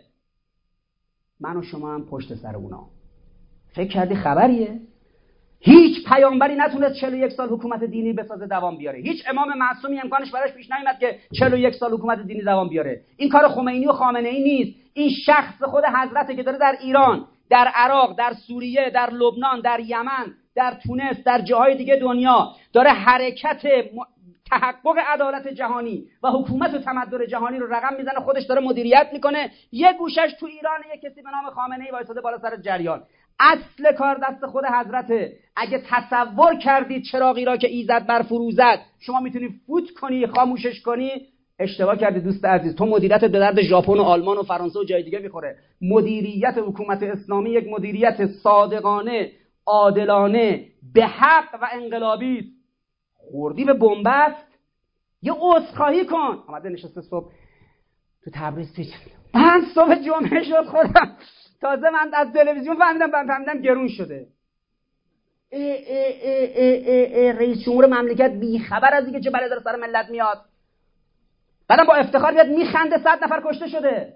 من و شما هم پشت سر اونا. فکر کردی خبریه؟ هیچ پیامبری نتونست چهل و یک سال حکومت دینی بسازه دوام بیاره. هیچ امام معصومی امکانش براش پیش نیامد که چهل و یک سال حکومت دینی دوام بیاره. این کار خمینی و خامنه ای نیست. این شخص خود حضرته که داره در ایران، در عراق، در سوریه، در لبنان، در یمن، در تونس، در جاهای دیگه دنیا داره حرکت تحقق عدالت جهانی و حکومت و تمدن جهانی رو رقم میزنه. خودش داره مدیریت میکنه. یه گوشش تو ایران یه کسی به نام خامنه ای وایساده بالا سر جریان. اصل کار دست خود حضرته. اگه تصور کردید چراغی را که ایزد برفروزد شما میتونی فوت کنی، خاموشش کنی، اشتباه کردی دوست عزیز. تو مدیریت به درد ژاپن و آلمان و فرانسه و جای دیگه میخوره. مدیریت حکومت اسلامی یک مدیریت صادقانه، عادلانه، به حق و انقلابی است. خوردی به بنبست، یه عذرخواهی کن. اومده نشسته صبح تو تبریز پیش من صبح جمعه شد خودم تازه من از تلویزیون فهمیدم من فهمیدم گرون شده. ای ای ای ای ای ای رئیس جمهور مملکت بی خبر از اینکه چه بلایی داره سر ملت میاد، بعدم با افتخار میاد میخنده صد نفر کشته شده.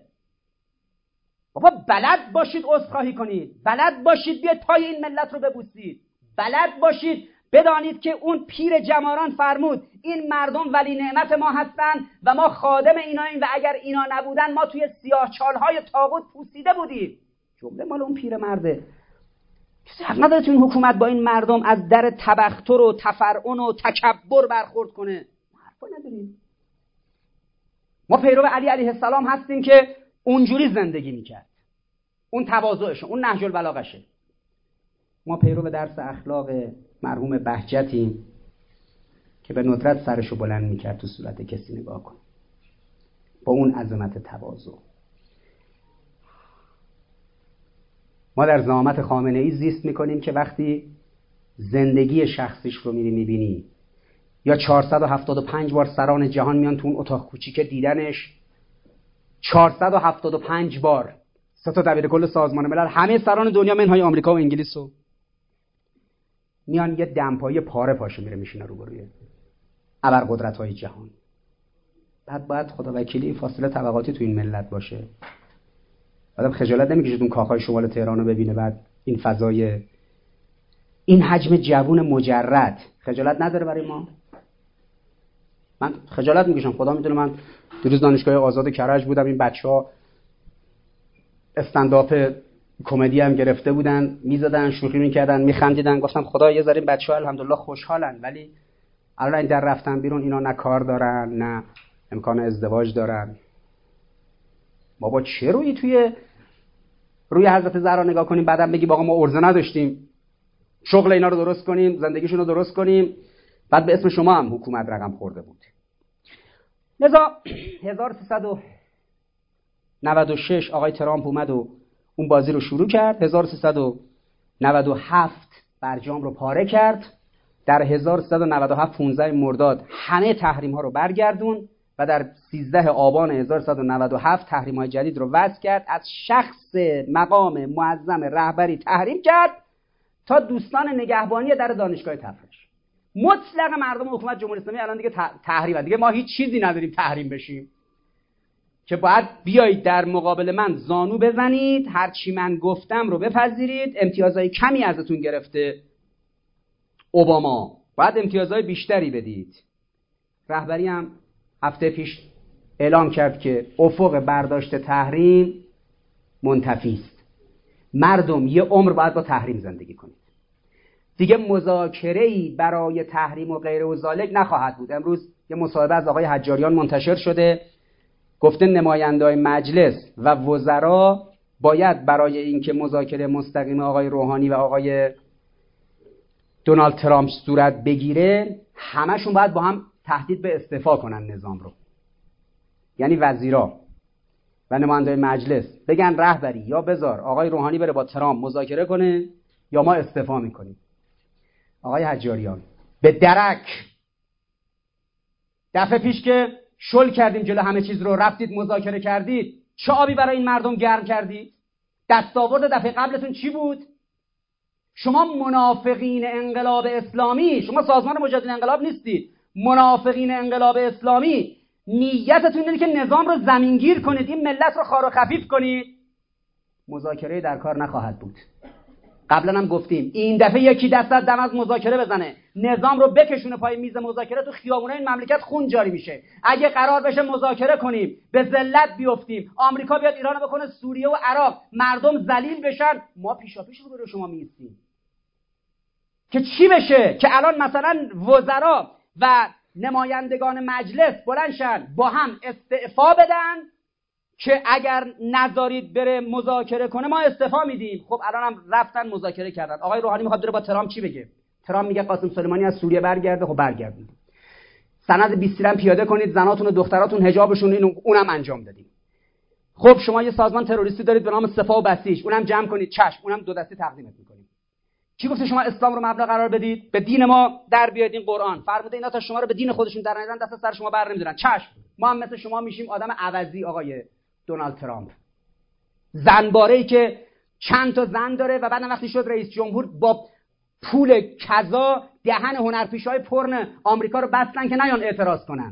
بابا بلد باشید عذرخواهی کنید، بلد باشید بیاید پای این ملت رو ببوسید، بلد باشید بدانید که اون پیر جماران فرمود این مردم ولی نعمت ما هستند و ما خادم ایناییم و اگر اینا نبودن ما توی سیاه چالهای طاغوت پوسیده بودیم. جمله مال اون پیر مرده. کسی حق نداره تو این حکومت با این مردم از در تبختر و تفرعن و تکبر برخورد کنه. ما حرفا نداریم. ما پیرو علی علیه السلام هستیم که اونجوری زندگی میکرد، اون تواضعشه، اون نهج البلاغشه. ما پیرو درس اخلاق مرحوم بهجتیم که به ندرت سرشو بلند میکرد تو صورت کسی نگاه کن، با اون عظمت تواضع. ما در زعامت خامنه ای زیست میکنیم که وقتی زندگی شخصیش رو میری میبینی یا چهارصد و هفتاد و پنج بار سران جهان میان تو اون اتاق کوچیک دیدنش، چهارصد و هفتاد و پنج بار سه تا دبیر کل سازمان ملل، همه سران دنیا منهای آمریکا و انگلیس رو میان یه دمپایی پاره پاشه میره میشینه روبروی ابرقدرت‌های جهان. بعد باید خدا وکیلی فاصله طبقاتی تو این ملت باشه. آدم خجالت نمیکشه اون کاخهای شمال تهران رو ببینه، بعد این فضای این حجم جوون مجرد خجالت نداره برای ما؟ من خجالت میکشم، خدا میدونه. من دیروز دانشگاه آزاد کرج بودم، این بچه‌ها استندآپ کمدی هم گرفته بودن، میزدن، شوخی میکردن، میخندیدن. گفتم خدا یه ذره این بچه‌ها الحمدلله خوشحالن، ولی الان این در رفتن بیرون اینا نه کار دارن نه امکان ازدواج دارن. بابا چه روی توی روی حضرت زهرا نگاه کنیم بعدم بگی آقا ما ارزه نداشتیم شغل اینا رو درست کنیم، زندگیشون رو درست کنیم، بعد به اسم شما هم حکومت رقم خورده بود. لذا هزار و سیصد و نود و شش آقای ترامپ اومد و اون بازی رو شروع کرد. هزار و سیصد و نود و هفت برجام رو پاره کرد. در هزار و سیصد و نود و هفت پانزده مرداد همه تحریم ها رو برگردون و در سیزده آبان هزار و سیصد و نود و هفت تحریم های جدید رو وضع کرد. از شخص مقام معظم رهبری تحریم کرد تا دوستان نگهبانی در دانشگاه تفرش. مطلق مردم حکومت جمهوری اسلامی الان دیگه تحریم، دیگه ما هیچ چیزی نداریم تحریم بشیم که باید بیایید در مقابل من زانو بزنید، هر چی من گفتم رو بپذیرید. امتیازهای کمی ازتون گرفته اوباما، باید امتیازهای بیشتری بدید. رهبری هم هفته پیش اعلام کرد که افق برداشت تحریم منتفی است. مردم یه عمر باید با تحریم زندگی کنید. دیگه مذاکره‌ای برای تحریم و غیر و ذالک نخواهد بود. امروز یه مصاحبه از آقای حجاریان منتشر شده، گفته نماینده‌های مجلس و وزرا باید برای اینکه مذاکره مستقیم آقای روحانی و آقای دونالد ترامپ صورت بگیره همشون باید با هم تهدید به استعفا کنن نظام رو. یعنی وزیرا و نماینده‌های مجلس بگن رهبری یا بذار آقای روحانی بره با ترامپ مذاکره کنه یا ما استعفا میکنیم. آقای حجاریان به درک دفعه پیش که شل کردیم جلو همه چیز رو، رفتید مذاکره کردید، چه آبی برای این مردم گرم کردید؟ دستاورد دفعه قبلتون چی بود؟ شما منافقین انقلاب اسلامی، شما سازمان مجاهدین انقلاب نیستید، منافقین انقلاب اسلامی نیتتون اینه که نظام رو زمینگیر کنید، این ملت رو خار و خفیف کنید. مذاکره در کار نخواهد بود. قبلا هم گفتیم این دفعه یکی دست از دم از مذاکره بزنه، نظام رو بکشونه پای میز مذاکره، تو خیابونای این مملکت خون جاری میشه. اگه قرار بشه مذاکره کنیم به ذلت بیافتیم، آمریکا بیاد ایران رو بکنه سوریه و عراق، مردم ذلیل بشن، ما پیشاپیش رو برای شما میستیم که چی بشه؟ که الان مثلا وزرا و نمایندگان مجلس بلندشن با هم استعفا بدن که اگر نذارید بره مذاکره کنه ما استعفا میدیم. خب الان هم رفتن مذاکره کردن. آقای روحانی میخواد بره با ترامپ چی بگه؟ ترامپ میگه قاسم سلیمانی از سوریه برگرده. خب برگردید، سند بیست هم پیاده کنید، زناتون و دختراتون حجابشون، اینو اونم انجام دادیم. خب شما یه سازمان تروریستی دارید به نام سپاه و بسیج، اونم جمع کنید، چشم، اونم دو دستی تقدیمت میکنیم. کی گفته شما اسلام رو مبدا قرار بدید؟ به دین ما در بیاید، این قرآن فرموده اینا تا شما رو به دین خودشون در نیارن دست سر شما بر نمیدارن. چشم، ما هم مثل شما میشیم آدم عوضی. آقای دونالد ترامپ زنباره‌ای که چند تا زن داره و بعد وقتی شد رئیس جمهور با پول کذا دهن هنرپیشه‌های پرن آمریکا رو بستن که نیان اعتراض کنن.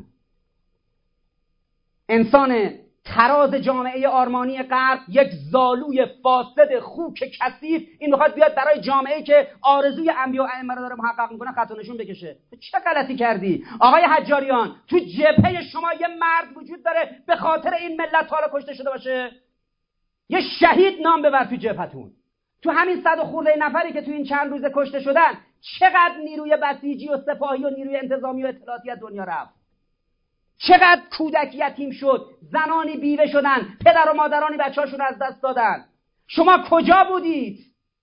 انسان تراز جامعه آرمانی غرب، یک زالوی فاسد خوک کثیف، این میخواد بیاد برای جامعه‌ای که آرزوی انبیا و ائمه رو داره محقق میکنه خط و نشون بکشه. چه غلطی کردی آقای حجاریان؟ تو جبهه شما یه مرد وجود داره به خاطر این ملت حالا کشته شده باشه؟ یه شهید نام ببر تو جبهتون. تو همین صد و خورده نفری که تو این چند روز کشته شدن چقدر نیروی بسیجی و سپاهی و نیروی انتظامی و اطلاعاتی از دنیا رفت؟ چقدر کودک یتیم شد، زنانی بیوه شدن، پدر و مادرانی بچه‌هاشون از دست دادن. شما کجا بودید؟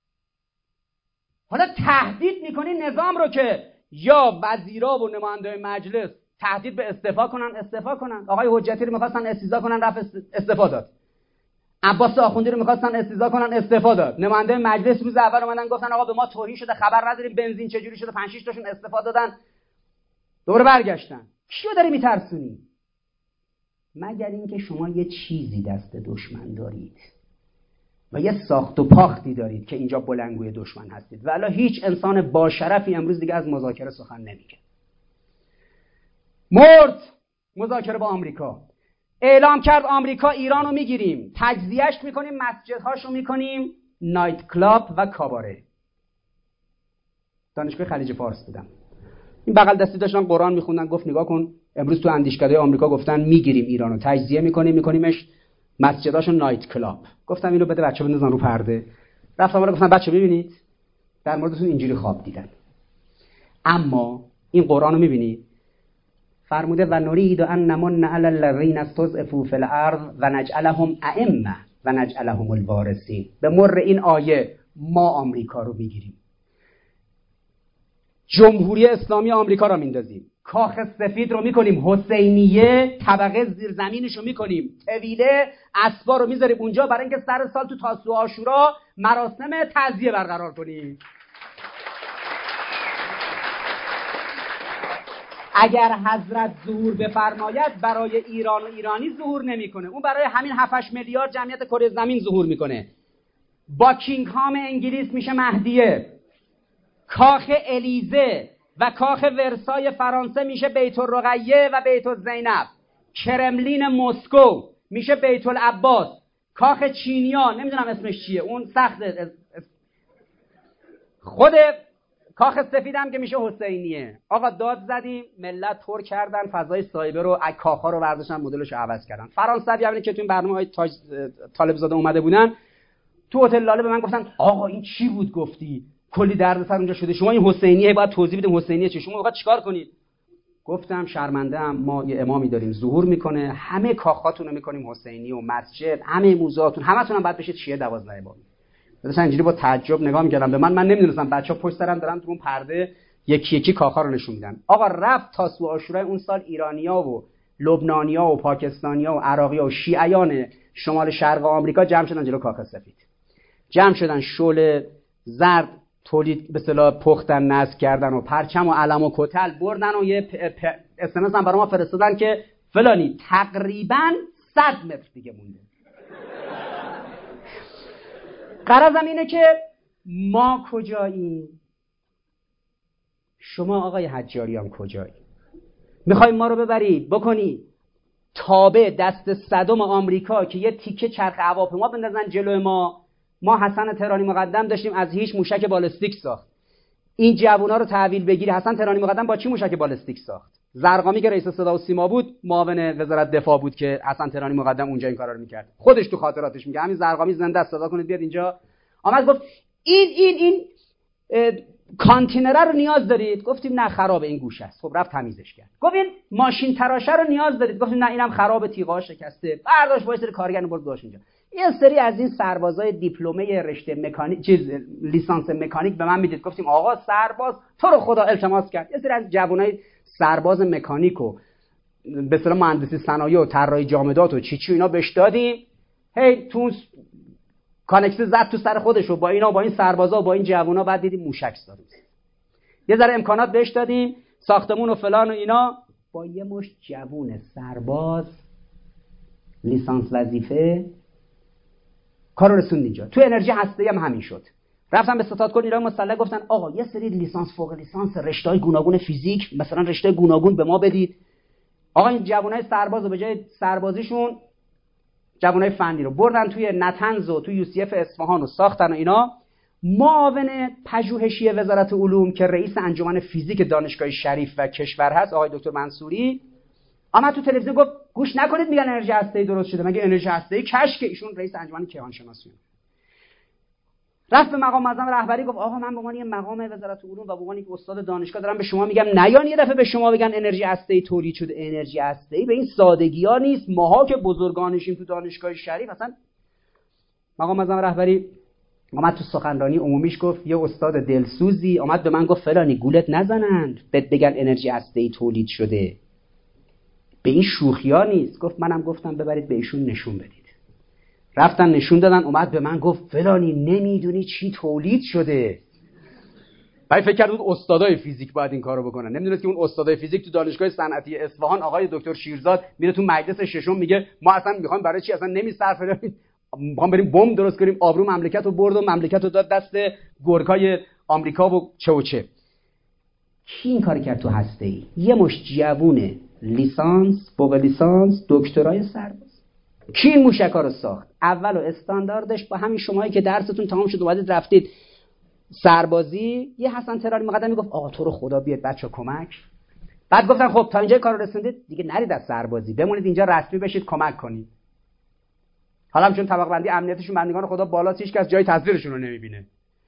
حالا تهدید میکنی نظام رو که یا وزیرا و نماینده مجلس تهدید به استعفا کنن، استعفا کنن. آقای حجتی رو می‌خواستن استیضاح کنن، رفت استعفا داد. عباس آخوندی رو می‌خواستن استیضاح کنن، استعفا داد. نماینده مجلس روز اول اومدن گفتن آقا به ما توهین شده، خبر نداریم بنزین چجوری شده، پنج شش تاشون استعفا دادن. دوباره برگشتن. کیو داری میترسونی؟ مگر اینکه شما یه چیزی دست دشمن دارید و یه ساخت و پاختی دارید که اینجا بلنگوی دشمن هستید. والا هیچ انسان با شرفی امروز دیگه از مذاکره سخن نمیگه. مرد مذاکره با آمریکا. اعلام کرد آمریکا ایرانو میگیریم، تجزیهش میکنیم، مسجدهاشو میکنیم نایت کلاب و کاباره. دانشگاه خلیج فارس بودم، این بغل دستی داشتن قرآن میخوندن، گفت نگاه کن امروز تو اندیشکده آمریکا گفتن میگیریم ایرانو، تجزیه میکنیم، میکنیمش مسجداشو نایت کلاب. گفتم اینو بده بچه‌ها بندازن رو پرده. رفتم ولی گفتم بچه‌ها ببینید در موردتون اینجوری خواب دیدن. اما این قرآنو میبینید فرموده و نرید ان نمن علی الذین استضعفوا فی الارض و نجعلهم ائمه و نجعلهم الوارثین. به مر این آیه ما آمریکا رو میگیریم، جمهوری اسلامی آمریکا را میندازیم، کاخ سفید رو میکنیم حسینیه، طبقه زیرزمینش رو میکنیم طویله، اسبا رو میذاریم اونجا برای اینکه سر سال تو تاسوعا عاشورا مراسم تعزیه برقرار کنیم. اگر حضرت ظهور بفرماید برای ایران و ایرانی ظهور نمیکنه، اون برای همین هفت هشت میلیارد جمعیت کره زمین ظهور میکنه. باکینگهام انگلیس میشه مهدیه، کاخ الیزه و کاخ ورسای فرانسه میشه بیت الرقیه و بیت الزینب، کرملین مسکو میشه بیت العباس، کاخ چینیا نمیدونم اسمش چیه اون سخته، خود کاخ سفیدم که میشه حسینیه. آقا داد زدیم، ملت پر کردن فضای سایبر رو، کاخا رو برداشتن مدلش رو عوض کردن. فرانسوی همین که تو این برنامه های تاج طالب زاده اومده بودن تو هتل لاله به من گفتن آقا این چی بود گفتی؟ کلی دردسر اونجا شده، شما این حسینیه باید توضیح بدیم حسینیه چه، شما میخواد چیکار کنید؟ گفتم شرمنده ام، ما یه امامی داریم ظهور میکنه، همه کاخاتون رو میکنیم حسینی و مسجد، همه موزهاتون همتون هم باید بشید شیعه دوازده امامی. مثلا اینجوری با تعجب نگاه میکردم به من، من نمیدونستم بچه‌ها پشت سرم دارن تو اون پرده یکی یکی کاخا رو نشون میدن. آقا رفت تاسوع عاشورای اون سال ایرانیا و لبنانیا و پاکستانیا و عراقیا و شیعیان شمال شرق آمریکا جمع شدن جلو کاخ سفید، جمع شدن شعله زرد تولید به اصطلاح پختن نصب کردن و پرچم و علم و کتل بردن و یه اس ام اس هم برای ما فرستادن که فلانی تقریبا صد متر دیگه مونده. غرضم اینه که ما کجاییم؟ شما آقای حجاریان کجایی؟ میخوای ما رو ببرید بکنی تابع دست صدم آمریکا که یه تیکه چرخ هواپیما بندازن جلو ما؟ ما حسن تهرانی مقدم داشتیم از هیچ موشک بالستیک ساخت. این جوونا رو تحویل بگیری. حسن تهرانی مقدم با چی موشک بالستیک ساخت؟ زرقامی که رئیس صدا و سیما بود، معاون وزارت دفاع بود که حسن تهرانی مقدم اونجا این کارا رو میکرد. خودش تو خاطراتش میگه همین زرقامی زنده است، صدا کنید بیاد اینجا. آمد گفت این این این کانتینر رو نیاز دارید؟ گفتیم نه خرابه این گوشه است. خب رفت تمیزش کرد. گفت این ماشین تراشه رو نیاز دارید؟ گفتیم نه اینم خرابه تیغا شکسته. برداشت وایس کارگر برد داشت اینجا. یه سری از این سربازای دیپلمه رشته مکانیک چیز لیسانس مکانیک به من میدید. گفتیم آقا سرباز تو رو خدا التماس کرد. یه سری از جوانای سرباز مکانیک و به اصطلاح مهندسی صنایع و طراحی جامدات و چی چی اینا بهش دادیم. هی تو کانکس زد تو سر خودش و با اینا با این سربازا و با این جوونا بعد دیدیم موشک داریم. یه ذره امکانات بهش دادیم، ساختمون و فلان و اینا، با یه مشت جوون سرباز لیسانس وظیفه کارو رسوند اینجا. تو انرژی هسته‌ای هم همین شد. رفتم به ستادکل ایران مسلح گفتن آقا یه سری لیسانس فوق لیسانس رشته‌های گوناگون فیزیک مثلا رشته گوناگون به ما بدید. آقا این جوانای سربازو به جای سربازیشون جوانای فنی رو بردن توی نتنز و توی یو سی اف اصفهان و ساختن و اینا. معاون پژوهشی وزارت علوم که رئیس انجمن فیزیک دانشگاه شریف و کشور هست آقای دکتر منصوری آمد تو تلویزیون گفت گوش نکنید میگن انرژی هسته‌ای درست شده، مگه انرژی هسته‌ای کشک؟ ایشون رئیس انجمن کیهان شناسی رفت به مقام معظم رهبری گفت آقا من به عنوان یه مقام وزارت علوم و به عنوان یک استاد دانشگاه دارم به شما میگم نیان یه دفعه به شما بگن انرژی هسته‌ای تولید شده. انرژی هسته‌ای به این سادگی‌ها نیست. ماها که بزرگانشیم تو دانشگاه شریف اصلا. مقام معظم رهبری اومد تو سخنرانی عمومیش گفت یه استاد دلسوزی اومد به من گفت فلانی گولت نزنند بهت بگن انرژی هسته‌ای تولید شده، به این شوخی‌ها نیست. گفت منم گفتم ببرید به ایشون نشون بدید. رفتن نشون دادن. اومد به من گفت فلانی نمیدونی چی تولید شده. بعد فکر کرد اون استادای فیزیک باید این کارو بکنن، نمیدونست که اون استادای فیزیک تو دانشگاه صنعتی اصفهان آقای دکتر شیرزاد میره تو مجلس ششم میگه ما اصلا میخوایم برای چی اصلا نمیصرفه، میخوام بریم بمب درست کنیم. آبرو مملکت رو برد و مملکت رو داد دست گورکای آمریکا و چه و چه. کی این کار کرد تو هسته‌ای؟ یه مشت جوونه لیسانس، فوق لیسانس، دکترای سرباز. کی این موشکا رو ساخت؟ اول و استانداردش با همین شمایی که درستون تمام شد اومدید رفتید سربازی، یه حسن تهرانی مقدم میگفت آقا تو رو خدا بیاد بچا کمک. بعد گفتن خب تا اینجا کارو رسوندید دیگه نرید از سربازی، بمونید اینجا رسمی بشید کمک کنید. حالا هم چون طبقه بندی امنیتشون بندگان خدا بالاست هیچ کس جای تزویرشون رو نمیبینه.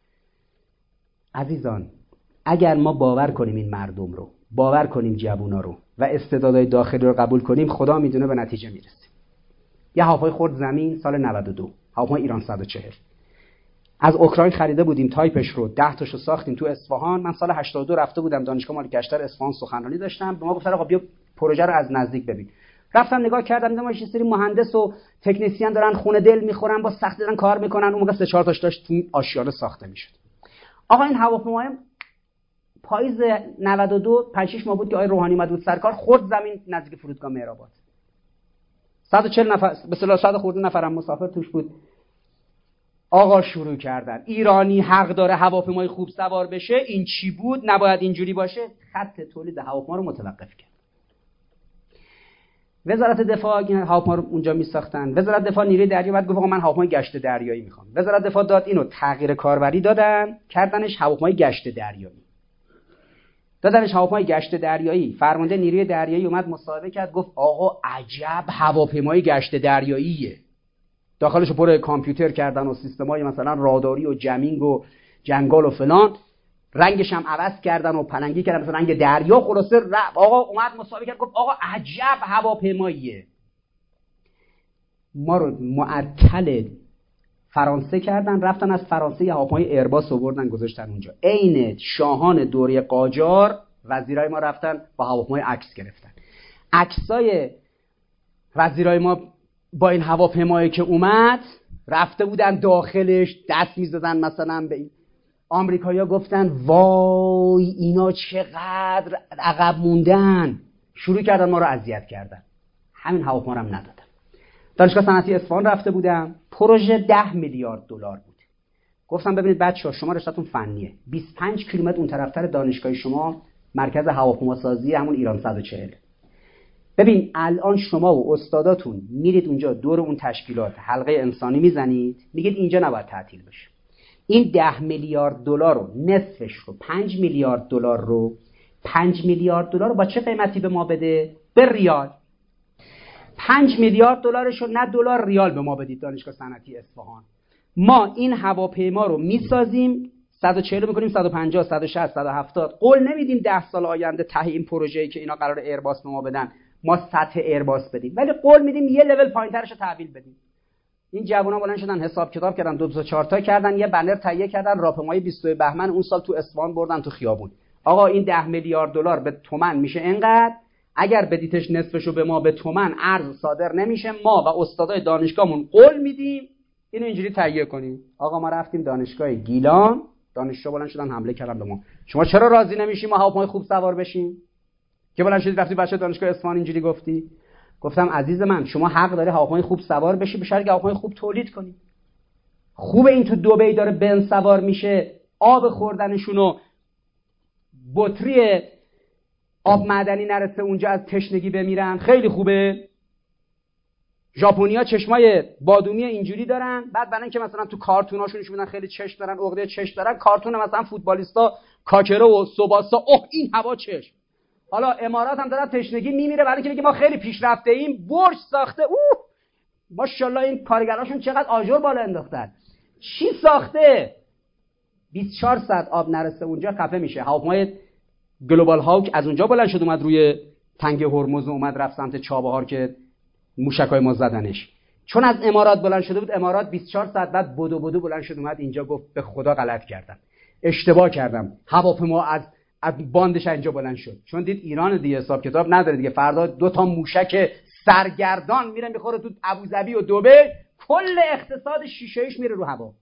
عزیزان اگر ما باور کنیم این مردم رو، باور کنیم جوونا رو و استعدادهای داخلی رو قبول کنیم، خدا میدونه به نتیجه میرسیم. یه هواپیما خورد زمین سال نود و دو، هواپیما ایران صد و چهل. از اوکراین خریده بودیم تایپش رو، ده تاشو ساختیم تو اصفهان. من سال هشتاد و دو رفته بودم دانشگاه مال گشتر اصفهان سخنرانی داشتم، به ما گفتن آقا بیا پروژه رو از نزدیک ببین. رفتم نگاه کردم دیدم یه سری مهندس و تکنسین دارن خونه دل میخورن، با سختی دارن کار میکنن. اون موقع سه چهار تاش داشت تو آشیانه ساخته میشد. آقا این هواپیمای پاییز نود و دو پنج شش ماه بود که آقای روحانی اومد بود سرکار، خورد زمین نزدیک فرودگاه مهرآباد. صد و چهل نفر به اصطلاح صد خورده نفرم مسافر توش بود. آقا شروع کردن ایرانی حق داره هواپیمای خوب سوار بشه، این چی بود، نباید اینجوری باشه. خط تولید هواپیما رو متوقف کرد. وزارت دفاع هواپیما رو اونجا میساختن. وزارت دفاع نیروی دریایی بعد گفت آقا من هواپیمای گشت دریایی میخوام. وزارت دفاع داد اینو تغییر کاربری دادن، کردنش هواپیمای گشت دریایی. دادنش هواپیمای گشت دریایی. فرمانده نیروی دریایی اومد مصاحبه کرد، گفت آقا عجب هواپیمای گشت دریاییه. داخلش رو پر کامپیوتر کردن و سیستمای مثلا راداری و جمینگ و جنگال و فلان، رنگش هم عوض کردن و پلنگی کردن مثلا رنگ دریا. خلاصه آقا اومد مصاحبه کرد، گفت آقا عجب هواپیماییه. ما رو معطل فرانسه کردن، رفتن از فرانسه یه هواپیمای ایرباس آوردن گذاشتن اونجا. عین شاهان دوره قاجار وزیرای ما رفتن با هواپیمای عکس گرفتن. عکسای وزیرای ما با این هواپیمایی که اومد رفته بودن داخلش دست میزدن مثلا به این. آمریکایی‌ها گفتن وای اینا چقدر عقب موندن، شروع کردن ما رو اذیت کردن. همین هواپیما رو هم ندادم. دانشگاه صنعتی اصفهان رفته بودم، پروژه ده میلیارد دلار بود. گفتم ببینید بچه‌ها شما رشته‌تون فنیه، بیست و پنج کیلومتر اون طرفتر دانشگاه شما مرکز هواپیما سازی همون ایران صد و چهل. ببین الان شما و استاداتون میرید اونجا دور اون تشکیلات حلقه انسانی میزنید، میگید اینجا نباید تعطیل بشه. این ده میلیارد دلار رو نصفش رو پنج میلیارد دلار رو پنج میلیارد دلار رو با چه قیمتی به ما بده؟ به ریال. پنج میلیارد دلارش رو نه دلار ریال به ما بدید دانشگاه صنعتی اصفهان. ما این هواپیما رو میسازیم، صد و چهل میکنیم صد و پنجاه صد و شصت صد و هفتاد. قول نمیدیم ده سال آینده ته این پروژه‌ای که اینا قرار ایرباس به ما بدن ما سطح ایرباس بدیم، ولی قول میدیم یه لول پایینترش رو تحویل بدیم. این جوونا بلند شدن حساب کتاب کردن، دو تا چهار تا کردن، یه بنر تهیه کردن، راهپیمایی بیست و دو بهمن اون سال تو اصفهان بردن تو خیابون. آقا این ده میلیارد دلار به تومن میشه اینقدر، اگر بدیتش نصفشو به ما به تومن ارز صادر نمیشه، ما و استادای دانشگاهمون قول میدیم اینو اینجوری تهیه کنیم. آقا ما رفتیم دانشگاه گیلان، دانشجو بلند شدن حمله کردن به ما. شما چرا راضی نمیشی ما هواپیمای خوب سوار بشیم؟ که بلند شدی رفتی بچه دانشگاه اصفهان اینجوری گفتی؟ گفتم عزیز من شما حق داری هواپیمای خوب سوار بشی به شرطی هواپیمای خوب تولید کنی. خوبه این تو دبی داره بنز سوار میشه، آب خوردنشونو بطری آب معدنی نرسه اونجا از تشنگی بمیرن، خیلی خوبه. ژاپنیا چشمای بادومی اینجوری دارن، بعد برای اینکه مثلا تو کارتوناشون نشون میدن خیلی چشم دارن، عقده چشم دارن، کارتون مثلا فوتبالیستا کاکرو و سوباسا، اوه این هوا چشم. حالا امارات هم داره تشنگی میمیره برای اینکه بگه ما خیلی پیشرفته ایم، برج ساخته، اوه ماشاءالله این کارگراشون چقدر آجر بالا انداختن. چی ساخته؟ بیست و چهار ساعت آب نرسه اونجا خفه میشه. هواپیمای گلوبال هاوک از اونجا بلند شد اومد روی تنگ هرمز و اومد رفت سمت چابهار که موشکای ما زدنش. چون از امارات بلند شده بود، امارات بیست و چهار ساعت بعد بدو بدو بلند شد اومد اینجا گفت به خدا غلط کردم، اشتباه کردم، هواپیما از از باندش اینجا بلند شد. چون دید ایران دیگه حساب کتاب نداره دیگه، فردا دو تا موشک سرگردان میره میخوره تو ابوظبی و دبی، کل اقتصاد شیشه‌ایش میره رو هوا.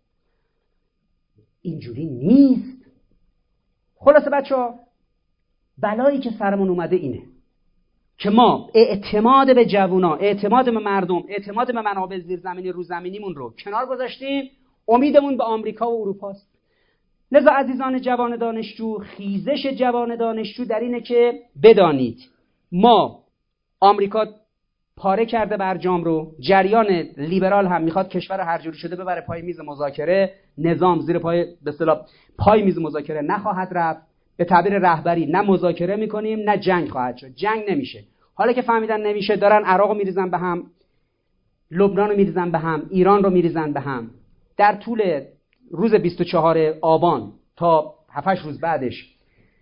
اینجوری نیست. خلاصه بچه‌ها بلایی که سرمون اومده اینه که ما اعتماد به جوونا، اعتماد به مردم، اعتماد به منابع زیرزمینی روزمینیمون رو کنار گذاشتیم، امیدمون به آمریکا و اروپاست. لذا عزیزان جوان دانشجو، خیزش جوان دانشجو در اینه که بدانید ما آمریکا پاره کرده برجام رو، جریان لیبرال هم میخواد کشور هر جوری شده ببره پای میز مذاکره، نظام زیر پای به اصطلاح پای میز مذاکره نخواهد رفت. به تعبیر رهبری نه مذاکره میکنیم نه جنگ خواهد شد، جنگ نمیشه. حالا که فهمیدن نمیشه دارن عراق رو میریزن به هم، لبنان رو میریزن به هم، ایران رو میریزن به هم. در طول روز بیست و چهارم آبان تا هفت هشت روز بعدش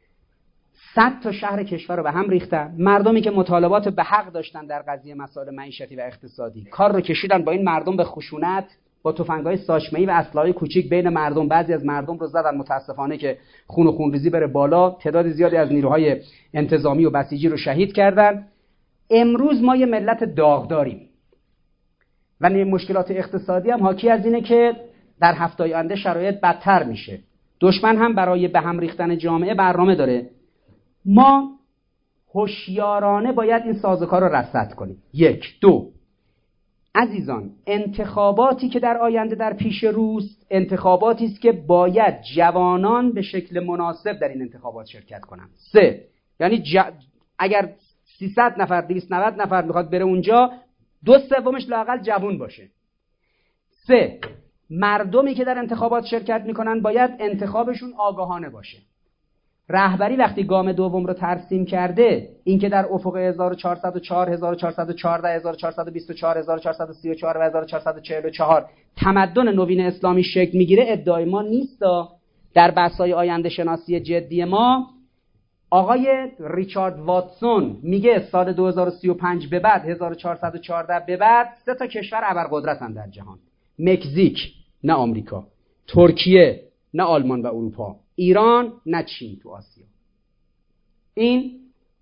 صد تا شهر کشور رو به هم ریختن. مردمی که مطالبات به حق داشتن در قضیه مسائل معیشتی و اقتصادی کار رو کشیدن با این مردم به خشونت، با تفنگ‌های ساچمه‌ای و اسلحه‌های کوچیک بین مردم، بعضی از مردم رو زدن، متاسفانه که خون و خونریزی بره بالا، تعداد زیادی از نیروهای انتظامی و بسیجی رو شهید کردن. امروز ما یه ملت داغداریم و مشکلات اقتصادی هم حاکی از اینه که در هفته‌های آینده شرایط بدتر میشه. دشمن هم برای به هم ریختن جامعه برنامه داره. ما هوشیارانه باید این سازوکار رو رصد کنیم. یک. دو، عزیزان، انتخاباتی که در آینده در پیش روست انتخاباتی است که باید جوانان به شکل مناسب در این انتخابات شرکت کنند. سه، یعنی ج... اگر سیصد نفر دویست و نود نفر میخواد بره اونجا، دو سومش لااقل جوان باشه. سه، مردمی که در انتخابات شرکت میکنن باید انتخابشون آگاهانه باشه. رهبری وقتی گام دوم رو ترسیم کرده، اینکه در افق هزار و چهارصد و چهار، هزار و چهارصد و چهارده، هزار و چهارصد و بیست و چهار، هزار و چهارصد و سی و چهار و هزار و چهارصد و چهل و چهار تمدن نوین اسلامی شکل میگیره، ادعای ما نیست. در بحث‌های آینده شناسی جدی ما آقای ریچارد واتسون میگه سال دو هزار و سی و پنج به بعد، هزار و چهارصد و چهارده به بعد، سه تا کشور ابرقدرتن در جهان: مکزیک نه آمریکا، ترکیه نه آلمان و اروپا، ایران نه چین تو آسیا. این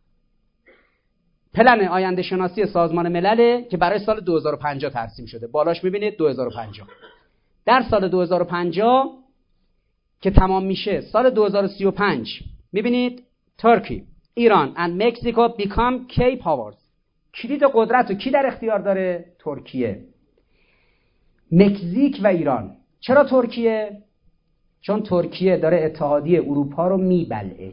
پلن آینده شناسی سازمان ملله که برای سال دو هزار و پنجاه ترسیم شده. بالاش میبینید دو هزار و پنجاه. در سال دو هزار و پنجاه که تمام میشه، سال دو هزار و سی و پنج میبینید ترکی، ایران and Mexico become key powers. کلید قدرت رو کی در اختیار داره؟ ترکیه، مکزیک و ایران. چرا ترکیه؟ چون ترکیه داره اتحادیه اروپا رو میبلعه.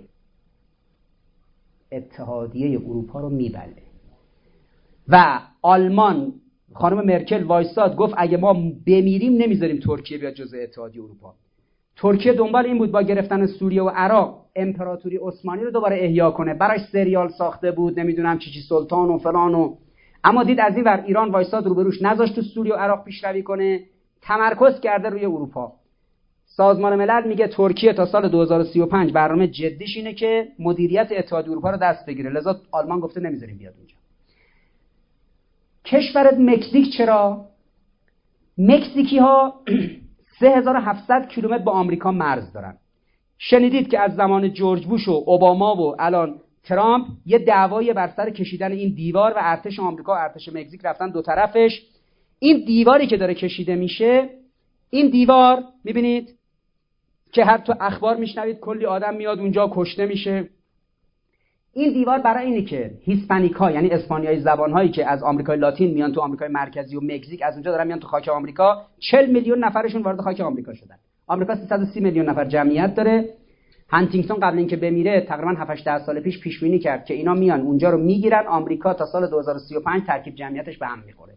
اتحادیه اروپا رو میبلعه. و آلمان، خانم مرکل وایساد گفت اگه ما بمیریم نمیذاریم ترکیه بیاد جزء اتحادیه اروپا. ترکیه دنبال این بود با گرفتن سوریه و عراق امپراتوری عثمانی رو دوباره احیا کنه. براش سریال ساخته بود، نمیدونم چی چی سلطان و فلان و، اما دید از این ور ایران وایساد روبروش، نذاشت تو سوریه و عراق پیشروی کنه، تمرکز کرده روی اروپا. سازمان ملل میگه ترکیه تا سال دو هزار و سی و پنج برنامه جدیش اینه که مدیریت اتحادیه اروپا رو دست بگیره، لذا آلمان گفته نمیذاریم بیاد اونجا. کشور مکزیک چرا؟ مکزیکی ها سه هزار و هفتصد کیلومتر با آمریکا مرز دارن. شنیدید که از زمان جورج بوش و اوباما و الان ترامپ یه دعوایی بر سر کشیدن این دیوار و ارتش آمریکا و ارتش مکزیک رفتن دو طرفش. این دیواری که داره کشیده میشه، این دیوار میبینید که هر تو اخبار میشنوید کلی آدم میاد اونجا کشته میشه. این دیوار برای اینه که هیسپانیکا یعنی اسپانیایی زبان‌هایی که از آمریکای لاتین میان تو آمریکای مرکزی و مکزیک، از اونجا دارن میان تو خاک آمریکا، چهل میلیون نفرشون وارد خاک آمریکا شدن. آمریکا سیصد و سی میلیون نفر جمعیت داره. هانتینگتون قبل اینکه بمیره تقریبا هفت هشت سال پیش پیش بینی کرد که اینا میان اونجا رو میگیرن. آمریکا تا سال دو هزار و سی و پنج ترکیب جمعیتش به هم میخوره.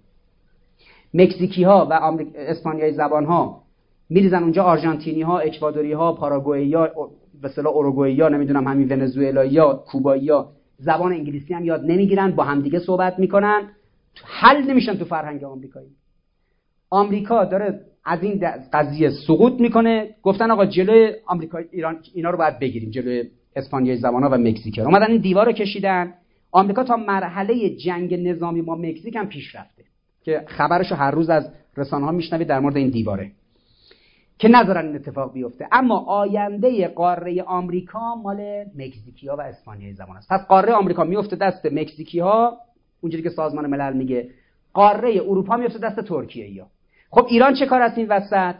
مکزیکی‌ها و آمریک... اسپانیایی زبان‌ها میریزن اونجا، آرژانتینی‌ها، اکوادوری‌ها، پاراگوئی‌ها، به اصطلاح اوروگوئی‌ها، نمیدونم همین ونزوئلایی‌ها، کوبایی‌ها زبان انگلیسی هم یاد نمیگیرن، با همدیگه صحبت میکنن، حل نمیشن تو فرهنگ آمریکایی. آمریکا داره از این قضیه سقوط میکنه. گفتن آقا جلوی آمریکا ایران اینا رو باید بگیریم، جلوی اسپانیایی زبان‌ها و مکزیک. اومدن این دیوار رو کشیدن. آمریکا تا مرحله جنگ نظامی با مکزیک هم پیش رفته که خبرشو هر روز از رسانه‌ها میشنوید در مورد این دیواره که نذارن این اتفاق بیفته. اما آینده قاره آمریکا مال مکزیکی‌ها و اسپانیایی زبان است. پس قاره آمریکا میفته دست مکزیکی‌ها، اونجوری که سازمان ملل میگه. قاره اروپا میفته دست ترکیه‌ای‌ها. خب ایران چه کار است این وسط؟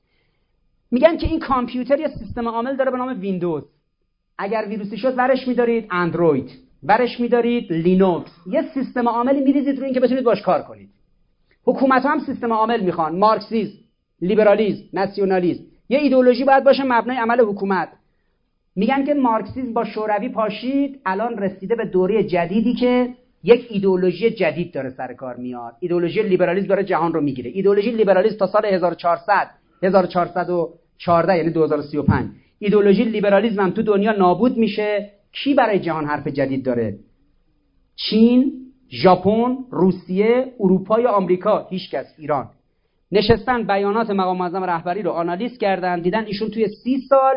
میگن که این کامپیوتر یا سیستم عامل داره به نام ویندوز. اگر ویروسی شد ورش می‌دارید اندروید، ورش می‌دارید لینوکس. یه سیستم عاملی می‌ریزید روی این که بتونید باش کار کنید. حکومت‌ها هم سیستم عامل میخوان، مارکسیسم، لیبرالیسم، ناسیونالیسم. یه ایدئولوژی باید باشه مبنای عمل حکومت. میگن که مارکسیسم با شوروی پاشید، الان رسیده به دوره جدیدی که یک ایدئولوژی جدید داره سر کار میاد. ایدئولوژی لیبرالیسم داره جهان رو میگیره. ایدئولوژی لیبرالیسم تا سال هزار و چهارصد هزار و چهارصد و چهارده یعنی دو هزار و سی و پنج ایدئولوژی لیبرالیسم هم تو دنیا نابود میشه. کی برای جهان حرف جدید داره؟ چین، ژاپن، روسیه، اروپا یا آمریکا؟ هیچکس. ایران. نشستن بیانات مقام معظم رهبری رو آنالیز کردن، دیدن ایشون توی سی سال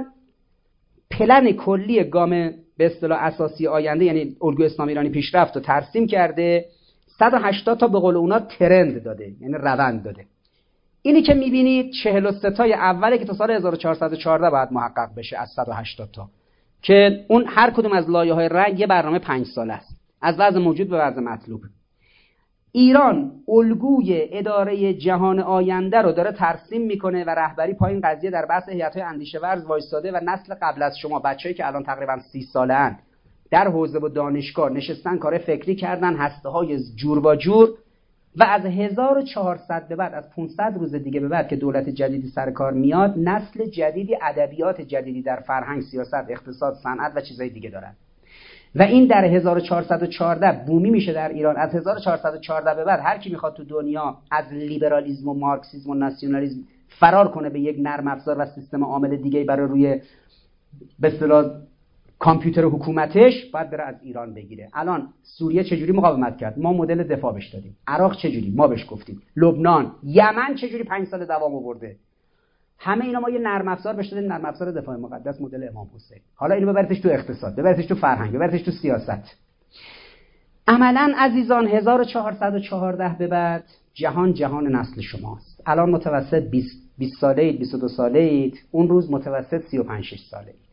پلن کلی گام به اصطلاح اساسی آینده یعنی الگوی اسلامی ایرانی پیشرفت رو ترسیم کرده. صد و هشتاد تا به قول اونا ترند داده، یعنی روند داده. اینی که میبینید چهل و سه تای اوله که تا سال هزار و چهارصد و چهارده باید محقق بشه از صد و هشتاد تا، که اون هر کدوم از لایه‌های رنگ یه برنامه پنج ساله است، از وضع موجود به وضع مطلوب. ایران الگوی اداره جهان آینده رو داره ترسیم میکنه و رهبری پایین قضیه در بحث هیئت‌های اندیشه ورز وایساده و نسل قبل از شما، بچه‌ای که الان تقریبا سی ساله ان، در حوزه و دانشگاه نشستن کار فکری کردن، هسته‌های جور با جور، و از هزار و چهارصد به بعد، از پانصد روز دیگه به بعد که دولت جدیدی سر کار میاد، نسل جدیدی، ادبیات جدیدی در فرهنگ، سیاست، اقتصاد، صنعت و چیزای دیگه دارن و این در هزار و چهارصد و چهارده بومی میشه در ایران. از هزار و چهارصد و چهارده به بعد هر کی میخواد تو دنیا از لیبرالیسم و مارکسیسم و ناسیونالیسم فرار کنه به یک نرم افزار و سیستم عامل دیگه برای روی به اصطلاح کامپیوتر حکومتش، باید بره از ایران بگیره. الان سوریه چجوری مقاومت کرد؟ ما مدل دفاع بهش دادیم. عراق چجوری؟ ما بهش گفتیم. لبنان، یمن چجوری پنج سال دوام آورده؟ همه اینا ما یه نرم افزار بهش دادیم، نرم افزار دفاع مقدس مدل امام حسین. حالا اینو ببرتش تو اقتصاد، ببرتش تو فرهنگ، ببرتش تو سیاست. عملاً عزیزان هزار و چهارصد و چهارده به بعد جهان جهان نسل شماست. الان متوسط بیست ساله اید، بیست و دو ساله اید، اون روز متوسط سی و پنج شش ساله اید.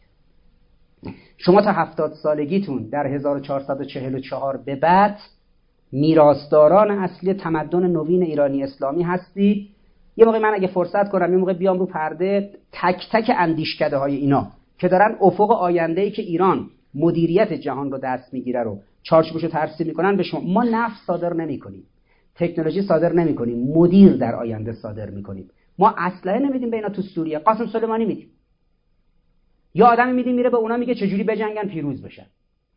شما تا هفتاد سالگیتون در هزار و چهارصد و چهل و چهار به بعد میراثداران اصلی تمدن نوین ایرانی اسلامی هستید. یه موقع من اگه فرصت کنم یه موقع بیام رو پرده تک تک اندیشکده های اینا که دارن افق آینده‌ای که ایران مدیریت جهان رو دست میگیره رو چارچوبشو ترسیم میکنن به شما. ما نفت صادر نمیکنیم، تکنولوژی صادر نمیکنیم، مدیر در آینده صادر میکنیم. ما اسلحه نمیدیم به اینا تو سوریه، قاسم سلیمانی میدیم. یا آدمی میدیم میره به اونا میگه چجوری بجنگن پیروز بشن.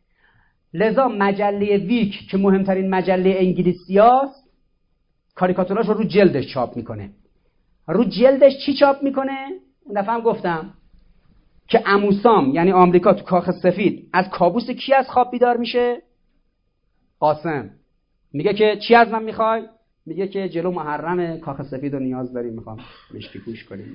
لذا مجله ویک که مهمترین مجله انگلیسیاست، کاریکاتوراش رو رو جلدش چاپ میکنه. رو جلدش چی چاپ میکنه؟ اون دفعه هم گفتم که اموسام یعنی آمریکا تو کاخ سفید از کابوس کی از خواب بیدار میشه؟ قاسم. میگه که چی از من میخوای؟ میگه که جلو محرم کاخ سفید رو نیاز داریم، میخوام مشکی پوش کنیم.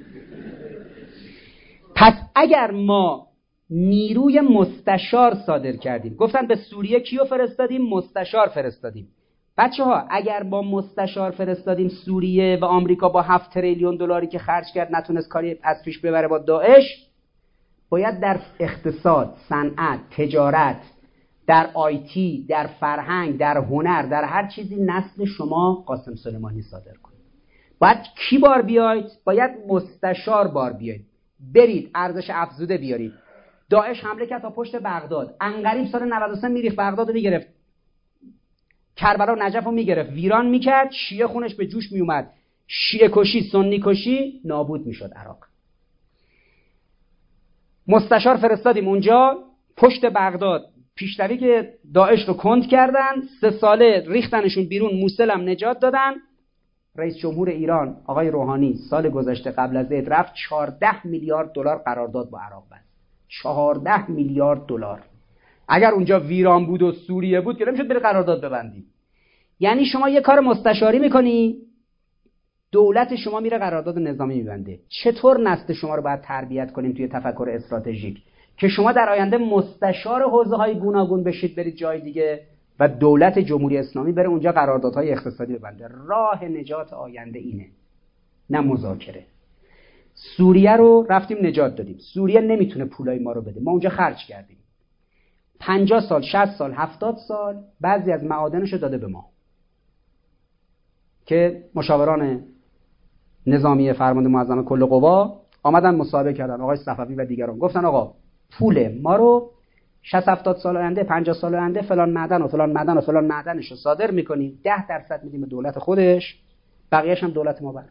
پس اگر ما نیروی مستشار صادر کردیم، گفتن به سوریه کیو فرستادیم؟ مستشار فرستادیم. بچه ها اگر با مستشار فرستادیم سوریه و آمریکا با هفت تریلیون دلاری که خرج کرد نتونست کاری از پیش ببره با داعش، باید در اقتصاد، صنعت، تجارت، در آیتی، در فرهنگ، در هنر، در هر چیزی نسل شما قاسم سلیمانی صادر کنید. باید کی بار بیاید؟ باید مستشار بار بیاید. برید ارزش افزوده بیارید. داعش حمله کرد تا پشت بغداد، انقریب سال نود و سه میریخت بغداد رو میگرفت، کربلا و نجف رو میگرفت، ویران میکرد، شیعه خونش به جوش میومد، شیعه کشی، سنی کشی، نابود میشد عراق. مستشار فرستادیم اونجا، پشت بغداد پیشروی که داعش رو کند کردن، سه ساله ریختنشون بیرون، موصل هم نجات دادن. رئیس جمهور ایران آقای روحانی سال گذشته قبل از عید رفت چهارده میلیارد دلار قرارداد با عراق بست. چهارده میلیارد دلار. اگر اونجا ویران بود و سوریه بود که نمیشد بری قرارداد ببندی. یعنی شما یه کار مستشاری میکنی، دولت شما میره قرارداد نظامی میبنده. چطور نسل شما رو باید تربیت کنیم توی تفکر استراتژیک که شما در آینده مستشار حوزه‌های گوناگون بشید، برید جای دیگه و دولت جمهوری اسلامی بره اونجا قراردادهای اقتصادی ببنده. راه نجات آینده اینه، نه مذاکره. سوریه رو رفتیم نجات دادیم. سوریه نمیتونه پولای ما رو بده، ما اونجا خرج کردیم. پنجاه سال، شصت سال، هفتاد سال بعضی از معادنش رو داده به ما که مشاوران نظامی فرمانده معظم کل قوا آمدن مصاحبه کردن، آقای صفوی و دیگران، گفتن آقا پول ما رو شصت هفتاد سال آینده، پنجاه سال آینده فلان معدن و فلان معدن و فلان معدنش رو صادر میکنیم، ده درصد میدیم به دولت خودش، بقیه‌اش هم دولت ما بر.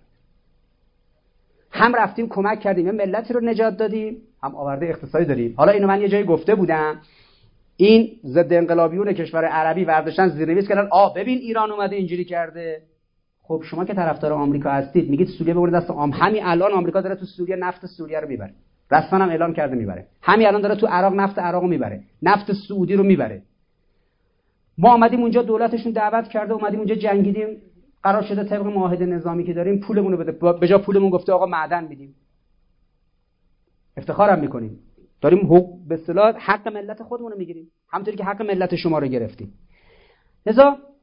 هم رفتیم کمک کردیم، یه ملتی رو نجات دادیم، هم آورده اقتصادی داریم. حالا اینو من یه جایی گفته بودم، این ضد انقلابیون کشور عربی ورداشتن زیرنویس کردن آ ببین ایران اومده اینجوری کرده. خب شما که طرفدار آمریکا هستید میگید سوریه ببرید دست آم، همین الان آمریکا داره تو سوریه نفت سوریه رو میبره، رسما هم اعلام کرده میبره. همین الان داره تو عراق نفت عراق رو میبره، نفت سعودی رو میبره. ما اومدیم اونجا، دولتشون دعوت کرده، اومدیم اونجا جنگیدیم، قرار شده طبق معاهده نظامی که داریم پولمون رو بده، به جا پولمون گفته آقا معدن میدیم. افتخارم میکنیم داریم حقوق به اصطلاح حق ملت خودمون رو میگیریم، همونطوری که حق ملت شما رو گرفتیم. لذا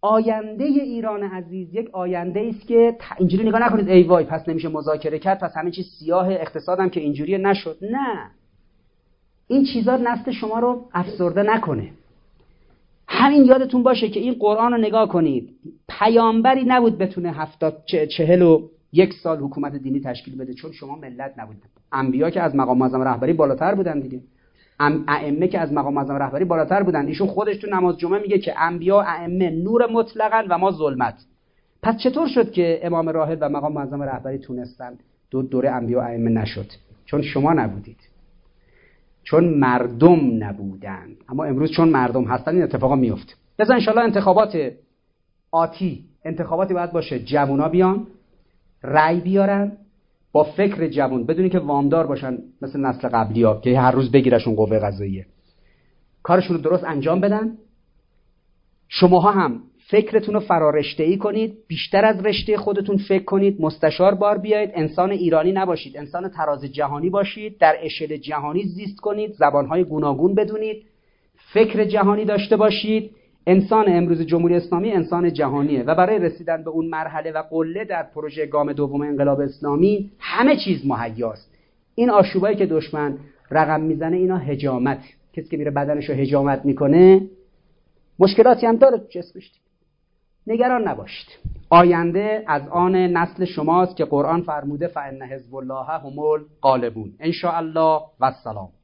آینده ایران عزیز یک آینده است که اینجوری نگاه نکنید ای وای پس نمیشه مذاکره کرد، پس همه چیز سیاه، اقتصادم که اینجوری نشد. نه، این چیزا نسل شما رو افسرده نکنه. همین یادتون باشه که این قرآن رو نگاه کنید، پیامبری نبود بتونه هفتاد چهل و یک سال حکومت دینی تشکیل بده، چون شما ملت نبودید. انبیا که از مقام معظم رهبری بالاتر بودن دیگه، ائمه که از مقام معظم رهبری بالاتر بودن. ایشون خودش تو نماز جمعه میگه که انبیا ائمه نور مطلقاً و ما ظلمت. پس چطور شد که امام راهب و مقام معظم رهبری تونستن دو دوره انبیا ائمه نشد؟ چون شما نبودید، چون مردم نبودن. اما امروز چون مردم هستن این اتفاقا میفته. لذا ان شاءالله انتخابات آتی انتخاباتی باید باشه جوونا بیان رأی بیارن با فکر جوان، بدونی که وامدار باشن مثل نسل قبلی‌ها که هر روز بگیرشون قوه قضاییه، کارشون رو درست انجام بدن. شماها هم فکرتون رو فرارشته‌ای کنید، بیشتر از رشته خودتون فکر کنید، مستشار بار بیایید، انسان ایرانی نباشید، انسان تراز جهانی باشید، در اشل جهانی زیست کنید، زبان‌های گوناگون بدونید، فکر جهانی داشته باشید. انسان امروز جمهوری اسلامی انسان جهانیه و برای رسیدن به اون مرحله و قله در پروژه گام دوم انقلاب اسلامی همه چیز مهیاست. این آشوبایی که دشمن رقم میزنه اینا هجامت، کسی که میره بدنشو هجامت میکنه مشکلاتی هم داره جسمش. نگران نباشید، آینده از آن نسل شماست که قرآن فرموده فإن حزب الله هم الغالبون. ان شاء الله و السلام.